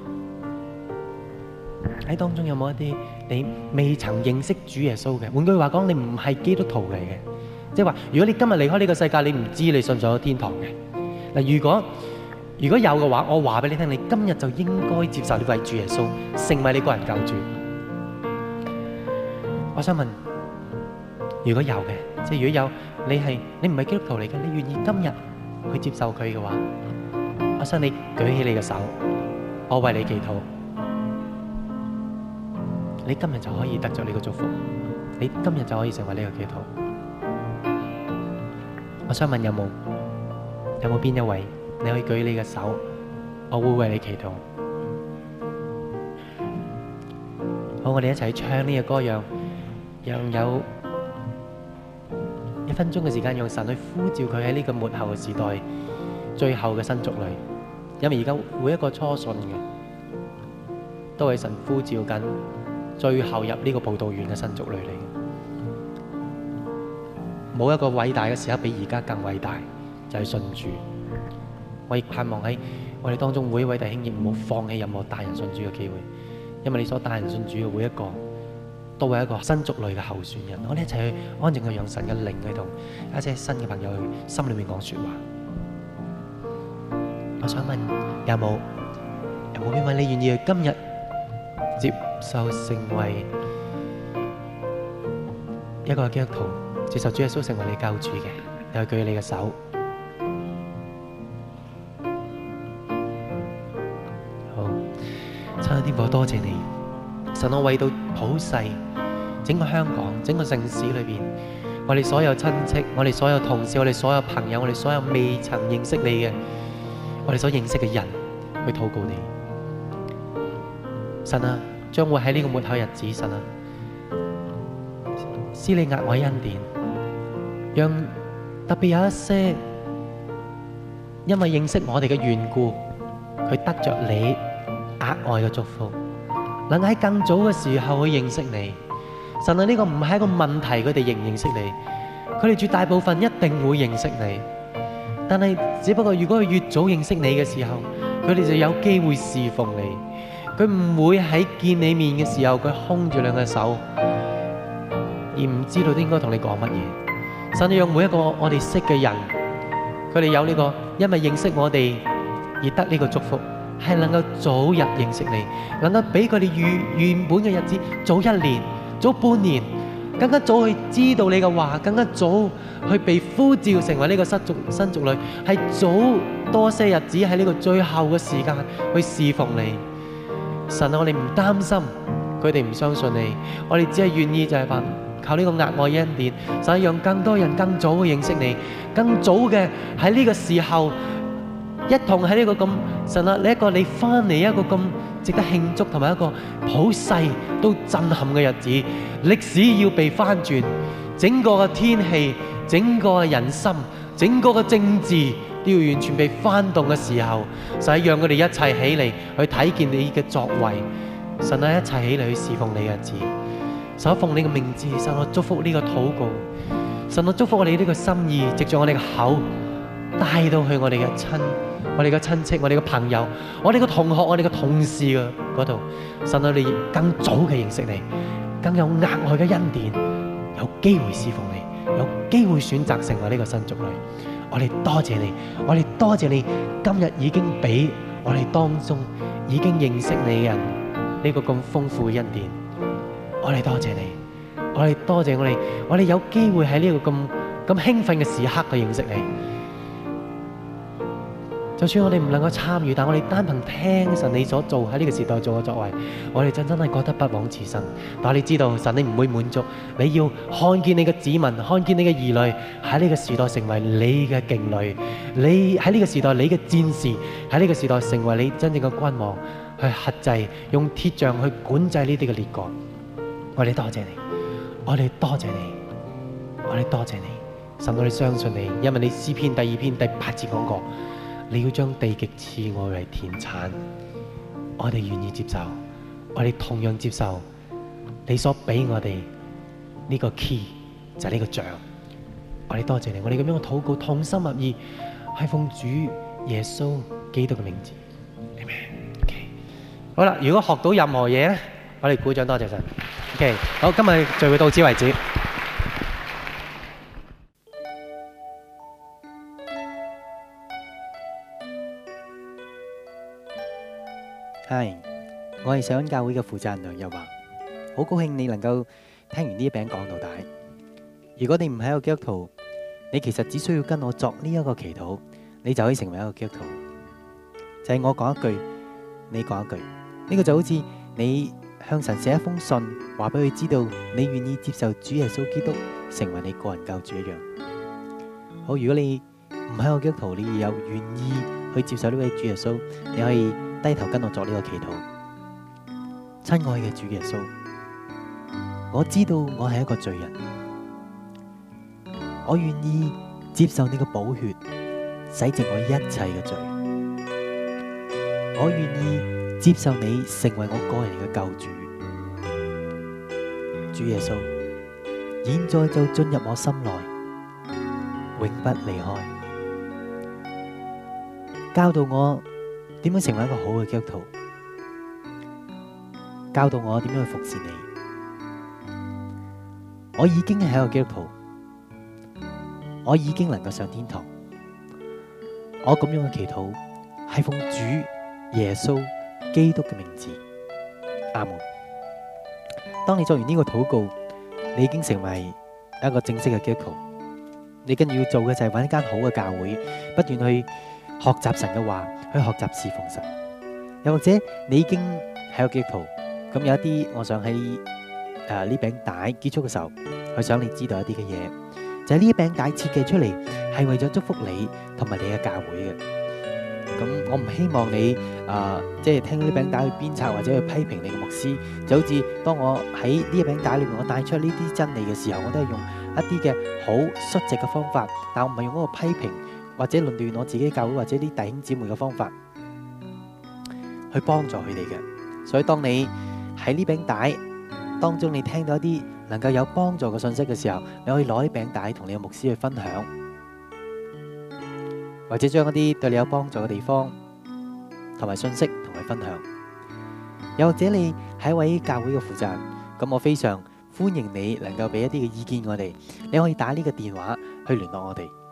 喺當中有冇一啲你未曾認識主耶穌嘅？換句話講，你唔係基督徒嚟嘅，即係話，如果你今日離開呢個世界，你唔知你信唔信天堂嘅。嗱，如果如果有嘅話，我話俾你聽，你今日就應該接受呢位主耶穌，成為你個人救主。我想問，如果有嘅，即係如果有你係你唔係基督徒嚟嘅，你願意今日去接受佢嘅話，我想你舉起你嘅手，我為你祈禱。你今日就可以得咗呢個祝福，你今日就可以成為呢個基督徒。我想問有冇有冇邊一位你可以舉你嘅手，我會為你祈禱。好，我哋一齊唱呢個歌，讓讓有一分鐘嘅時間，用神去呼召佢喺呢個末後嘅時代最後嘅新族類。因為而家每一個初信嘅都係神呼召緊最後入呢個葡萄園嘅新族類嚟嘅。冇一個偉大嘅時刻比而家更偉大，就係信主。我亦盼望喺我哋當中每一位弟兄亦唔好放棄任何帶人信主嘅機會，因為你所帶人信主嘅每一個都係一個新族類嘅候選人。我哋一齊去安靜去讓神嘅靈去同一些新嘅朋友去心裏面講說話。我想問有冇有冇邊位你願意今日接受成為一個基督徒，接受主耶穌成為你救主嘅？你去舉你嘅手。好，親愛的天父，多謝你，神，我為到普世整個香港整個城市裏邊，我哋所有親戚，我哋所有同事，我哋所有朋友，我哋所有未曾認識你嘅，我哋所認識嘅人去禱告你。神啊，將會喺呢個末後日子，神啊，施你額外恩典，讓特別有一些因為認識我哋嘅緣故，佢得着你額外嘅祝福，能喺更早嘅時候去認識你。神啊，呢個唔係一個問題，佢哋認唔認識你，佢哋絕大部分一定會認識你。但係只不過如果佢越早認識你嘅時候，佢哋就有機會侍奉你。佢唔會喺見你面嘅時候，佢空住兩隻手，而唔知道應該同你講乜嘢。神，讓每一個我哋識嘅人，佢哋有呢個因為認識我哋而得呢個祝福，係能夠早日認識你，能夠俾佢哋原原本嘅日子早一年、早半年，更加早去知道你嘅話，更加早去被呼召成為呢個新族新族類，係早多些日子喺呢個最後嘅時間去侍奉你。神啊，我哋唔擔心佢哋唔相信你，我哋只係願意就係話靠呢個額外恩典，神，讓更多人更早嘅認識你，更早嘅喺呢個時候一同喺呢個咁神啊，呢一個你翻嚟一個咁值得慶祝同埋一個普世都震撼嘅日子，歷史要被翻轉，整個嘅天氣、整個嘅人心、整個嘅政治都要完全被翻動嘅時候，神，讓佢哋一齊起嚟去睇見你嘅作為，神啊，一齊起嚟去侍奉你嘅日子。神啊，奉你嘅名字，神啊，祝福呢個禱告，神啊，祝福我哋呢個心意，藉住我哋嘅口帶到去我哋嘅親、我哋嘅親戚、我哋嘅朋友、我哋嘅同學、我哋嘅同事嘅嗰度，神啊，你更早嘅認識你，更有額外嘅恩典，有機會侍奉你，有機會選擇成為呢個新族類。我哋多謝你，我哋多謝你，今日已經俾我哋當中已經認識你嘅人呢個咁豐富嘅恩典。我哋多謝你， 我哋多謝我哋，我哋有機會喺呢個咁咁興奮嘅時刻去認識你。就算我哋唔能夠參與，但我哋單憑聽神你所做喺呢個時代做嘅作為，我哋真真係覺得不枉此生。但係你知道神你唔會滿足，你要看見你嘅子民，看見你嘅兒女喺呢個時代成為你嘅勁旅，你喺呢個時代你嘅戰士喺呢個時代成為你真正嘅君王，去轄制用鐵杖去管制呢啲嘅列國。我哋多謝你，我哋多謝你，我哋多謝你，神我哋相信你，因為你詩篇第二篇第八節講過。你要將地極賜我為田產，我哋願意接受，我哋同樣接受你所俾我哋呢個 key 就係呢個杖。我哋多謝你，我哋咁樣嘅禱告同心合意，係奉主耶穌基督嘅名字。Amen。Okay。好啦，如果學到任何嘢咧，我哋鼓掌多謝神。OK， 好，今日聚會到此為止。 係，我係上恩教會嘅負責人梁日華，好高興你能夠聽完呢一餅講到底。如果你唔係一個基督徒，你其實只需要跟我作呢一個祈禱，你就可以成為一個基督徒。就係我講一句，你講一句，呢個就好似你向神寫一封信，話俾佢知道你願意接受主耶穌基督成為你個人救主一樣。好，如果你唔係一個基督徒，你有願意去接受呢位主耶穌，你可以低頭跟我作呢個祈禱。親愛嘅主耶穌，我知道我係一個罪人，我願意接受你嘅寶血洗淨我一切嘅罪，我願意接受你成為我個人嘅救主。主耶穌，現在就進入我心內，永不離開，教導我點樣成為一個好嘅基督徒，教導我點樣去服侍你。我已經係一個基督徒，我已經能夠上天堂。我咁樣嘅祈禱係奉主耶穌基督嘅名字，阿門。當你做完呢個禱告，你已經成為一個正式嘅基督徒。你跟住要做嘅就係揾一間好嘅教會，不斷去學習神嘅話，去學習侍奉神。又或者你已經係一個基督徒，咁有一啲，我想喺誒呢餅帶結束嘅時候，去想你知道一啲嘅嘢，就係呢一餅帶設計出嚟係為咗祝福你同埋你嘅教會嘅。咁我唔希望你誒即係聽呢餅帶去鞭策或者去批評你嘅牧師，就好似當我喺呢一餅帶裏面我帶出呢啲真理嘅時候，我都係用一啲嘅好率直嘅方法，但我唔係用嗰個批評或者論斷我自己教會或者啲弟兄姊妹嘅方法去幫助佢哋嘅。所以當你喺呢餅帶當中，你聽到一啲能夠有幫助嘅信息嘅時候，你可以攞呢餅帶同你嘅牧師去分享，或者將一啲對你有幫助嘅地方同埋信息同佢分享。又或者你係一位教會嘅負責人，咁我非常歡迎你能夠俾一啲嘅意見我哋。你可以打呢個電話去聯絡我哋。